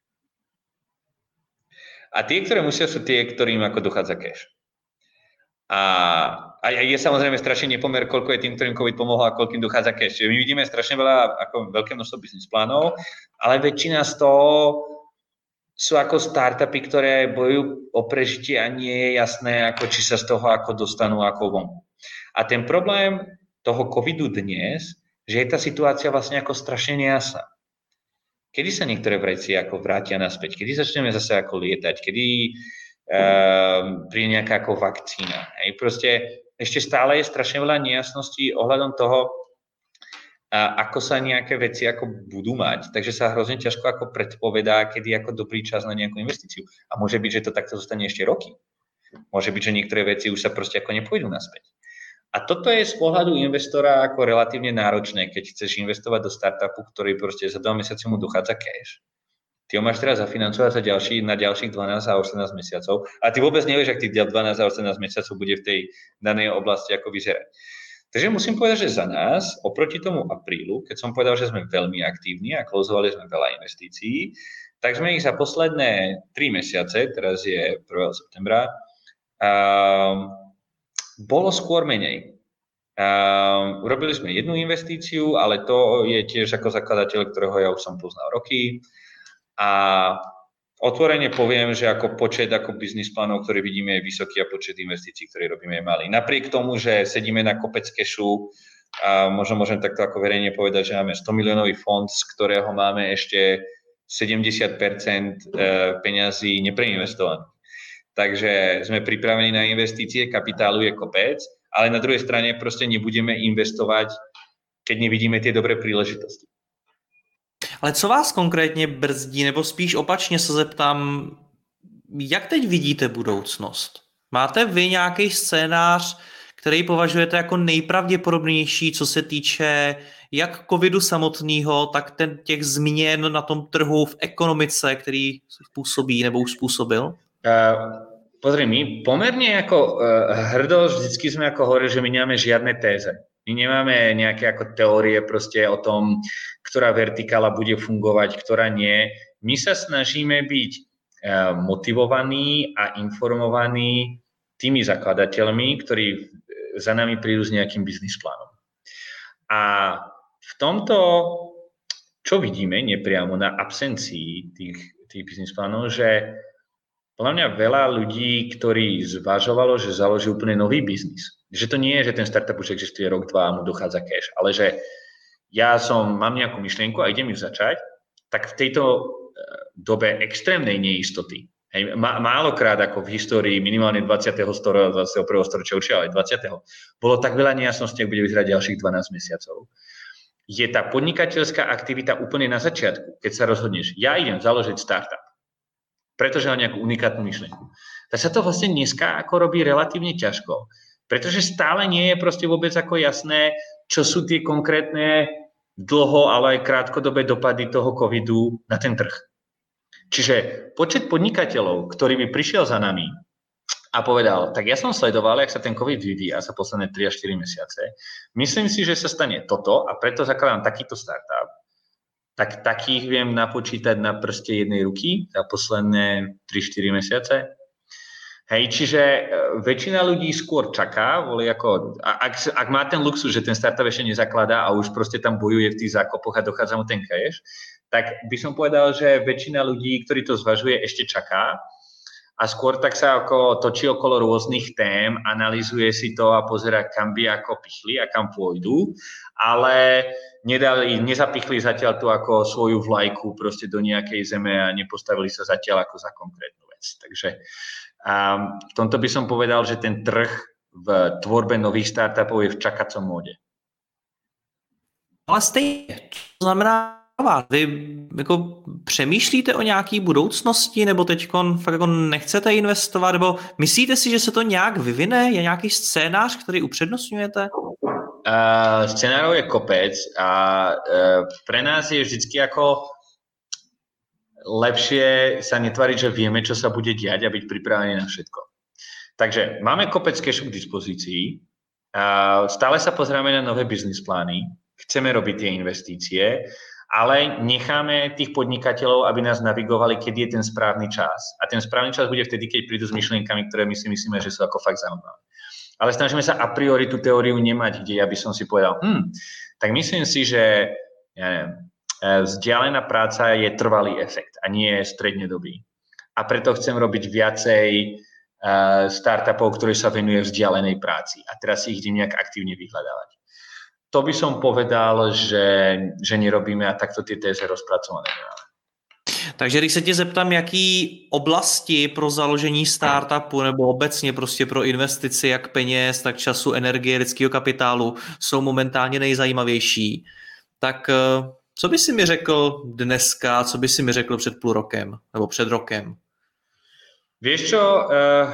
S2: A tie, ktoré musia, sú tie, ktorým ako dochádza cash. A, a je samozrejme strašne nepomer, koľko je tým, ktorým COVID pomohol a koľkým dochádza cash. Čiže my vidíme strašne veľa, ako veľké množstvo business plánov, ale väčšina z toho sú ako startupy, ktoré bojujú o prežitie a nie je jasné, ako či sa z toho ako dostanú ako vonku. A ten problém toho covidu dnes, že je tá situácia vlastne ako strašne nejasná. Kedy sa niektoré veci ako vrátia naspäť? Kedy začneme zase ako lietať? Kedy uh, príde nejaká ako vakcína? Hej, proste ešte stále je strašne veľa nejasností ohľadom toho, uh, ako sa nejaké veci ako budú mať. Takže sa hrozne ťažko ako predpovedá, kedy je ako dobrý čas na nejakú investíciu. A môže byť, že to takto zostane ešte roky. Môže byť, že niektoré veci už sa proste ako nepôjdu naspäť. A toto je z pohľadu investora ako relatívne náročné, keď chceš investovať do startupu, ktorý proste za dva mesiace mu dochádza cash. Ty ho máš teraz zafinancovať za ďalší, na ďalších dvanásť a osemnásť mesiacov a ty vôbec nevieš, ak tých dvanásť a osemnásť mesiacov bude v tej danej oblasti ako vyzerať. Takže musím povedať, že za nás, oproti tomu aprílu, keď som povedal, že sme veľmi aktívni a klozovali sme veľa investícií, tak sme ich za posledné tri mesiace, teraz je prvého septembra, um, bolo skôr menej. Uh, urobili sme jednu investíciu, ale to je tiež ako zakladateľ, ktorého ja už som poznal roky. A otvorene poviem, že ako počet ako biznis plánov, ktorý vidíme, je vysoký a počet investícií, ktoré robíme, je malý. Napriek tomu, že sedíme na kopec kešu, a možno môžem takto ako verejne povedať, že máme sto miliónový fond, z ktorého máme ešte sedemdesiat percent peňazí nepreinvestovaných. Takže sme pripravení na investície, kapitálu je kopec, ale na druhej strane proste nebudeme investovať, keď nevidíme tie dobré príležitosti.
S3: Ale co vás konkrétně brzdí, nebo spíš opačně se zeptám, jak teď vidíte budoucnost? Máte vy nějaký scénář, který považujete jako nejpravděpodobnější, co se týče jak covidu samotného, tak ten, těch změn na tom trhu v ekonomice, který způsobí nebo už způsobil?
S2: Uh, pozri, my pomerne ako uh, hrdo vždycky sme ako hovorili, že my nemáme žiadne téze. My nemáme nejaké ako teórie proste o tom, ktorá vertikála bude fungovať, ktorá nie. My sa snažíme byť uh, motivovaní a informovaní tými zakladateľmi, ktorí za nami prídu s nejakým biznis plánom. A v tomto, čo vidíme nepriamo na absencii tých, tých biznis plánov, že podľa mňa veľa ľudí, ktorí zvažovalo, že založí úplne nový biznis. Že to nie je, že ten startup už existuje rok, dva a mu dochádza cash, ale že ja som, mám nejakú myšlienku a idem ju začať, tak v tejto dobe extrémnej neistoty, hej, málokrát ako v histórii minimálne dvadsiateho storočia, dvadsiateho prvého storočia určite, ale dvadsiateho bolo tak veľa nejasností, ak bude vyzerať ďalších dvanásť mesiacov. Je tá podnikateľská aktivita úplne na začiatku, keď sa rozhodneš, ja idem založiť startup, pretože mám nejakú unikátnu myšlienku. Tak sa to vlastne dneska ako robí relatívne ťažko, pretože stále nie je proste vôbec ako jasné, čo sú tie konkrétne dlho, ale aj krátkodobé dopady toho covidu na ten trh. Čiže počet podnikateľov, ktorý by prišiel za nami a povedal, tak ja som sledoval, jak sa ten covid vyvíja za posledné tri až štyri mesiace, myslím si, že sa stane toto a preto zakladám takýto startup, tak takých viem napočítať na prste jednej ruky za posledné tri štyri mesiace. Hej, čiže väčšina ľudí skôr čaká, voli ako, ak, ak má ten luxus, že ten startup ešte nezakladá a už proste tam bojuje v tých zákopoch a dochádza mu ten cash, tak by som povedal, že väčšina ľudí, ktorí to zvažuje, ešte čaká a skôr tak sa ako točí okolo rôznych tém, analyzuje si to a pozerá, kam by ako pichli a kam pôjdu, ale nedali, nezapichli zatiaľ tu ako svoju vlajku proste do nejakej zeme a nepostavili sa zatiaľ ako za konkrétnu vec. Takže a v tomto by som povedal, že ten trh v tvorbe nových startupov je v čakacom móde.
S3: Ale stejně, to znamená, vy jako přemýšlíte o nějaký budoucnosti, nebo teď fakt jako nechcete investovat, nebo myslíte si, že se to nějak vyvine? Je nějaký scénář, který upřednostňujete?
S2: Uh, scénárov je kopec a uh, pre nás je vždycky ako lepšie sa netvariť, že vieme, čo sa bude diať a byť pripravený na všetko. Takže máme kopec cashu k dispozícii, stále sa pozrieme na nové business plány, chceme robiť tie investície, ale necháme tých podnikateľov, aby nás navigovali, kedy je ten správny čas. A ten správny čas bude vtedy, keď prídu s myšlienkami, ktoré my si myslíme, že sú ako fakt zaujímavé. Ale snažíme sa a priori tú teóriu nemať, kde ja by som si povedal, hm, tak myslím si, že ja neviem, vzdialená práca je trvalý efekt a nie je strednodobý. A preto chcem robiť viacej uh, startupov, ktorí sa venuje vzdialenej práci. A teraz si ich idem nejak aktívne vyhľadávať. To by som povedal, že, že nerobíme a takto tie téze rozpracované nemáme.
S3: Takže když se tě zeptám, jaký oblasti pro založení startupu nebo obecně prostě pro investici jak peněz, tak času, energie, lidského kapitálu jsou momentálně nejzajímavější, tak co by si mi řekl dneska, co by si mi řekl před půl rokem nebo před rokem?
S2: Vieš čo, uh,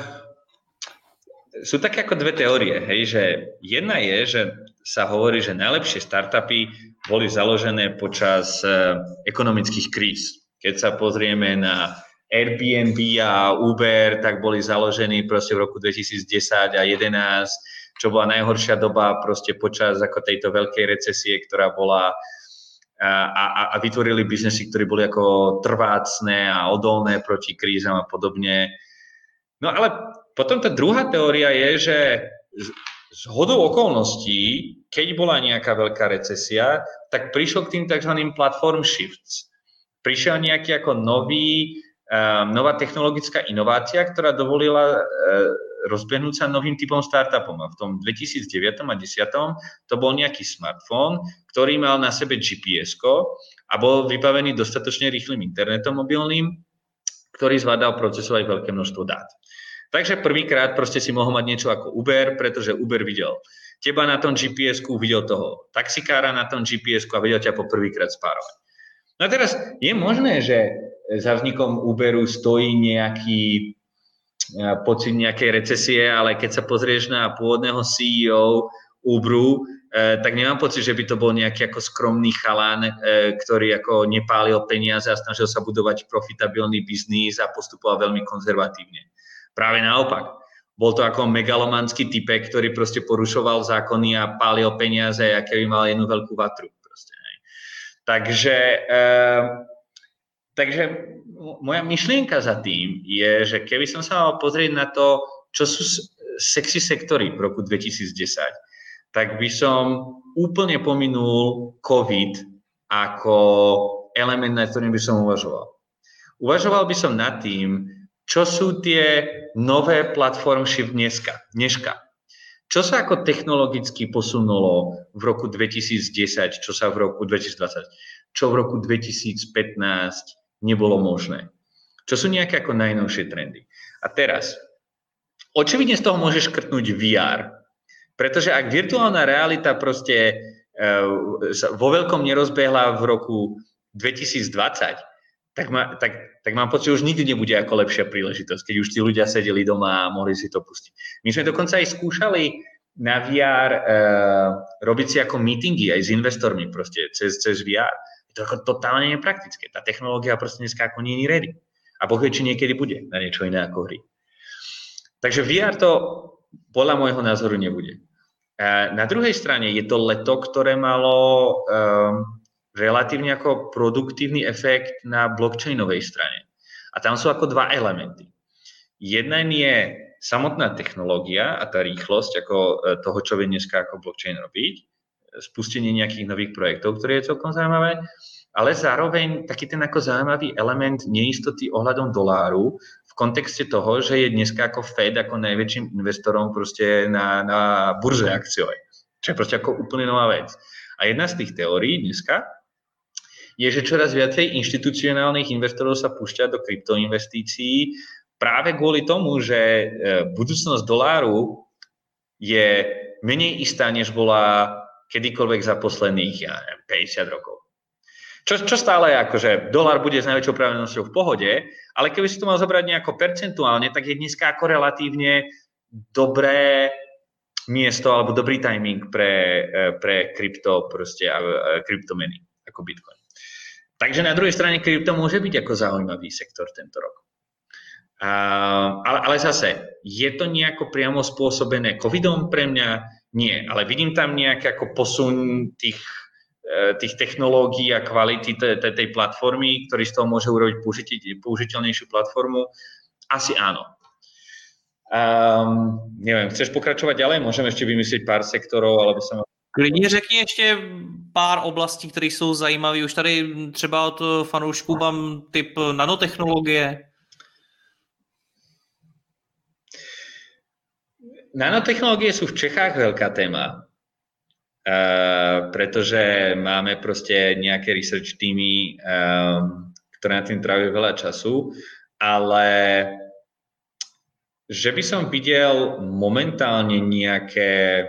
S2: sú také ako dve teórie, hej, že jedna je, že sa hovorí, že najlepšie startupy boli založené počas uh, ekonomických kríz. Keď sa pozrieme na Airbnb a Uber, tak boli založení proste v roku dvetisícdesať a jedenásť, čo bola najhoršia doba proste počas ako tejto veľkej recesie, ktorá bola A, a, a vytvorili biznesy, ktoré boli ako trvácne a odolné proti krízam a podobne. No ale potom tá druhá teória je, že z hodou okolností, keď bola nejaká veľká recesia, tak prišlo k tým tzv. Platform shifts. Prišiel nejaký ako nový, um, nová technologická inovácia, ktorá dovolila uh, rozbehnúť sa novým typom startupom. A v tom dvetisícdeväť a desať to bol nejaký smartfón, ktorý mal na sebe G P S-ko a bol vybavený dostatočne rýchlym internetom mobilným, ktorý zvládal procesovať veľké množstvo dát. Takže prvýkrát proste si mohol mať niečo ako Uber, pretože Uber videl teba na tom G P S-ku, videl toho taxikára na tom G P S-ku a videl ťa po prvýkrát spárovať. No a teraz je možné, že za vznikom Uberu stojí nejaký pocit nejakej recesie, ale keď sa pozrieš na pôvodného C E O Uberu, eh, tak nemám pocit, že by to bol nejaký ako skromný chalán, eh, ktorý ako nepálil peniaze a snažil sa budovať profitabilný biznis a postupoval veľmi konzervatívne. Práve naopak. Bol to ako megalomanský typek, ktorý proste porušoval zákony a pálil peniaze, aké by mal jednu veľkú vatru. Proste, hej. Takže... Eh, Takže moja myšlienka za tým je, že keby som sa mal pozrieť na to, čo sú sexy sektory v roku dvetisícdesať, tak by som úplne pominul COVID ako element, na ktorým by som uvažoval. Uvažoval by som nad tým, čo sú tie nové platform shift dneska, dneška. Čo sa ako technologicky posunulo v roku dvetisícdesať, čo sa v roku dvetisícdvadsať, čo v roku dvetisícpätnásť nebolo možné. Čo sú nejaké ako najnovšie trendy. A teraz, očividne z toho môžeš škrtnúť V R, pretože ak virtuálna realita proste uh, vo veľkom nerozbehla v roku dvetisícdvadsať, tak, ma, tak, tak mám pocit, že už nikdy nebude ako lepšia príležitosť, keď už tí ľudia sedeli doma a mohli si to pustiť. My sme dokonca aj skúšali na V R uh, robiť si ako meetingy aj s investormi proste cez, cez V R. Je to ako totálne nepraktické. Tá technológia proste dneska ako nie je ready. A Boh vie, či niekedy bude na niečo iné ako hry. Takže V R to podľa môjho názoru nebude. Na druhej strane je to leto, ktoré malo um, relatívne ako produktívny efekt na blockchainovej strane. A tam sú ako dva elementy. Jeden je samotná technológia a tá rýchlosť ako toho, čo vie dneska ako blockchain robiť, spustenie nejakých nových projektov, ktoré je celkom zaujímavé, ale zároveň taký ten ako zaujímavý element neistoty ohľadom doláru v kontexte toho, že je dneska ako Fed ako najväčším investorom proste na, na burze akciovej. Čo je proste ako úplne nová vec. A jedna z tých teórií dneska je, že čoraz viacej inštitucionálnych investorov sa púšťa do kryptoinvestícií práve kvôli tomu, že budúcnosť doláru je menej istá, než bola kedykoľvek za posledných, ja neviem, päťdesiat rokov. Čo, čo stále je akože dolár bude s najväčšou pravdepodobnosťou v pohode, ale keby si to mal zobrať nejako percentuálne, tak je dneska ako relatívne dobré miesto alebo dobrý timing pre, pre krypto proste a kryptomeny ako Bitcoin. Takže na druhej strane krypto môže byť ako zaujímavý sektor tento rok. Uh, ale, ale zase, je to nejako priamo spôsobené covidom pre mňa? Nie, ale vidím tam nejaký ako posun tých, uh, tých technológií a kvality tej, tej platformy, ktorý z toho môže urobiť použiteľnejšiu platformu? Asi áno. Um, neviem, chceš pokračovať ďalej? Môžeme ešte vymyslieť pár sektorov, alebo som...
S3: Klidně řekni ještě pár oblastí, které jsou zajímavé. Už tady třeba od fanoušků mám typ nanotechnologie.
S2: Nanotechnológie sú v Čechách veľká téma, uh, pretože máme proste nejaké research týmy, um, ktoré na tým trávajú veľa času, ale že by som videl momentálne nejaké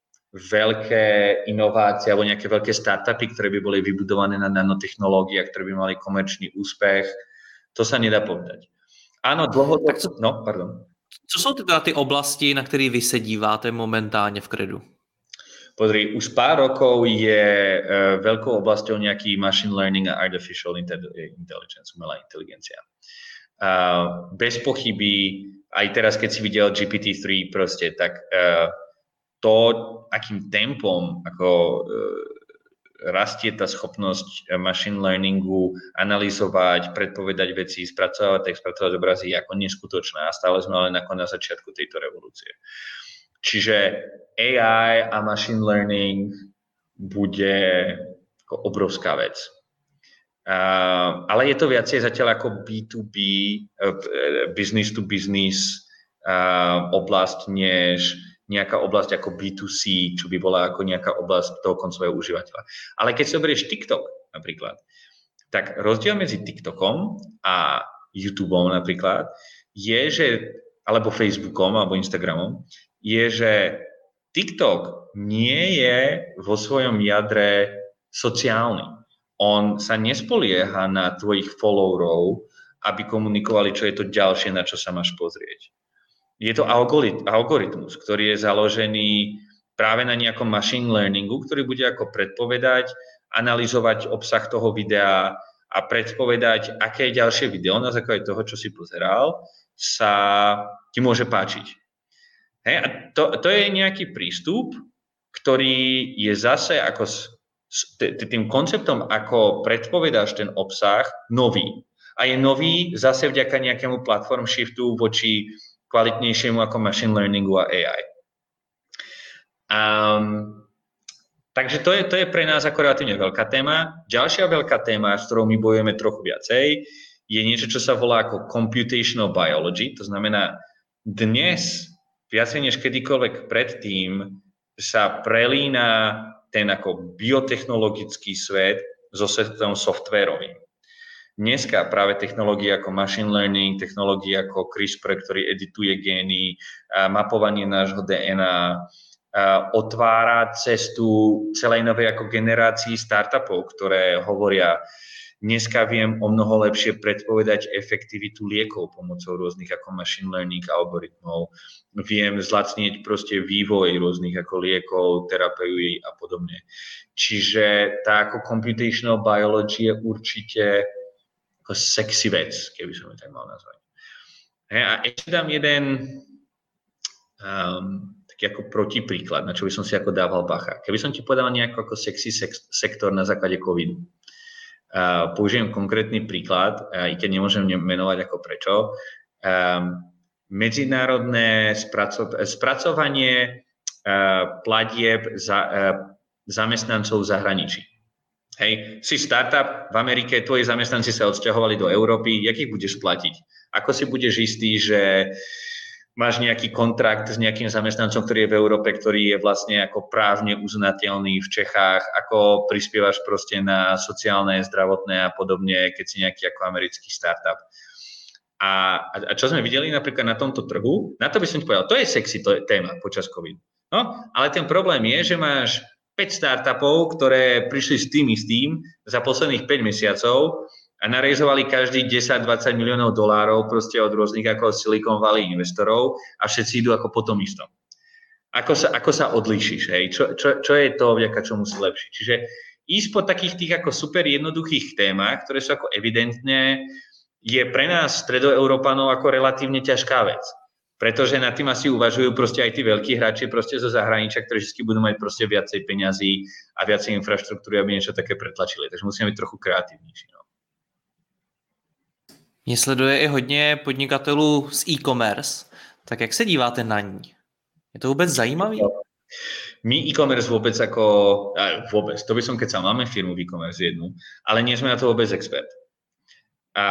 S2: veľké inovácie alebo nejaké veľké startupy, ktoré by boli vybudované na nanotechnológiách, ktoré by mali komerčný úspech, to sa nedá povedať. Áno, dlhodobo... No, pardon.
S3: Co jsou teda ty oblasti, na které vy se díváte momentálně v Credu?
S2: Pozri, už pár rokov je uh, veľkou oblasťou nejaký machine learning a artificial intelligence, umelá inteligencia. Uh, bez pochyby, aj teraz, keď si videl G P T tri proste, tak uh, to, akým tempom ako uh, rastie tá schopnosť machine learningu analyzovať, predpovedať veci, spracovať text, spracovať obrazy je ako neskutočná a stále sme len ako na začiatku tejto revolúcie. Čiže A I a machine learning bude ako obrovská vec. Uh, ale je to viacej zatiaľ ako B to B, uh, business to business uh, oblasť, než nejaká oblasť ako B to C, čo by bola ako nejaká oblasť toho koncového užívateľa. Ale keď si oberieš TikTok napríklad, tak rozdiel medzi TikTokom a YouTubeom napríklad je, že, alebo Facebookom, alebo Instagramom, je, že TikTok nie je vo svojom jadre sociálny. On sa nespolieha na tvojich followerov, aby komunikovali, čo je to ďalšie, na čo sa máš pozrieť. Je to algoritmus, ktorý je založený práve na nejakom machine learningu, ktorý bude ako predpovedať, analyzovať obsah toho videa a predpovedať, aké ďalšie video na základe toho, čo si pozeral, sa ti môže páčiť. Hej, a to, to je nejaký prístup, ktorý je zase ako s, s tým konceptom, ako predpovedáš ten obsah, nový. A je nový zase vďaka nejakému platform shiftu voči kvalitnejšiemu ako machine learningu a A I. Um, takže to je, to je pre nás ako relatívne veľká téma. Ďalšia veľká téma, s ktorou my bojujeme trochu viacej, je niečo, čo sa volá ako computational biology. To znamená, dnes viacej než kedykoľvek predtým sa prelína ten ako biotechnologický svet so svetom softvérovým. Dneska práve technológie ako machine learning, technológie ako CRISPR, ktorý edituje gény, mapovanie nášho dé en á, otvára cestu celej novej ako generácii startupov, ktoré hovoria, dneska viem o mnoho lepšie predpovedať efektivitu liekov pomocou rôznych ako machine learning algoritmov. Viem zlacnieť proste vývoj rôznych ako liekov, terapií a podobne. Čiže tá ako computational biology je určite ako sexy vec, keby som ju tak mal nazvať. A ešte dám jeden um, taký ako protipríklad, na čo by som si ako dával bacha. Keby som ti povedal nejako ako sexy sex, sektor na základe covidu. Uh, použijem konkrétny príklad, uh, i keď nemôžem menovať ako prečo. Um, medzinárodné spraco- spracovanie uh, platieb za, uh, zamestnancov v zahraničí. Hej, si startup v Amerike, tvoji zamestnanci sa odsťahovali do Európy, jak ich budeš platiť? Ako si budeš istý, že máš nejaký kontrakt s nejakým zamestnancom, ktorý je v Európe, ktorý je vlastne ako právne uznateľný v Čechách, ako prispievaš proste na sociálne, zdravotné a podobne, keď si nejaký ako americký startup. A, a čo sme videli napríklad na tomto trhu, na to by som ti povedal, to je sexy to je téma počas COVID. No, ale ten problém je, že máš päť startupov, ktoré prišli s tým istým za posledných päť mesiacov a narejzovali každý desať dvadsať miliónov dolárov proste od rôznych ako Silicon Valley investorov a všetci idú ako po tom istom. Ako sa, ako sa odlíšiš, hej? Čo, čo, čo je to, vďaka čomu si lepší? Čiže ísť po takých tých ako super jednoduchých témach, ktoré sú ako evidentne, je pre nás stredoeurópanov ako relatívne ťažká vec. Pretože nad tým asi uvažujú proste aj tí veľkí hráči proste zo zahraničia, ktorí vždy budú mať proste viacej peňazí a viacej infraštruktúry, aby niečo také pretlačili. Takže musíme byť trochu kreatívnejší. No.
S3: Mě sleduje i hodně podnikatelů z e-commerce. Tak jak se díváte na ní? Je to vůbec zajímavý?
S2: My e-commerce vôbec ako... Vôbec, to by som keď sa máme firmu v e-commerce jednu, ale nie sme na to vôbec expert. A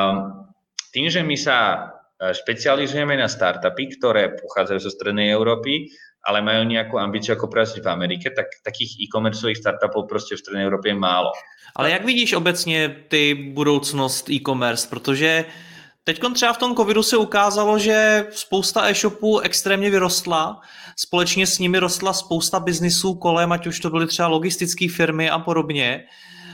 S2: tým, že my sa špecializujeme na startupy, ktoré pochádzajú zo strednej Európy, ale majú nejakú ambíciu ako pracovať v Amerike, tak takých e-commerceových startupov prostě v střední Evropě je málo.
S3: Ale jak vidíš obecně ty budoucnost e-commerce? Protože teď třeba v tom covidu se ukázalo, že spousta e-shopů extrémně vyrostla, společně s nimi rostla spousta biznisů kolem, ať už to byly třeba logistické firmy a podobně.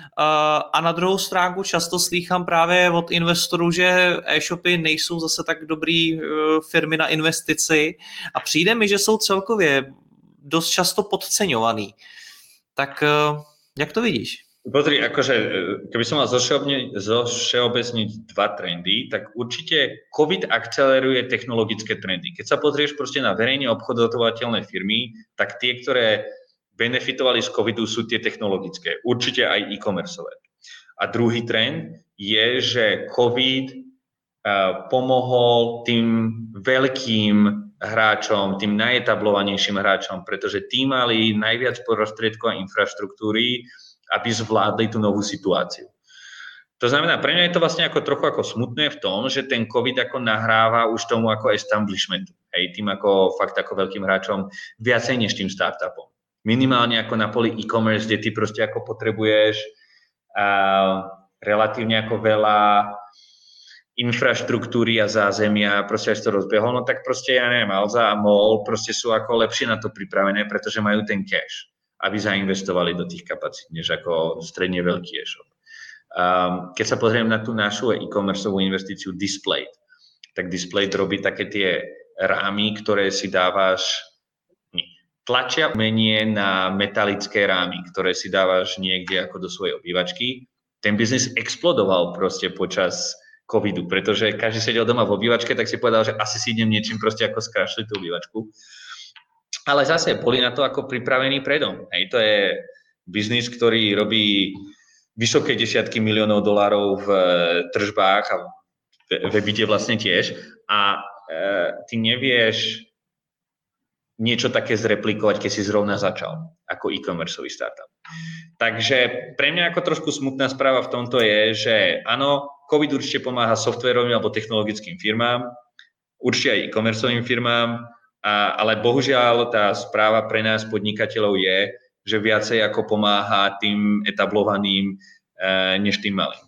S3: A na druhou stránku často slýchám právě od investorů, že e-shopy nejsou zase tak dobrý firmy na investici a přijde mi, že jsou celkově dost často podceňovaný. Tak jak to vidíš?
S2: Pozri, akože, keby som mal zovšeobecniť dva trendy, tak určite COVID akceleruje technologické trendy. Keď sa pozrieš proste na verejne obchodovateľné firmy, tak tie, ktoré benefitovali z covidu, sú tie technologické, určite aj e-commerceové. A druhý trend je, že COVID uh, pomohol tým veľkým hráčom, tým najetablovanejším hráčom, pretože tí mali najviac prostriedkov a infraštruktúry, aby zvládli tú novú situáciu. To znamená, pre mňa je to vlastne ako trochu ako smutné v tom, že ten COVID ako nahráva už tomu ako establishmentu, hej, tým ako fakt ako veľkým hráčom viacej než tým startupom. Minimálne ako na poli e-commerce, kde ty proste ako potrebuješ uh, relatívne ako veľa infraštruktúry a zázemia, proste až to rozbehol, no tak proste, ja neviem, Alza a MOL proste sú ako lepšie na to pripravené, pretože majú ten cash, aby zainvestovali do tých kapacít, než ako stredne veľký e-shop. Um, keď sa pozriem na tú našu e-commerceovú investíciu Displayed, tak Displayed robí také tie rámy, ktoré si dávaš tlačia umenie na metalické rámy, ktoré si dávaš niekde ako do svojej obývačky. Ten biznis explodoval proste počas covidu, pretože každý sedel doma v obývačke, tak si povedal, že asi si idem niečím proste ako skrašliť tú obývačku. Ale zase boli na to ako pripravení predom. Hej, to je biznis, ktorý robí vysoké desiatky miliónov dolárov v tržbách a v ebite vlastne tiež. A e, ty nevieš niečo také zreplikovať, keď si zrovna začal ako e-commerceový startup. Takže pre mňa ako trošku smutná správa v tomto je, že áno, COVID určite pomáha softwarovým alebo technologickým firmám, určite aj e-commerceovým firmám, a, ale bohužiaľ tá správa pre nás podnikateľov je, že viacej ako pomáha tým etablovaným e, než tým malým.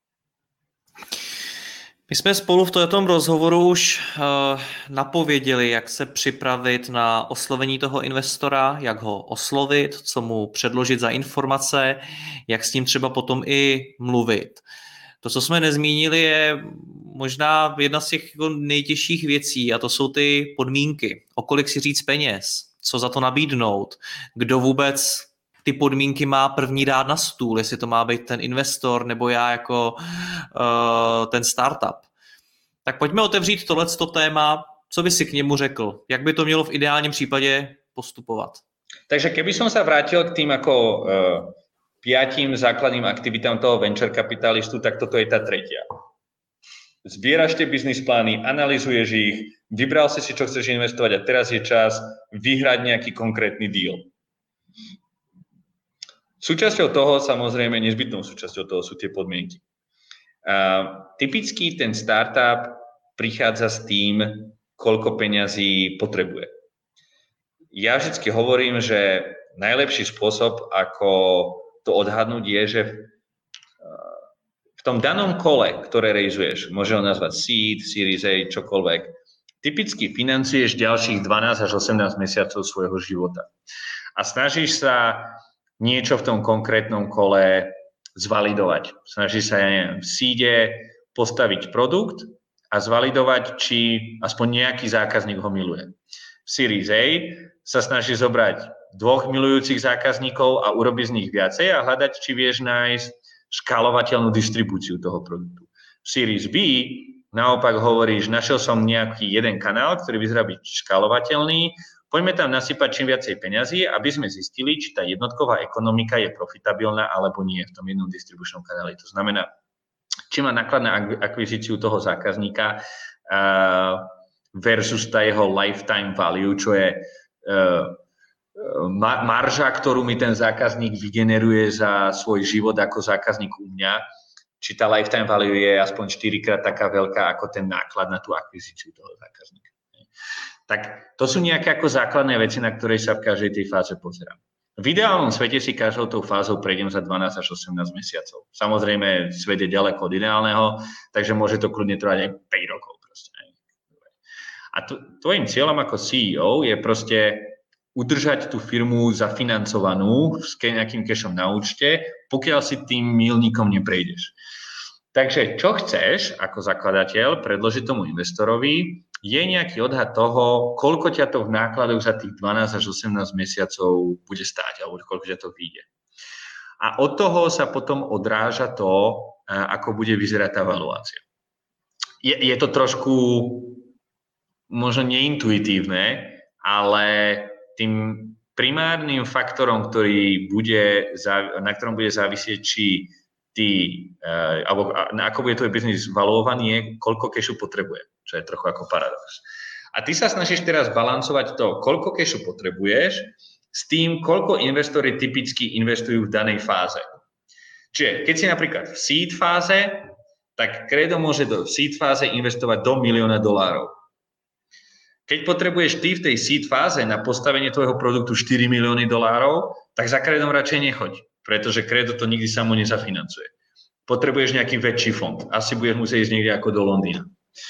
S3: My jsme spolu v tomto rozhovoru už uh, napověděli, jak se připravit na oslovení toho investora, jak ho oslovit, co mu předložit za informace, jak s ním třeba potom i mluvit. To, co jsme nezmínili, je možná jedna z těch nejtěžších věcí a to jsou ty podmínky. O kolik si říct peněz, co za to nabídnout, kdo vůbec ty podmínky má první dát na stůl, jestli to má být ten investor nebo já jako uh, ten startup. Tak pojďme otevřít tohleto téma, co by si k němu řekl, jak by to mělo v ideálním případě postupovat.
S2: Takže keby som sa vrátil k tým ako uh, piatim základným aktivitám toho venture kapitalistu, tak toto je tá tretia. zbieraš tie biznis plány, analyzuješ ich, vybral si si, čo chceš investovať a teraz je čas vyhrať nejaký konkrétny deal. Súčasťou toho, samozrejme, nezbytnou súčasťou toho sú tie podmienky. Uh, typicky ten startup prichádza s tým, koľko peňazí potrebuje. Ja vždycky hovorím, že najlepší spôsob, ako to odhadnúť, je, že v tom danom kole, ktoré rejzuješ, môže ho nazvať seed, series A, čokoľvek, typicky financuješ ďalších dvanásť až osemnásť mesiacov svojho života. A snažíš sa niečo v tom konkrétnom kole zvalidovať. Snažíš sa, ja neviem, v seede postaviť produkt a zvalidovať, či aspoň nejaký zákazník ho miluje. V series A sa snaží zobrať dvoch milujúcich zákazníkov a urobiť z nich viacej a hľadať, či vieš nájsť škálovateľnú distribúciu toho produktu. V series B naopak hovoríš, našiel som nejaký jeden kanál, ktorý vyzerá byť škálovateľný, poďme tam nasypať čím viacej peňazí, aby sme zistili, či tá jednotková ekonomika je profitabilná alebo nie v tom jednom distribučnom kanáli. To znamená, či má náklad na akvizíciu toho zákazníka uh, versus tá jeho lifetime value, čo je uh, marža, ktorú mi ten zákazník vygeneruje za svoj život ako zákazník u mňa, či tá lifetime value je aspoň štyrikrát taká veľká ako ten náklad na tú akvizíciu toho zákazníka. Tak to sú nejaké ako základné veci, na ktoré sa v každej tej fáze pozerám. V ideálnom svete si každou tou fázou prejdem za dvanásť až osemnásť mesiacov. Samozrejme, svet je ďaleko od ideálneho, takže môže to kľudne trvať aj päť rokov. Proste. A tvojím cieľom ako C E O je proste udržať tú firmu zafinancovanú s nejakým cashom na účte, pokiaľ si tým míľnikom neprejdeš. Takže čo chceš ako zakladateľ predložiť tomu investorovi, je nejaký odhad toho, koľko ťa to v nákladoch za tých dvanásť až osemnásť mesiacov bude stáť, alebo koľko ťa to vyjde. A od toho sa potom odráža to, ako bude vyzerať tá valuácia. Je, je to trošku možno neintuitívne, ale tým primárnym faktorom, ktorý bude, na ktorom bude závisieť, či ty, alebo na ako bude tvoj biznis valuovaný, je, koľko kešu potrebuje, čo je trochu ako paradox. A ty sa snažíš teraz balancovať to, koľko kešu potrebuješ, s tým, koľko investori typicky investujú v danej fáze. Čiže keď si napríklad v seed fáze, tak Credo môže do seed fáze investovať do milióna dolárov. Keď potrebuješ ty v tej seed fáze na postavenie tvojho produktu štyri milióny dolárov, tak za Credom radšej nechoď, pretože Credo to nikdy samo nezafinancuje. Potrebuješ nejaký väčší fond. Asi budeš musieť ísť niekde ako do Londýna.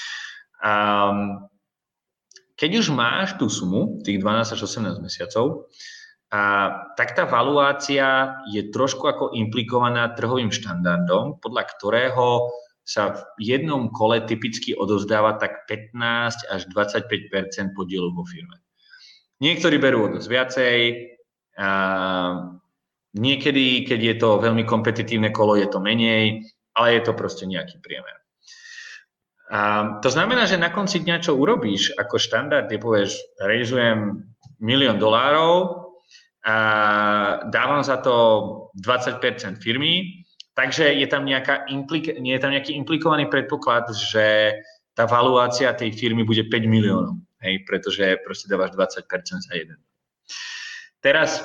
S2: Um, keď už máš tú sumu, tých dvanásť až osemnásť mesiacov, a, tak tá valuácia je trošku ako implikovaná trhovým štandardom, podľa ktorého sa v jednom kole typicky odovzdáva tak pätnásť až dvadsaťpäť percent podielu vo firme. Niektorí berú o dosť viacej, a niekedy, keď je to veľmi kompetitívne kolo, je to menej, ale je to proste nejaký priemer. A to znamená, že na konci dňa, čo urobíš ako štandard, je povieš, rejzujem milión dolárov a dávam za to dvadsať percent firmy, takže je tam, nejaká implik- nie je tam nejaký implikovaný predpoklad, že tá valuácia tej firmy bude päť miliónov, hej, pretože proste dávaš dvadsať percent za jeden. Teraz,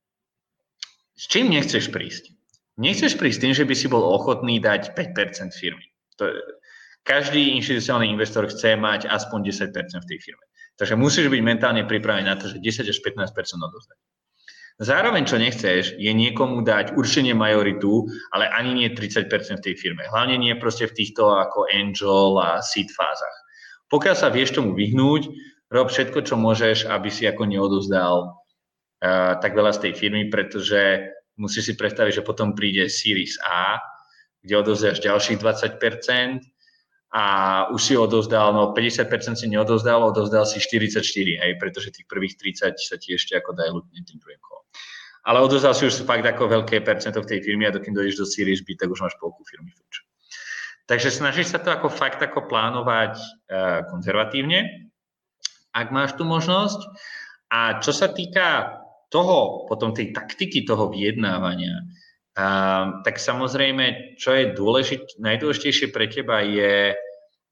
S2: s čím nechceš prísť? Nechceš prísť tým, že by si bol ochotný dať päť percent firmy. To, každý inštitucionálny investor chce mať aspoň desať percent v tej firme. Takže musíš byť mentálne pripravený na to, že desať až pätnásť percent odovzdať. Zároveň, čo nechceš, je niekomu dať určenie majoritu, ale ani nie tridsať percent v tej firme. Hlavne nie proste v týchto ako angel a seed fázach. Pokiaľ sa vieš tomu vyhnúť, rob všetko, čo môžeš, aby si ako neodovzdal uh, tak veľa z tej firmy, pretože musíš si predstaviť, že potom príde Series A, kde odovzdáš ďalších dvadsať percent a už si odovzdal, no päťdesiat percent si neodovzdal, odovzdal si štyridsaťštyri percent, hej, pretože tých prvých tridsať sa ti ešte ako dilutne tým druhým kolom. Ale odovzdal si už fakt ako veľké percento v tej firme a dokým dojdeš do Series B, tak už máš polku firmy fuč. Takže snažíš sa to ako fakt ako plánovať uh, konzervatívne, ak máš tú možnosť. A čo sa týka toho, potom tej taktiky toho vyjednávania, uh, tak samozrejme, čo je dôležit, najdôležitejšie pre teba je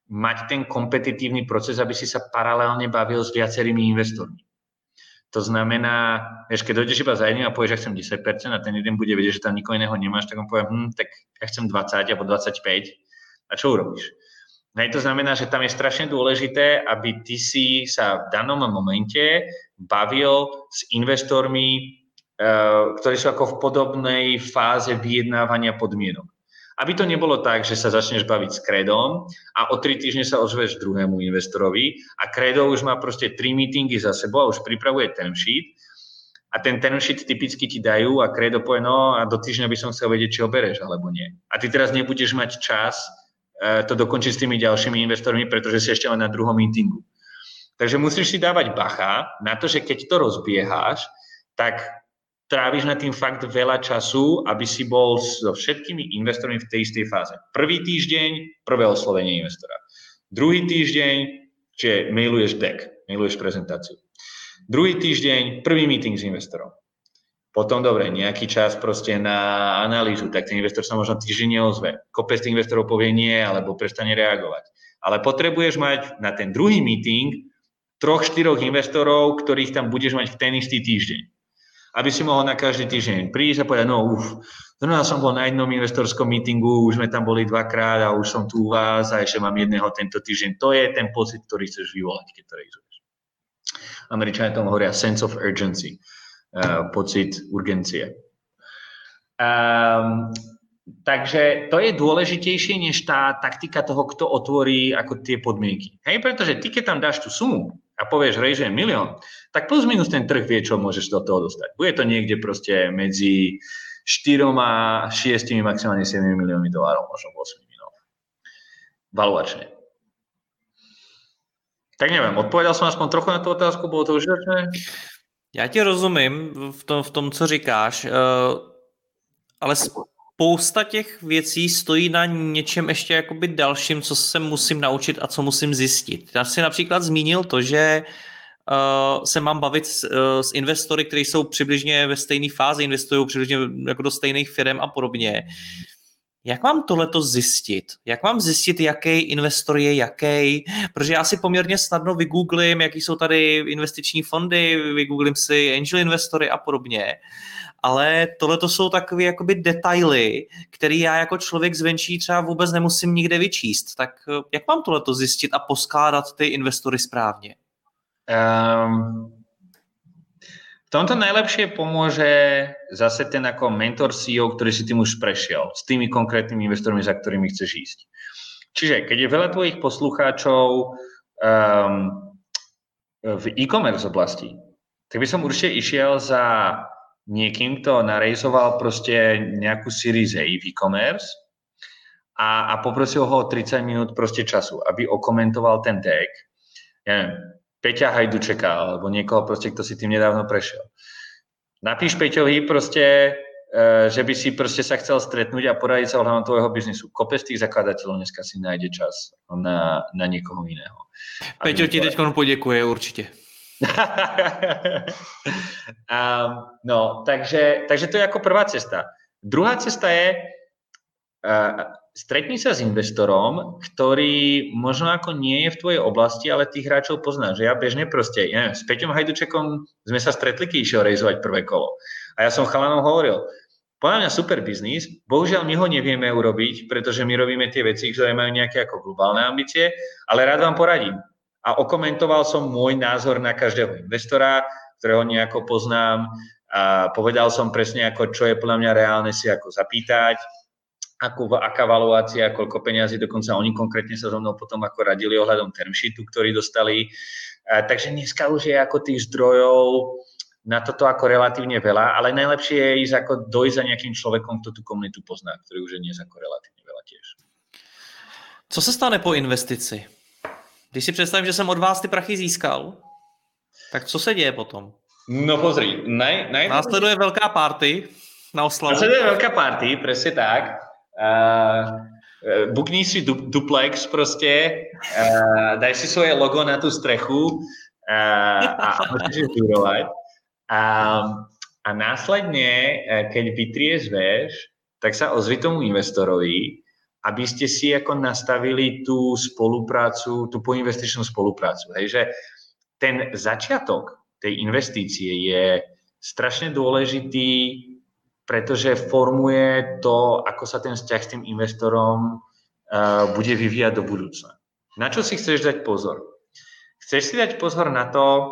S2: mať ten kompetitívny proces, aby si sa paralelne bavil s viacerými investormi. To znamená, vieš, keď dojdeš iba za jedným a povieš, že chcem desať percent a ten jeden bude vedieť, že tam nikoho iného nemáš, tak on povie, hm, tak ja chcem dvadsať alebo dvadsaťpäť a čo urobíš? Hej, to znamená, že tam je strašne dôležité, aby ty si sa v danom momente bavil s investormi, ktorí sú ako v podobnej fáze vyjednávania podmienok. Aby to nebolo tak, že sa začneš baviť s Credom a o tri týždne sa ozveš druhému investorovi a Credo už má proste tri meetingy za sebou a už pripravuje term sheet a ten term sheet typicky ti dajú a Credo povie, no a do týždňa by som chcel vedieť, či ho bereš alebo nie. A ty teraz nebudeš mať čas to dokončiť s tými ďalšími investormi, pretože si ešte len na druhom meetingu. Takže musíš si dávať bacha na to, že keď to rozbieháš, tak tráviš na tým fakt veľa času, aby si bol so všetkými investormi v tej istej fáze. Prvý týždeň, prvé oslovenie investora. Druhý týždeň, čiže mailuješ deck, mailuješ prezentáciu. Druhý týždeň, prvý meeting s investorom. Potom, dobre, nejaký čas proste na analýzu, tak ten investor sa možno týždeň neozve. Kopec tých investorov povie nie, alebo prestane reagovať. Ale potrebuješ mať na ten druhý meeting troch, štyroch investorov, ktorých tam budeš mať v ten istý týždeň. Aby si mohol na každý týždeň prísť a povedať, no uf, zrovna som bol na jednom investorskom meetingu, už sme tam boli dvakrát a už som tu u vás a ešte mám jedného tento týždeň. To je ten pocit, ktorý chceš vyvolať, keď to rejzuješ. Američania tomu hovoria sense of urgency, uh, pocit urgencie. Um, takže to je dôležitejšie, než tá taktika toho, kto otvorí ako tie podmienky. Hej, pretože ty, keď tam dáš tú sumu, a povieš, rejžujem milión, tak plus minus ten trh vie, čo môžeš do toho dostať. Bude to niekde proste medzi štyrom a šiestimi, maximálne sedem miliónmi dolárov, možno osem miliónov. Valuačne. Tak neviem, odpovedal som aspoň trochu na tú otázku, bolo to užitočné?
S3: Já ti rozumím v tom, v tom co říkáš, ale spousta těch věcí stojí na něčem ještě jakoby dalším, co se musím naučit a co musím zjistit. Já si například zmínil to, že uh, se mám bavit s, uh, s investory, kteří jsou přibližně ve stejné fázi, investují přibližně jako do stejných firm a podobně. Jak mám tohleto zjistit? Jak mám zjistit, jaký investor je jaký? Protože já si poměrně snadno vygooglím, jaký jsou tady investiční fondy, vygooglím si angel investory a podobně. Ale tohleto jsou takové jakoby detaily, které já jako člověk zvenčí třeba vůbec nemusím nikde vyčíst. Tak jak mám tohleto zjistit a poskládat ty investory správně?
S2: Um, v tomto najlepšie pomôže zase ten ako mentor C E O, ktorý si tým už prešiel, s tými konkrétnymi investormi, za ktorými chceš ísť. Čiže keď je veľa tvojich poslucháčov um, v e-commerce oblasti, tak by som určite išiel za niekým, kto narejzoval proste nejakú series A v e-commerce a, a poprosil ho o tridsať minút proste času, aby okomentoval ten deck. Ja neviem, Peťa Hajdučeka, alebo niekoho proste, kto si tým nedávno prešiel. Napíš Peťovi proste, že by si proste sa chcel stretnúť a poradiť sa ohľadom tvojho biznisu. Kopec tých zakladateľov dneska si nájde čas na, na niekoho iného.
S3: Peťo ti teď poděkuje určite.
S2: um, no, takže, takže to je ako prvá cesta. Druhá cesta je uh, stretni sa s investorom, ktorý možno ako nie je v tvojej oblasti, ale tých hráčov poznáš. Že ja bežne proste, ja neviem, s Peťom Hajdučekom sme sa stretli, keď išiel rejzovať prvé kolo. A ja som chalanom hovoril, podľa mňa super biznis, bohužiaľ my ho nevieme urobiť, pretože my robíme tie veci, ktoré majú nejaké ako globálne ambície, ale rád vám poradím. A okomentoval som môj názor na každého investora, ktorého nejako poznám a povedal som presne, ako, čo je podľa mňa reálne si ako zapýtať, akú, aká valuácia, koľko peňazí, dokonca oni konkrétne sa so mnou potom ako radili ohľadom term sheetu, ktorý dostali. A, takže dneska už je ako tých zdrojov na toto ako relatívne veľa, ale najlepšie je ísť ako dojsť za nejakým človekom, kto tú komunitu pozná, ktorý už je dnes ako relatívne veľa tiež.
S3: Co se stane po investici? Když si představím, že jsem od vás ty prachy získal, tak co se děje potom?
S2: No pozri, naj, naj...
S3: následuje velká party na oslavu.
S2: Následuje veľká party, presne tak. Uh, bukni si du, duplex proste, uh, daj si svoje logo na tú strechu uh, a môžeš vyrovať. Um, a následne, keď vytriezveš, tak sa ozvi tomu investorovi aby ste si ako nastavili tú spoluprácu, tú poinvestičnú spoluprácu. Hej, že ten začiatok tej investície je strašne dôležitý, pretože formuje to, ako sa ten vzťah s tým investorom uh, bude vyvíjať do budúcna. Na čo si chceš dať pozor? Chceš si dať pozor na to,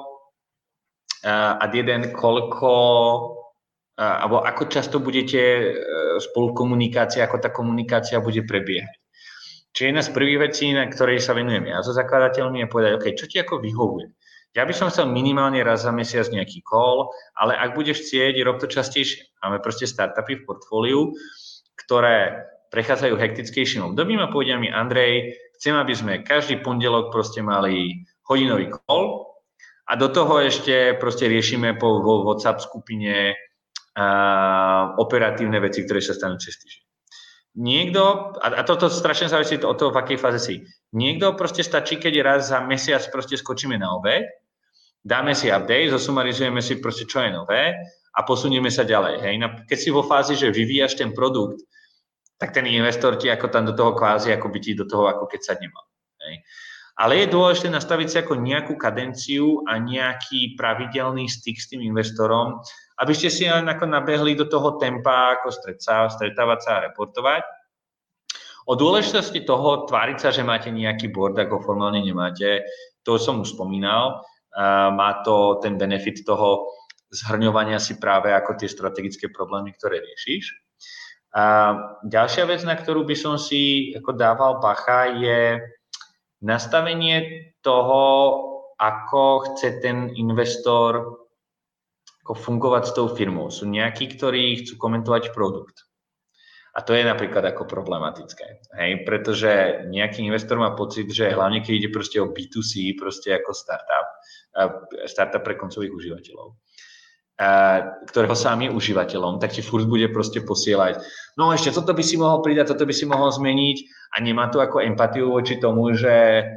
S2: uh, ad jeden, koľko, uh, alebo ako často budete uh, spolu v komunikácii, ako tá komunikácia bude prebiehať. Čiže jedna z prvých vecí, na ktorej sa venujem ja so zakladateľmi, je povedať, OK, čo ti ako vyhovuje? Ja by som chcel minimálne raz za mesiac nejaký call, ale ak budeš chcieť, rob to častejšie. Máme proste startupy v portfóliu, ktoré prechádzajú hektickejším obdobím a povedia mi, Andrej, chcem, aby sme každý pondelok proste mali hodinový call a do toho ešte proste riešime po vo WhatsApp skupine uh, operatívne veci, ktoré sa stanú cez týždeň. Niekto, a, a toto strašne závisí od toho, v akej fáze si. Niekto proste stačí, keď raz za mesiac proste skočíme na obed, dáme si update, zosumarizujeme si proste, čo je nové a posunieme sa ďalej. Hej. Keď si vo fázi, že vyvíjaš ten produkt, tak ten investor ti ako tam do toho kvázi, ako by ti do toho, ako keď sa nemal. Hej. Ale je dôležité nastaviť si ako nejakú kadenciu a nejaký pravidelný styk s tým investorom, aby ste si ako nabehli do toho tempa, ako stretávať sa a reportovať. O dôležitosti toho tváriť sa, že máte nejaký board, ako formálne nemáte, to som už spomínal. Uh, má to ten benefit toho zhrňovania si práve ako tie strategické problémy, ktoré riešiš. Uh, ďalšia vec, na ktorú by som si ako dával bacha, je nastavenie toho, ako chce ten investor ako fungovať s tou firmou. Sú nejakí, ktorí chcú komentovať produkt. A to je napríklad ako problematické. Hej? Pretože nejaký investor má pocit, že hlavne keď ide proste o bé dva cé, proste ako startup, startup pre koncových užívateľov, ktorého sám je užívateľom, tak ti furt bude proste posielať, no ešte toto by si mohol pridať, toto by si mohol zmeniť a nemá to ako empatiu voči tomu, že e,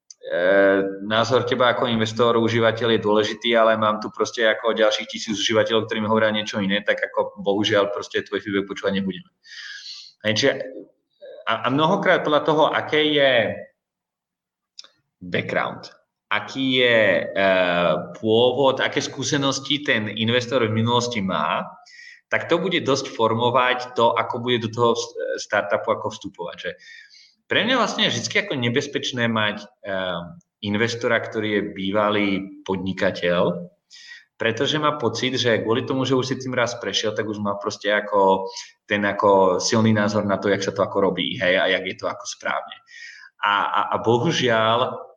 S2: názor teba ako investor, užívateľ je dôležitý, ale mám tu proste ako ďalších tisíc užívateľov, ktorí mi hovoria niečo iné, tak ako bohužiaľ proste tvoj feedback počúvať nebudeme. A, a mnohokrát podľa toho, aké je background, aký je uh, pôvod, aké skúsenosti ten investor v minulosti má, tak to bude dosť formovať to, ako bude do toho startupu ako vstupovať. Že pre mňa vlastne je vždy ako nebezpečné mať uh, investora, ktorý je bývalý podnikateľ, pretože má pocit, že kvôli tomu, že už si tým raz prešiel, tak už má proste ako ten ako silný názor na to, jak sa to ako robí, hej, a jak je to ako správne. A, a, a bohužiaľ,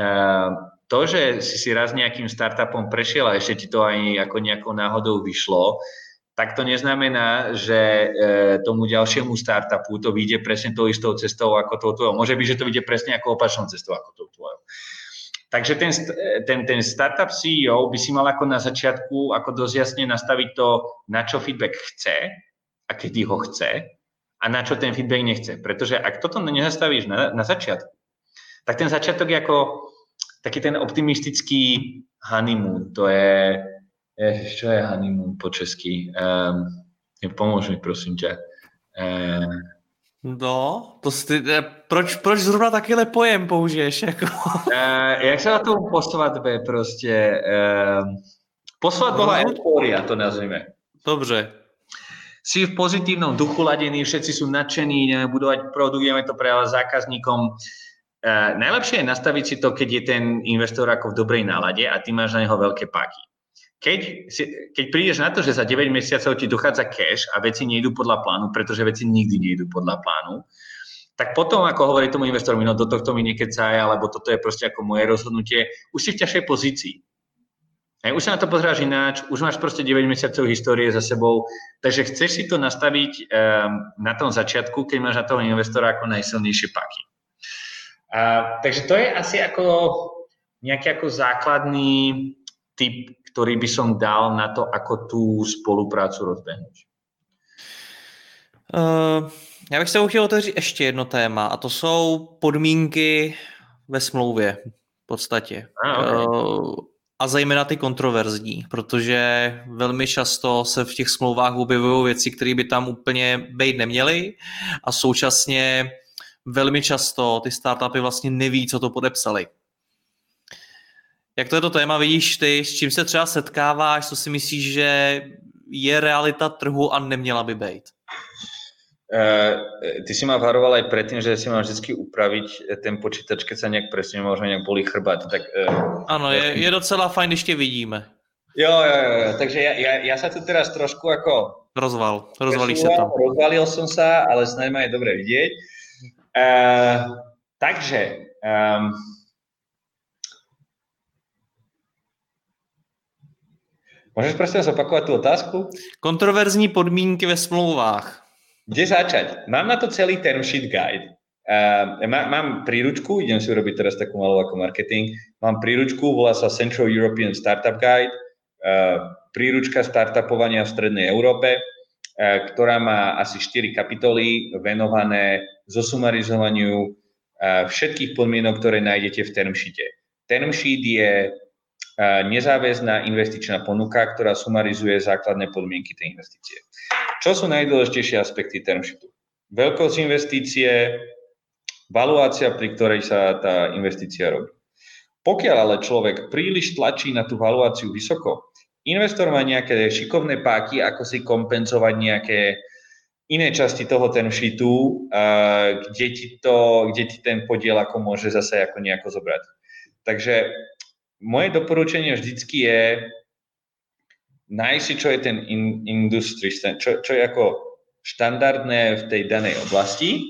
S2: to, že si si raz nejakým startupom prešiel a ešte ti to aj ako nejakou náhodou vyšlo, tak to neznamená, že tomu ďalšiemu startupu to vyjde presne tou istou cestou ako tou tvojou. Môže byť, že to vyjde presne ako opačnou cestou ako tou tvojou. Takže ten, ten, ten startup sí í ó by si mal ako na začiatku ako dosť jasne nastaviť to, na čo feedback chce a kedy ho chce a na čo ten feedback nechce. Pretože ak toto nezastavíš na, na začiatku, tak ten začiatok je ako taký ten optimistický honeymoon. To je, je čo je honeymoon po česky? Um, pomôž mi, prosím ťa. Um,
S3: no, to si, proč, proč zrovna takýhle pojem použiješ? Jako?
S2: Uh, jak sa na to poslat be, proste? Um, poslat bola eufória, to nazvime.
S3: Dobře.
S2: Si v pozitívnom duchu ladený, všetci sú nadšení, ideme budovať produkt, ideme to predávať zákazníkom. Uh, najlepšie je nastaviť si to, keď je ten investor ako v dobrej nálade a ty máš na neho veľké páky. Keď, si, keď prídeš na to, že za deväť mesiacov ti dochádza cash a veci nejdú podľa plánu, pretože veci nikdy nejdú podľa plánu, tak potom, ako hovorí tomu investorovi, no do tohto mi nekecaj, alebo toto je proste ako moje rozhodnutie, už si v ťažšej pozícii. Hej, už sa na to pozráš ináč, už máš proste deväť mesiacov histórie za sebou, takže chceš si to nastaviť um, na tom začiatku, keď máš na toho investora ako najsilnejšie páky. Uh, takže to je asi ako nejaký ako základný tip, ktorý by som dal na to, ako tú spoluprácu rozbehnúť.
S3: Uh, já bych se chtěl otevřít ještě jedno téma a to jsou podmínky ve smlouvě v podstatě. Ah, okay. uh, a zejména ty kontroverzní, protože velmi často se v těch smlouvách objevují věci, které by tam úplně být neměly a současně velmi často ty startupy vlastně neví, co to podepsali. Jak to je to téma, vidíš ty, s čím se třeba setkáváš, co si myslíš, že je realita trhu a neměla by být?
S2: Uh, ty si ma varoval aj predtým, že si mám vždycky upraviť ten počítač, keď sa nejak presne možno nejak bolí chrbát. Tak, uh,
S3: ano, je, je docela fajn, když tě vidíme.
S2: Jo, jo, jo, takže ja, ja, ja sa tu teraz trošku ako...
S3: Rozval, rozvalíš sa tam.
S2: Rozvalil som sa, ale snad ma je dobre vidieť. Uh, takže... Um, môžeš prosím zopakovať tú otázku?
S3: Kontroverzní podmínky ve smlouvách.
S2: Kde začať? Mám na to celý term sheet guide. Uh, má, mám príručku, idem si urobiť teraz takú malú ako marketing. Mám príručku, volá sa Central European Startup Guide. Uh, príručka startupovania v Strednej Európe, uh, ktorá má asi štyri kapitoly venované zosumarizovaniu uh, všetkých podmienok, ktoré nájdete v term sheete. Term sheet je uh, nezáväzná investičná ponuka, ktorá sumarizuje základné podmienky tej investície. Čo sú najdôležitejšie aspekty term sheetu? Veľkosť investície, valuácia, pri ktorej sa tá investícia robí. Pokiaľ ale človek príliš tlačí na tú valuáciu vysoko, investor má nejaké šikovné páky, ako si kompenzovať nejaké iné časti toho term sheetu, kde ti, to, kde ti ten podiel ako môže zase ako nejako zobrať. Takže moje doporučenie vždycky je nájsť si, čo je ten in, industry, čo, čo je ako štandardné v tej danej oblasti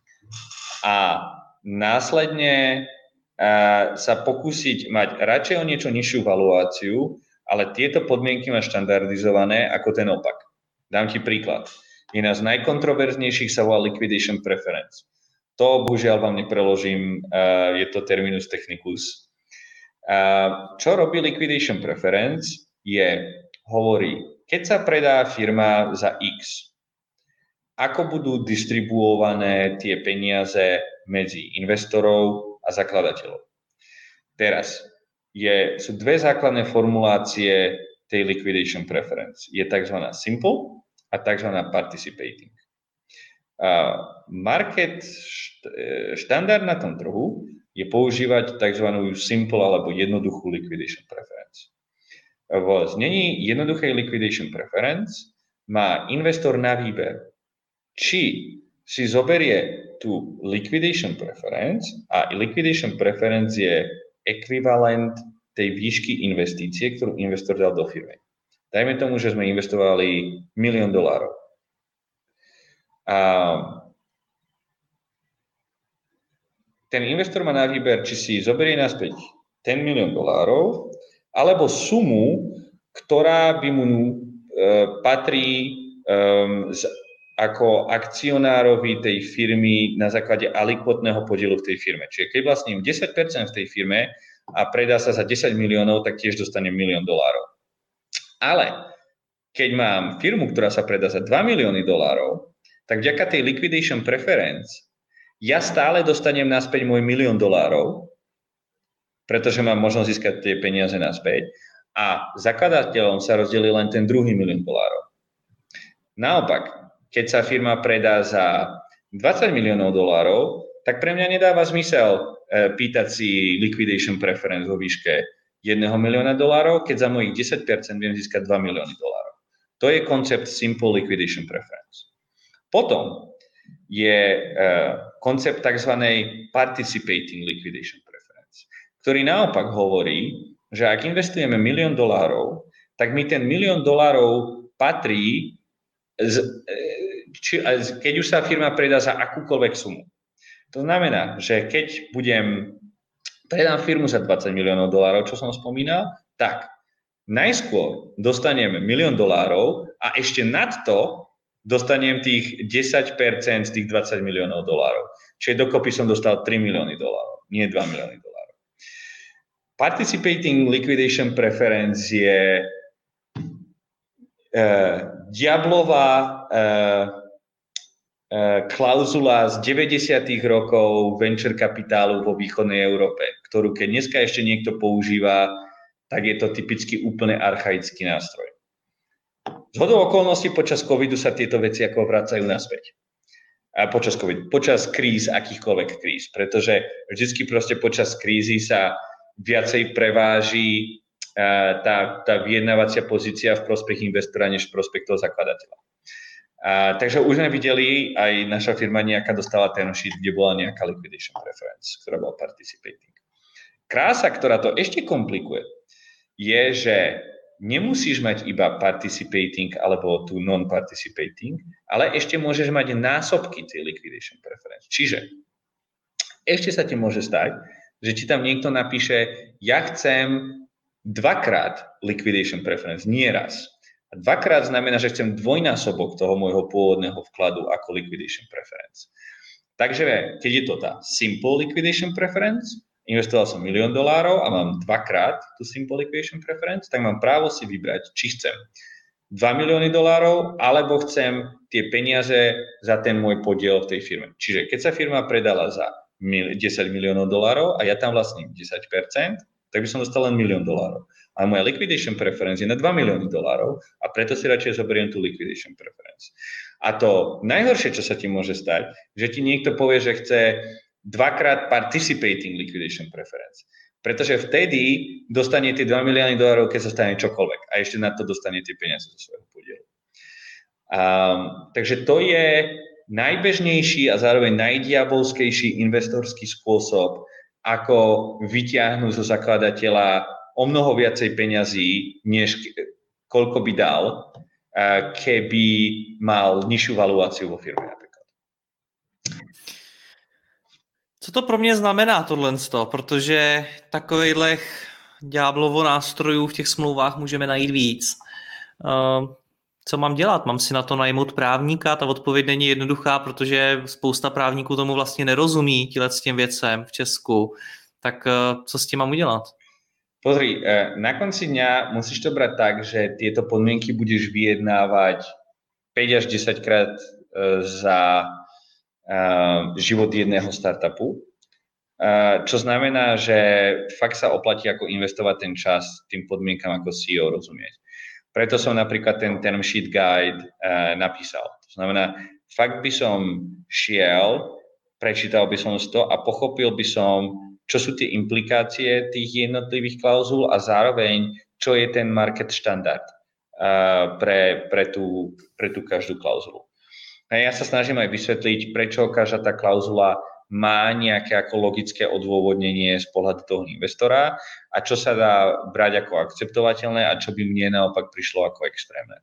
S2: a následne uh, sa pokúsiť mať radšej o niečo nižšiu valuáciu, ale tieto podmienky má štandardizované ako ten opak. Dám ti príklad. Jedna z najkontroverznejších sa volá liquidation preference. To bohužiaľ vám nepreložím, uh, je to terminus technicus. Uh, čo robí liquidation preference je hovorí, keď sa predá firma za X, ako budú distribuované tie peniaze medzi investorov a zakladateľov. Teraz je, sú dve základné formulácie tej liquidation preference. Je tzv. Simple a tzv. Participating. Uh, market štandard na tom trhu je používať tzv. Simple alebo jednoduchú liquidation preference. V znení jednoduchej liquidation preference má investor na výber, či si zoberie tú liquidation preference a liquidation preference je ekvivalent tej výšky investície, ktorú investor dal do firmy. Dajme tomu, že sme investovali milión dolárov. A ten investor má na výber, či si zoberie naspäť ten milión dolárov, alebo sumu, ktorá by mu e, patrí e, z, ako akcionárovi tej firmy na základe alikvotného podielu v tej firme. Čiže keď vlastním desať percent v tej firme a predá sa za desať miliónov, tak tiež dostane milión dolárov. Ale keď mám firmu, ktorá sa predá za dva milióny dolárov, tak vďaka tej liquidation preference ja stále dostanem naspäť môj milión dolárov, pretože mám možnosť získať tie peniaze naspäť a zakladateľom sa rozdelí len ten druhý milión dolárov. Naopak, keď sa firma predá za dvadsať miliónov dolárov, tak pre mňa nedáva zmysel e, pýtať si liquidation preference vo výške jedného milióna dolárov, keď za mojich desať percent viem získať dva milióny dolárov. To je koncept simple liquidation preference. Potom je e, koncept tzv. Participating liquidation preference, ktorý naopak hovorí, že ak investujeme milión dolárov, tak mi ten milión dolárov patrí, z, či, keď už sa firma predá za akúkoľvek sumu. To znamená, že keď budem, predám firmu za dvadsať miliónov dolárov, čo som spomínal, tak najskôr dostanem milión dolárov a ešte nad to dostanem tých desať percent z tých dvadsať miliónov dolárov. Čiže dokopy som dostal tri milióny dolárov, nie dva milióny dolárov. Participating liquidation preference je uh, diablová uh, uh, klauzula z deväťdesiatych rokov venture kapitálu vo východnej Európe, ktorú keď dneska ešte niekto používa, tak je to typicky úplne archaický nástroj. Zhodou okolností počas covidu sa tieto veci ako vracajú naspäť. A počas COVID, počas kríz, akýchkoľvek kríz, pretože vždycky proste počas krízy sa viacej preváži uh, tá, tá vyjednávacia pozícia v prospech investora než v prospech toho zakladateľa. Uh, takže už sme videli, aj naša firma nejaká dostala term sheet, kde bola nejaká liquidation preference, ktorá bola participating. Krása, ktorá to ešte komplikuje, je, že nemusíš mať iba participating alebo tu non-participating, ale ešte môžeš mať násobky tej liquidation preference. Čiže ešte sa ti môže stať, že ti tam niekto napíše, ja chcem dvakrát liquidation preference, nie raz. A dvakrát znamená, že chcem dvojnásobok toho môjho pôvodného vkladu ako liquidation preference. Takže keď je to tá simple liquidation preference, investoval som milión dolárov a mám dvakrát tú simple liquidation preference, tak mám právo si vybrať, či chcem dva milióny dolárov, alebo chcem tie peniaze za ten môj podiel v tej firme. Čiže keď sa firma predala za desať miliónov dolárov a ja tam vlastním desať percent, tak by som dostal len milión dolárov. Ale moja liquidation preference je na dva milióny dolárov a preto si radšej zoberiem tú liquidation preference. A to najhoršie, čo sa ti môže stať, že ti niekto povie, že chce dvakrát participating liquidation preference. Pretože vtedy dostane tie dva milióny dolárov, keď sa stane čokoľvek. A ešte na to dostane tie peniaze zo svojho podielu. Um, takže to je najbežnejší a zároveň najdiabolskejší investorský spôsob, ako vyťahnuť zo zakladateľa o mnoho viacej peňazí, než koľko by dal, keby mal nižšiu valuáciu vo firme.
S3: Co to pro mě znamená tohle, protože takových ďáblovo nástrojů v těch smlouvách můžeme najít víc. Co mám dělat? Mám si na to najmout právníka? Ta odpověď není jednoduchá, protože spousta právníků tomu vlastně nerozumí tíhle s těm věcem v Česku. Tak co s tím mám udělat?
S2: Pozri, na konci dňa musíš to brať tak, že tieto podmienky budeš vyjednávať päť až desať krát za život jedného startupu, čo znamená, že fakt sa oplatí ako investovať ten čas tým podmienkam ako C E O rozumieť. Preto som napríklad ten term sheet guide napísal. To znamená, fakt by som šiel, prečítal by som to a pochopil by som, čo sú tie implikácie tých jednotlivých klauzul a zároveň, čo je ten market štandard pre, pre, tú, pre tú každú klauzulu. A ja sa snažím aj vysvetliť, prečo každá tá klauzula má nejaké ako logické odôvodnenie z pohľadu toho investora a čo sa dá brať ako akceptovateľné a čo by mne naopak prišlo ako extrémne.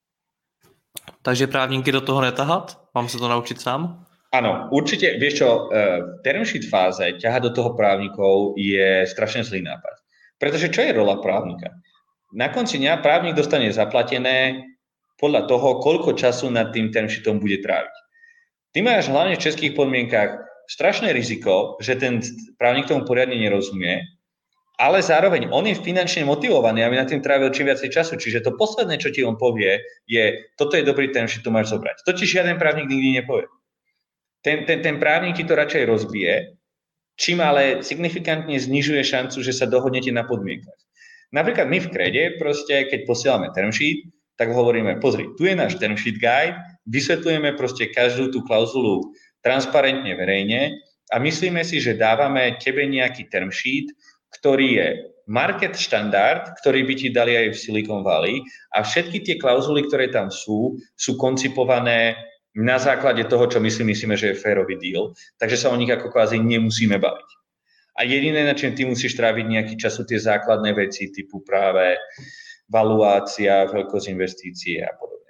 S3: Takže právníky do toho netahat? Mám sa to naučiť sám?
S2: Áno, určite, vieš čo, v term sheet fáze ťahať do toho právnikov je strašne zlý nápad. Pretože čo je rola právnika? Na konci dňa právnik dostane zaplatené podľa toho, koľko času nad tým term sheetom bude tráviť. Ty máš hlavne v českých podmienkach strašné riziko, že ten právnik tomu poriadne nerozumie, ale zároveň on je finančne motivovaný, aby na tým trávil čím viacej času. Čiže to posledné, čo ti on povie, je, toto je dobrý term sheet, to máš zobrať. To ti žiaden právnik nikdy nepovie. Ten, ten, ten právnik ti to radšej rozbije, čím ale signifikantne znižuje šancu, že sa dohodnete na podmienkach. Napríklad my v Krede, proste, keď posielame term sheet, tak hovoríme, pozri, tu je náš term sheet guide, vysvetľujeme proste každú tú klauzulu transparentne, verejne a myslíme si, že dávame tebe nejaký term sheet, ktorý je market štandard, ktorý by ti dali aj v Silicon Valley a všetky tie klauzuly, ktoré tam sú, sú koncipované na základe toho, čo my si myslíme, že je férový deal, takže sa o nich ako kvázi nemusíme baviť. A jediné, na čím ty musíš tráviť nejaký čas, sú tie základné veci typu práve valuácia, veľkosť investície a podobne.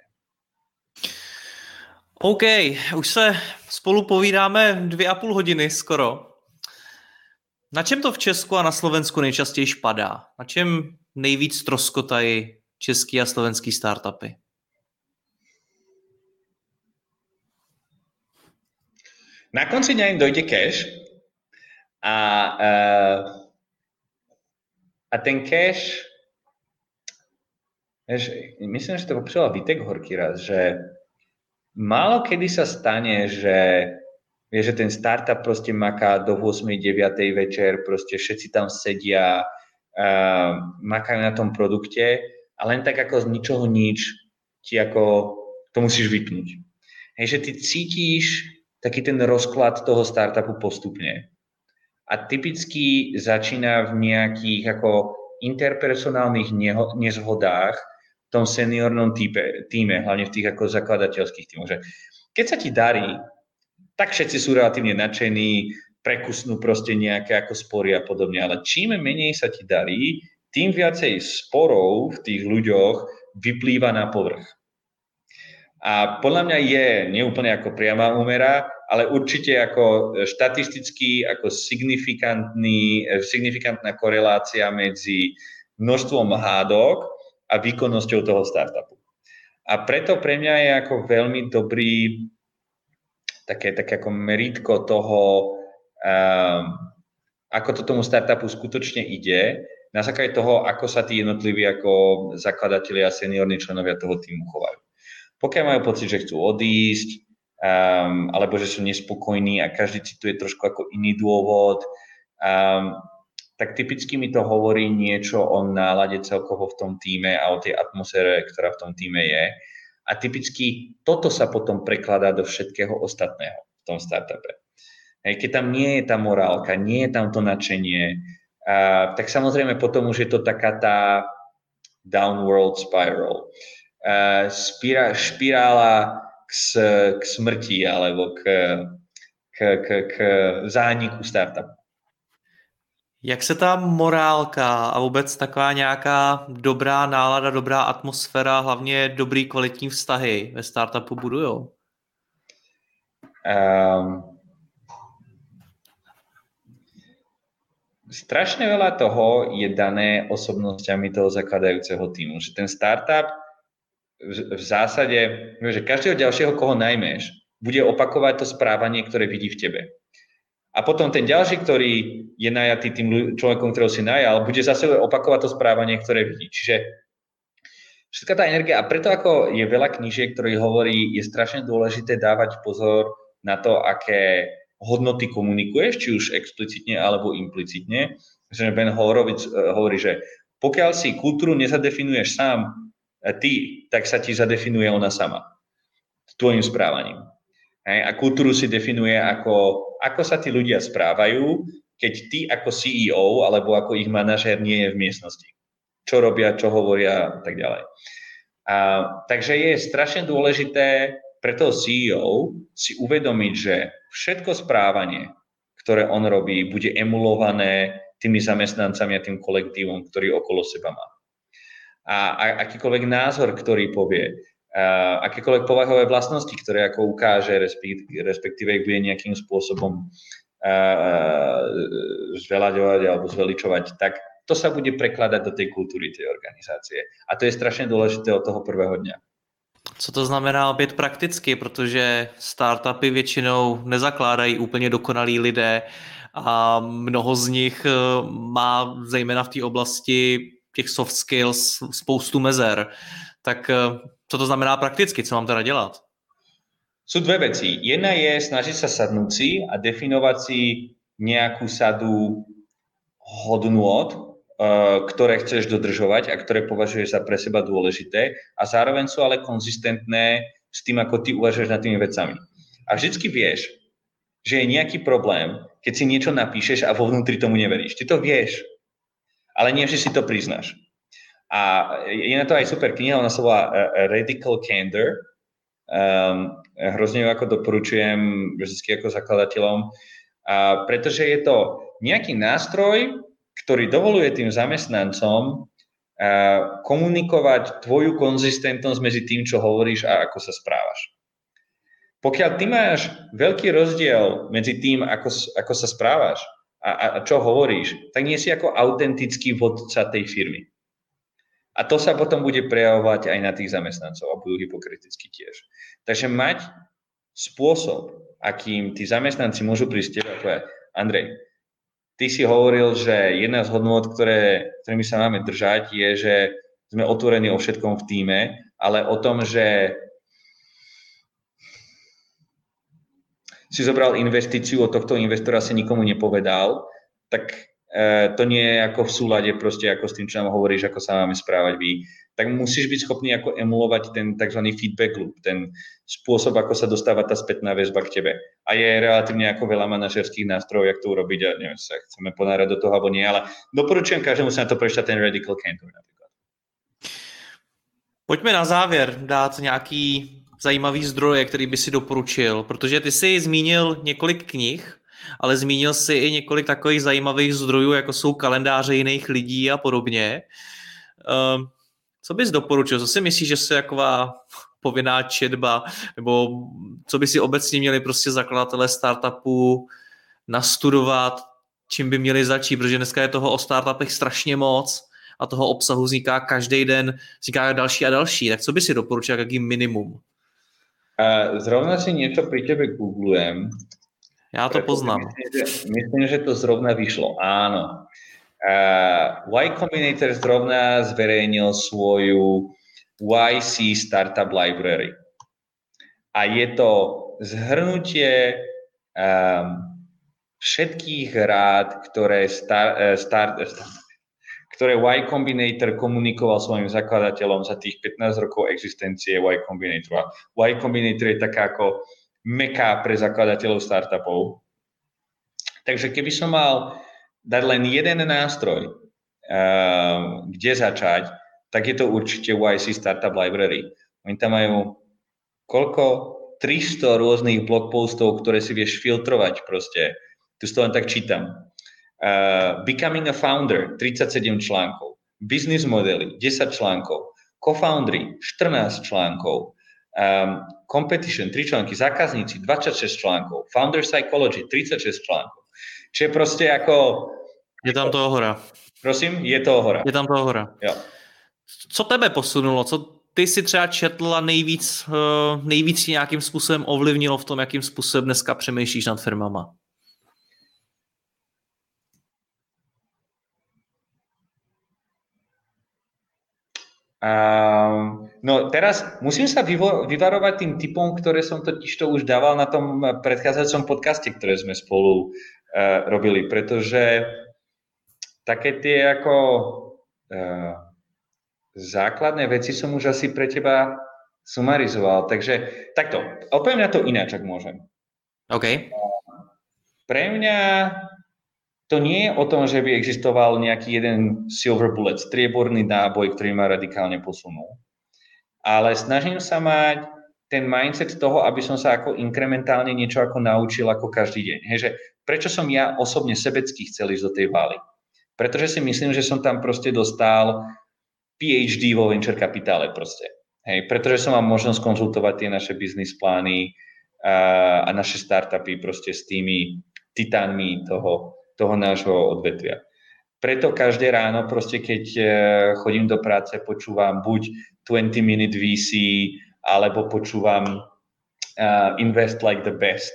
S3: OK, už se spolu povídáme dvě a půl hodiny skoro. Na čem to v Česku a na Slovensku nejčastěji padá? Na čem nejvíc troskotají český a slovenský startupy?
S2: Na konci dňa im dojde cash a, a, a ten cash, vieš, myslím, že to popísala Vitek Horký raz, že málo kedy sa stane, že, vieš, že ten startup proste maká do ôsmej deviatej večer, proste všetci tam sedia, uh, makajú na tom produkte a len tak ako z ničoho nič ti ako to musíš vypnúť. Hej, že ty cítiš taký ten rozklad toho startupu postupne. A typicky začína v nejakých ako interpersonálnych neho, nezhodách v tom seniornom týpe, týme, hlavne v tých ako zakladateľských týmoch. Že keď sa ti darí, tak všetci sú relatívne nadšení, prekusnú proste nejaké ako spory a podobne. Ale čím menej sa ti darí, tým viacej sporov v tých ľuďoch vyplýva na povrch. A podľa mňa je neúplne ako priama úmera, ale určite ako štatisticky, ako signifikantný, signifikantná korelácia medzi množstvom hádok a výkonnosťou toho startupu. A preto pre mňa je ako veľmi dobrý také, také ako meritko toho, um, ako to tomu startupu skutočne ide, na základe toho, ako sa tí jednotliví ako zakladatelia a seniorní členovia toho týmu chovajú. Pokiaľ majú pocit, že chcú odísť, um, alebo že sú nespokojní a každý cituje trošku ako iný dôvod, um, tak typicky mi to hovorí niečo o nálade celkovo v tom týme a o tej atmosfére, ktorá v tom týme je. A typicky toto sa potom prekladá do všetkého ostatného v tom startupe. Hej, keď tam nie je tá morálka, nie je tam to nadšenie, uh, tak samozrejme potom už je to taká tá downward spiral. Uh, spira, špirála k, k smrti alebo k, k, k, k zániku startupu.
S3: Jak se ta morálka a vůbec taková nějaká dobrá nálada, dobrá atmosféra, hlavně dobrý kvalitní vztahy ve startupu budujou?
S2: Um, strašne veľa toho je dané osobnostiami toho zakladajúceho týmu. Že ten startup v zásade, že každého ďalšieho, koho najmeš, bude opakovať to správanie, ktoré vidí v tebe. A potom ten ďalší, ktorý je najatý tým človekom, ktorého si najal, bude zase opakovať to správanie, ktoré vidí. Čiže všetká tá energia, a preto ako je veľa knížiek, ktorý hovorí, je strašne dôležité dávať pozor na to, aké hodnoty komunikuješ, či už explicitne alebo implicitne. Ben Horowitz hovorí, že pokiaľ si kultúru nezadefinuješ sám, ty, tak sa ti zadefinuje ona sama. S tvojim správaním. Hej? A kultúru si definuje ako, ako sa tí ľudia správajú, keď ty ako C E O alebo ako ich manažér nie je v miestnosti. Čo robia, čo hovoria a tak ďalej. A, takže je strašne dôležité pre toho C E O si uvedomiť, že všetko správanie, ktoré on robí, bude emulované tými zamestnancami a tým kolektívom, ktorý okolo seba má. A, a akýkoľvek názor, ktorý povie, a akékoľvek povahové vlastnosti, ktoré ako ukáže, respektíve ich bude nejakým spôsobom zvelaďovať alebo zveličovať, tak to sa bude prekladať do tej kultúry tej organizácie. A to je strašne dôležité od toho prvého dňa.
S3: Co to znamená být prakticky, protože startupy většinou nezakládají úplně dokonalí lidé a mnoho z nich má zejména v té oblasti těch soft skills spoustu mezer. Tak co to znamená prakticky? Co mám teda dělat?
S2: Sú dve veci. Jedna je snažiť sa sadnúť si a definovať si nejakú sadu hodnôt, ktoré chceš dodržovať a ktoré považuješ za pre seba dôležité a zároveň sú ale konzistentné s tým, ako ty uvažuješ nad tými vecami. A vždycky vieš, že je nejaký problém, keď si niečo napíšeš a vo vnútri tomu neveríš. Ty to vieš, ale nie vždy si to priznáš. A je na to aj super kniha, ona sa volá Radical Candor. Um, hrozne ju ako doporučujem vždy ako zakladateľom, a pretože je to nejaký nástroj, ktorý dovoluje tým zamestnancom uh, komunikovať tvoju konzistentnosť medzi tým, čo hovoríš a ako sa správaš. Pokiaľ ty máš veľký rozdiel medzi tým, ako, ako sa správaš a, a čo hovoríš, tak nie si ako autentický vodca tej firmy. A to sa potom bude prejavovať aj na tých zamestnancov a budú hypokriticky tiež. Takže mať spôsob, akým tí zamestnanci môžu prísť teba, to je, Andrej, ty si hovoril, že jedna z hodnôt, ktoré, ktorými sa máme držať, je, že sme otvorení o všetkom v tíme, ale o tom, že si zobral investíciu, od tohto investora si nikomu nepovedal, tak to nie je ako v súlade proste ako s tým, čo nám hovoríš, ako sa máme správať vy, tak musíš byť schopný ako emulovať ten tzv. Feedback loop, ten spôsob, ako sa dostáva tá spätná väzba k tebe. A je relatívne ako veľa manažerských nástrojov, jak to urobiť a neviem, sa chceme ponárať do toho, alebo nie, ale doporučujem každému sa na to prečítať ten Radical Candor napríklad.
S3: Pojďme na závěr dát nějaký zajímavý zdroje, který by si doporučil, protože ty jsi zmínil několik knih, ale zmínil si i několik takových zajímavých zdrojů, jako jsou kalendáře jiných lidí a podobně. Um, co bys doporučil? Co si myslíš, že je taková povinná četba, nebo co by si obecně měli prostě zakladatelé startupů nastudovat, čím by měli začít, protože dneska je toho o startupech strašně moc a toho obsahu vzniká každý den, vzniká další a další. Tak co by si doporučil, jaký minimum?
S2: Uh, zrovna si niečo pri tebe googlujem.
S3: Já to poznám.
S2: Myslím že, myslím, že to zrovna vyšlo. Áno. Uh, Y Combinator zrovna zverejnil svoju Y C Startup Library. A je to zhrnutie um, všetkých rád, ktoré, star, uh, start, uh, ktoré Y Combinator komunikoval svojim zakladateľom za tých pätnásť rokov existencie Y Combinator. Y Combinator je taká ako meka pre zakladateľov startupov. Takže keby som mal dať len jeden nástroj, uh, kde začať, tak je to určite Y C Startup Library. Oni tam majú koľko? tristo rôznych blogpostov, ktoré si vieš filtrovať proste. Tu to len tak čítam. Uh, Becoming a Founder, tridsaťsedem článkov. Business modely, desať článkov. Co-foundry, štrnásť článkov. Um, competition, tri články. Zákazníci, dvadsaťšesť článkov. Founder Psychology, tridsaťšesť článkov. Čiže proste ako...
S3: Je tam toho hora.
S2: Prosím, je toho hora.
S3: Je tam toho hora.
S2: Jo.
S3: Co tebe posunulo? Co ty si třeba četl a nejvíc, nejvíc nějakým způsobem ovlivnilo v tom, jakým způsobem dneska přemýšlíš nad firmama?
S2: Um, no teraz musím sa vyvo- vyvarovať tým typom, ktoré som totiž to už dával na tom predchádzajúcom podcaste, ktoré sme spolu uh, robili, pretože také tie ako uh, základné veci som už asi pre teba sumarizoval, takže takto, opäť na to ináč, ak môžem.
S3: OK.
S2: Pre mňa to nie je o tom, že by existoval nejaký jeden silver bullet, strieborný náboj, ktorý ma radikálne posunul. Ale snažím sa mať ten mindset toho, aby som sa ako inkrementálne niečo ako naučil ako každý deň. Hej, že prečo som ja osobne sebecky chcel ísť do tej vály? Pretože si myslím, že som tam proste dostal PhD vo venture kapitále proste. Hej, pretože som mal možnosť konzultovať tie naše biznis plány a, a naše startupy proste s tými titánmi toho toho nášho odvetvia. Preto každé ráno, proste keď chodím do práce, počúvam buď twenty minute V C, alebo počúvam uh, Invest like the best.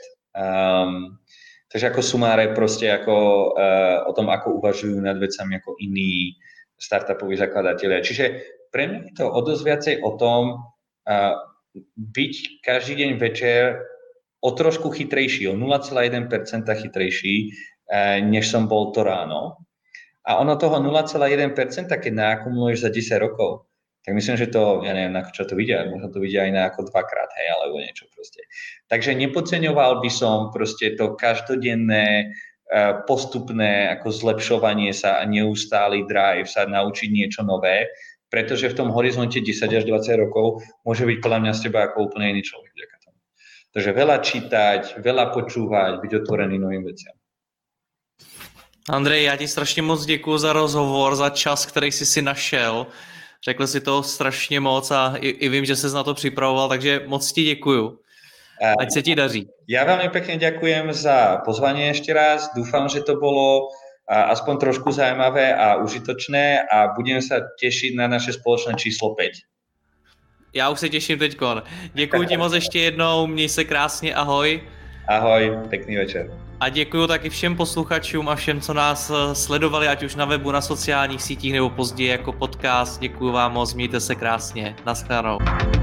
S2: Um, takže ako sumáre proste ako, uh, o tom, ako uvažujú nad vecami ako iní startupoví zakladatelia. Čiže pre mňa je to o dosť viacej o tom uh, byť každý deň večer o trošku chytrejší, o nula celá jeden percent chytrejší, než som bol to ráno. A ono toho nula celá jeden percent, keď naakumuluješ za desať rokov, tak myslím, že to, ja neviem, na čo to vidia, možno to vidia aj na ako dvakrát, hej, alebo niečo proste. Takže nepodceňoval by som proste to každodenné, postupné ako zlepšovanie sa a neustály drive sa naučiť niečo nové, pretože v tom horizonte desať až dvadsať rokov môže byť podľa mňa z teba ako úplne iný človek vďaka tomu. Takže veľa čítať, veľa počúvať, byť otvorený novým veciam.
S3: Andrej, já ti strašně moc děkuji za rozhovor, za čas, který jsi si našel. Řekl si toho strašně moc a i, i vím, že ses na to připravoval, takže moc ti děkuju. Ať se ti daří.
S2: Ja veľmi pekne ďakujem za pozvanie ešte raz. Dúfam, že to bolo aspoň trošku zaujímavé a užitočné a budem sa tešiť na naše spoločné číslo päť.
S3: Já už se těším teďkon. Děkuji ti moc ještě jednou, měj se krásně, ahoj.
S2: Ahoj, pekný večer.
S3: A děkuji taky všem posluchačům a všem, co nás sledovali, ať už na webu, na sociálních sítích nebo později jako podcast. Děkuji vám moc, mějte se krásně. Naschledanou.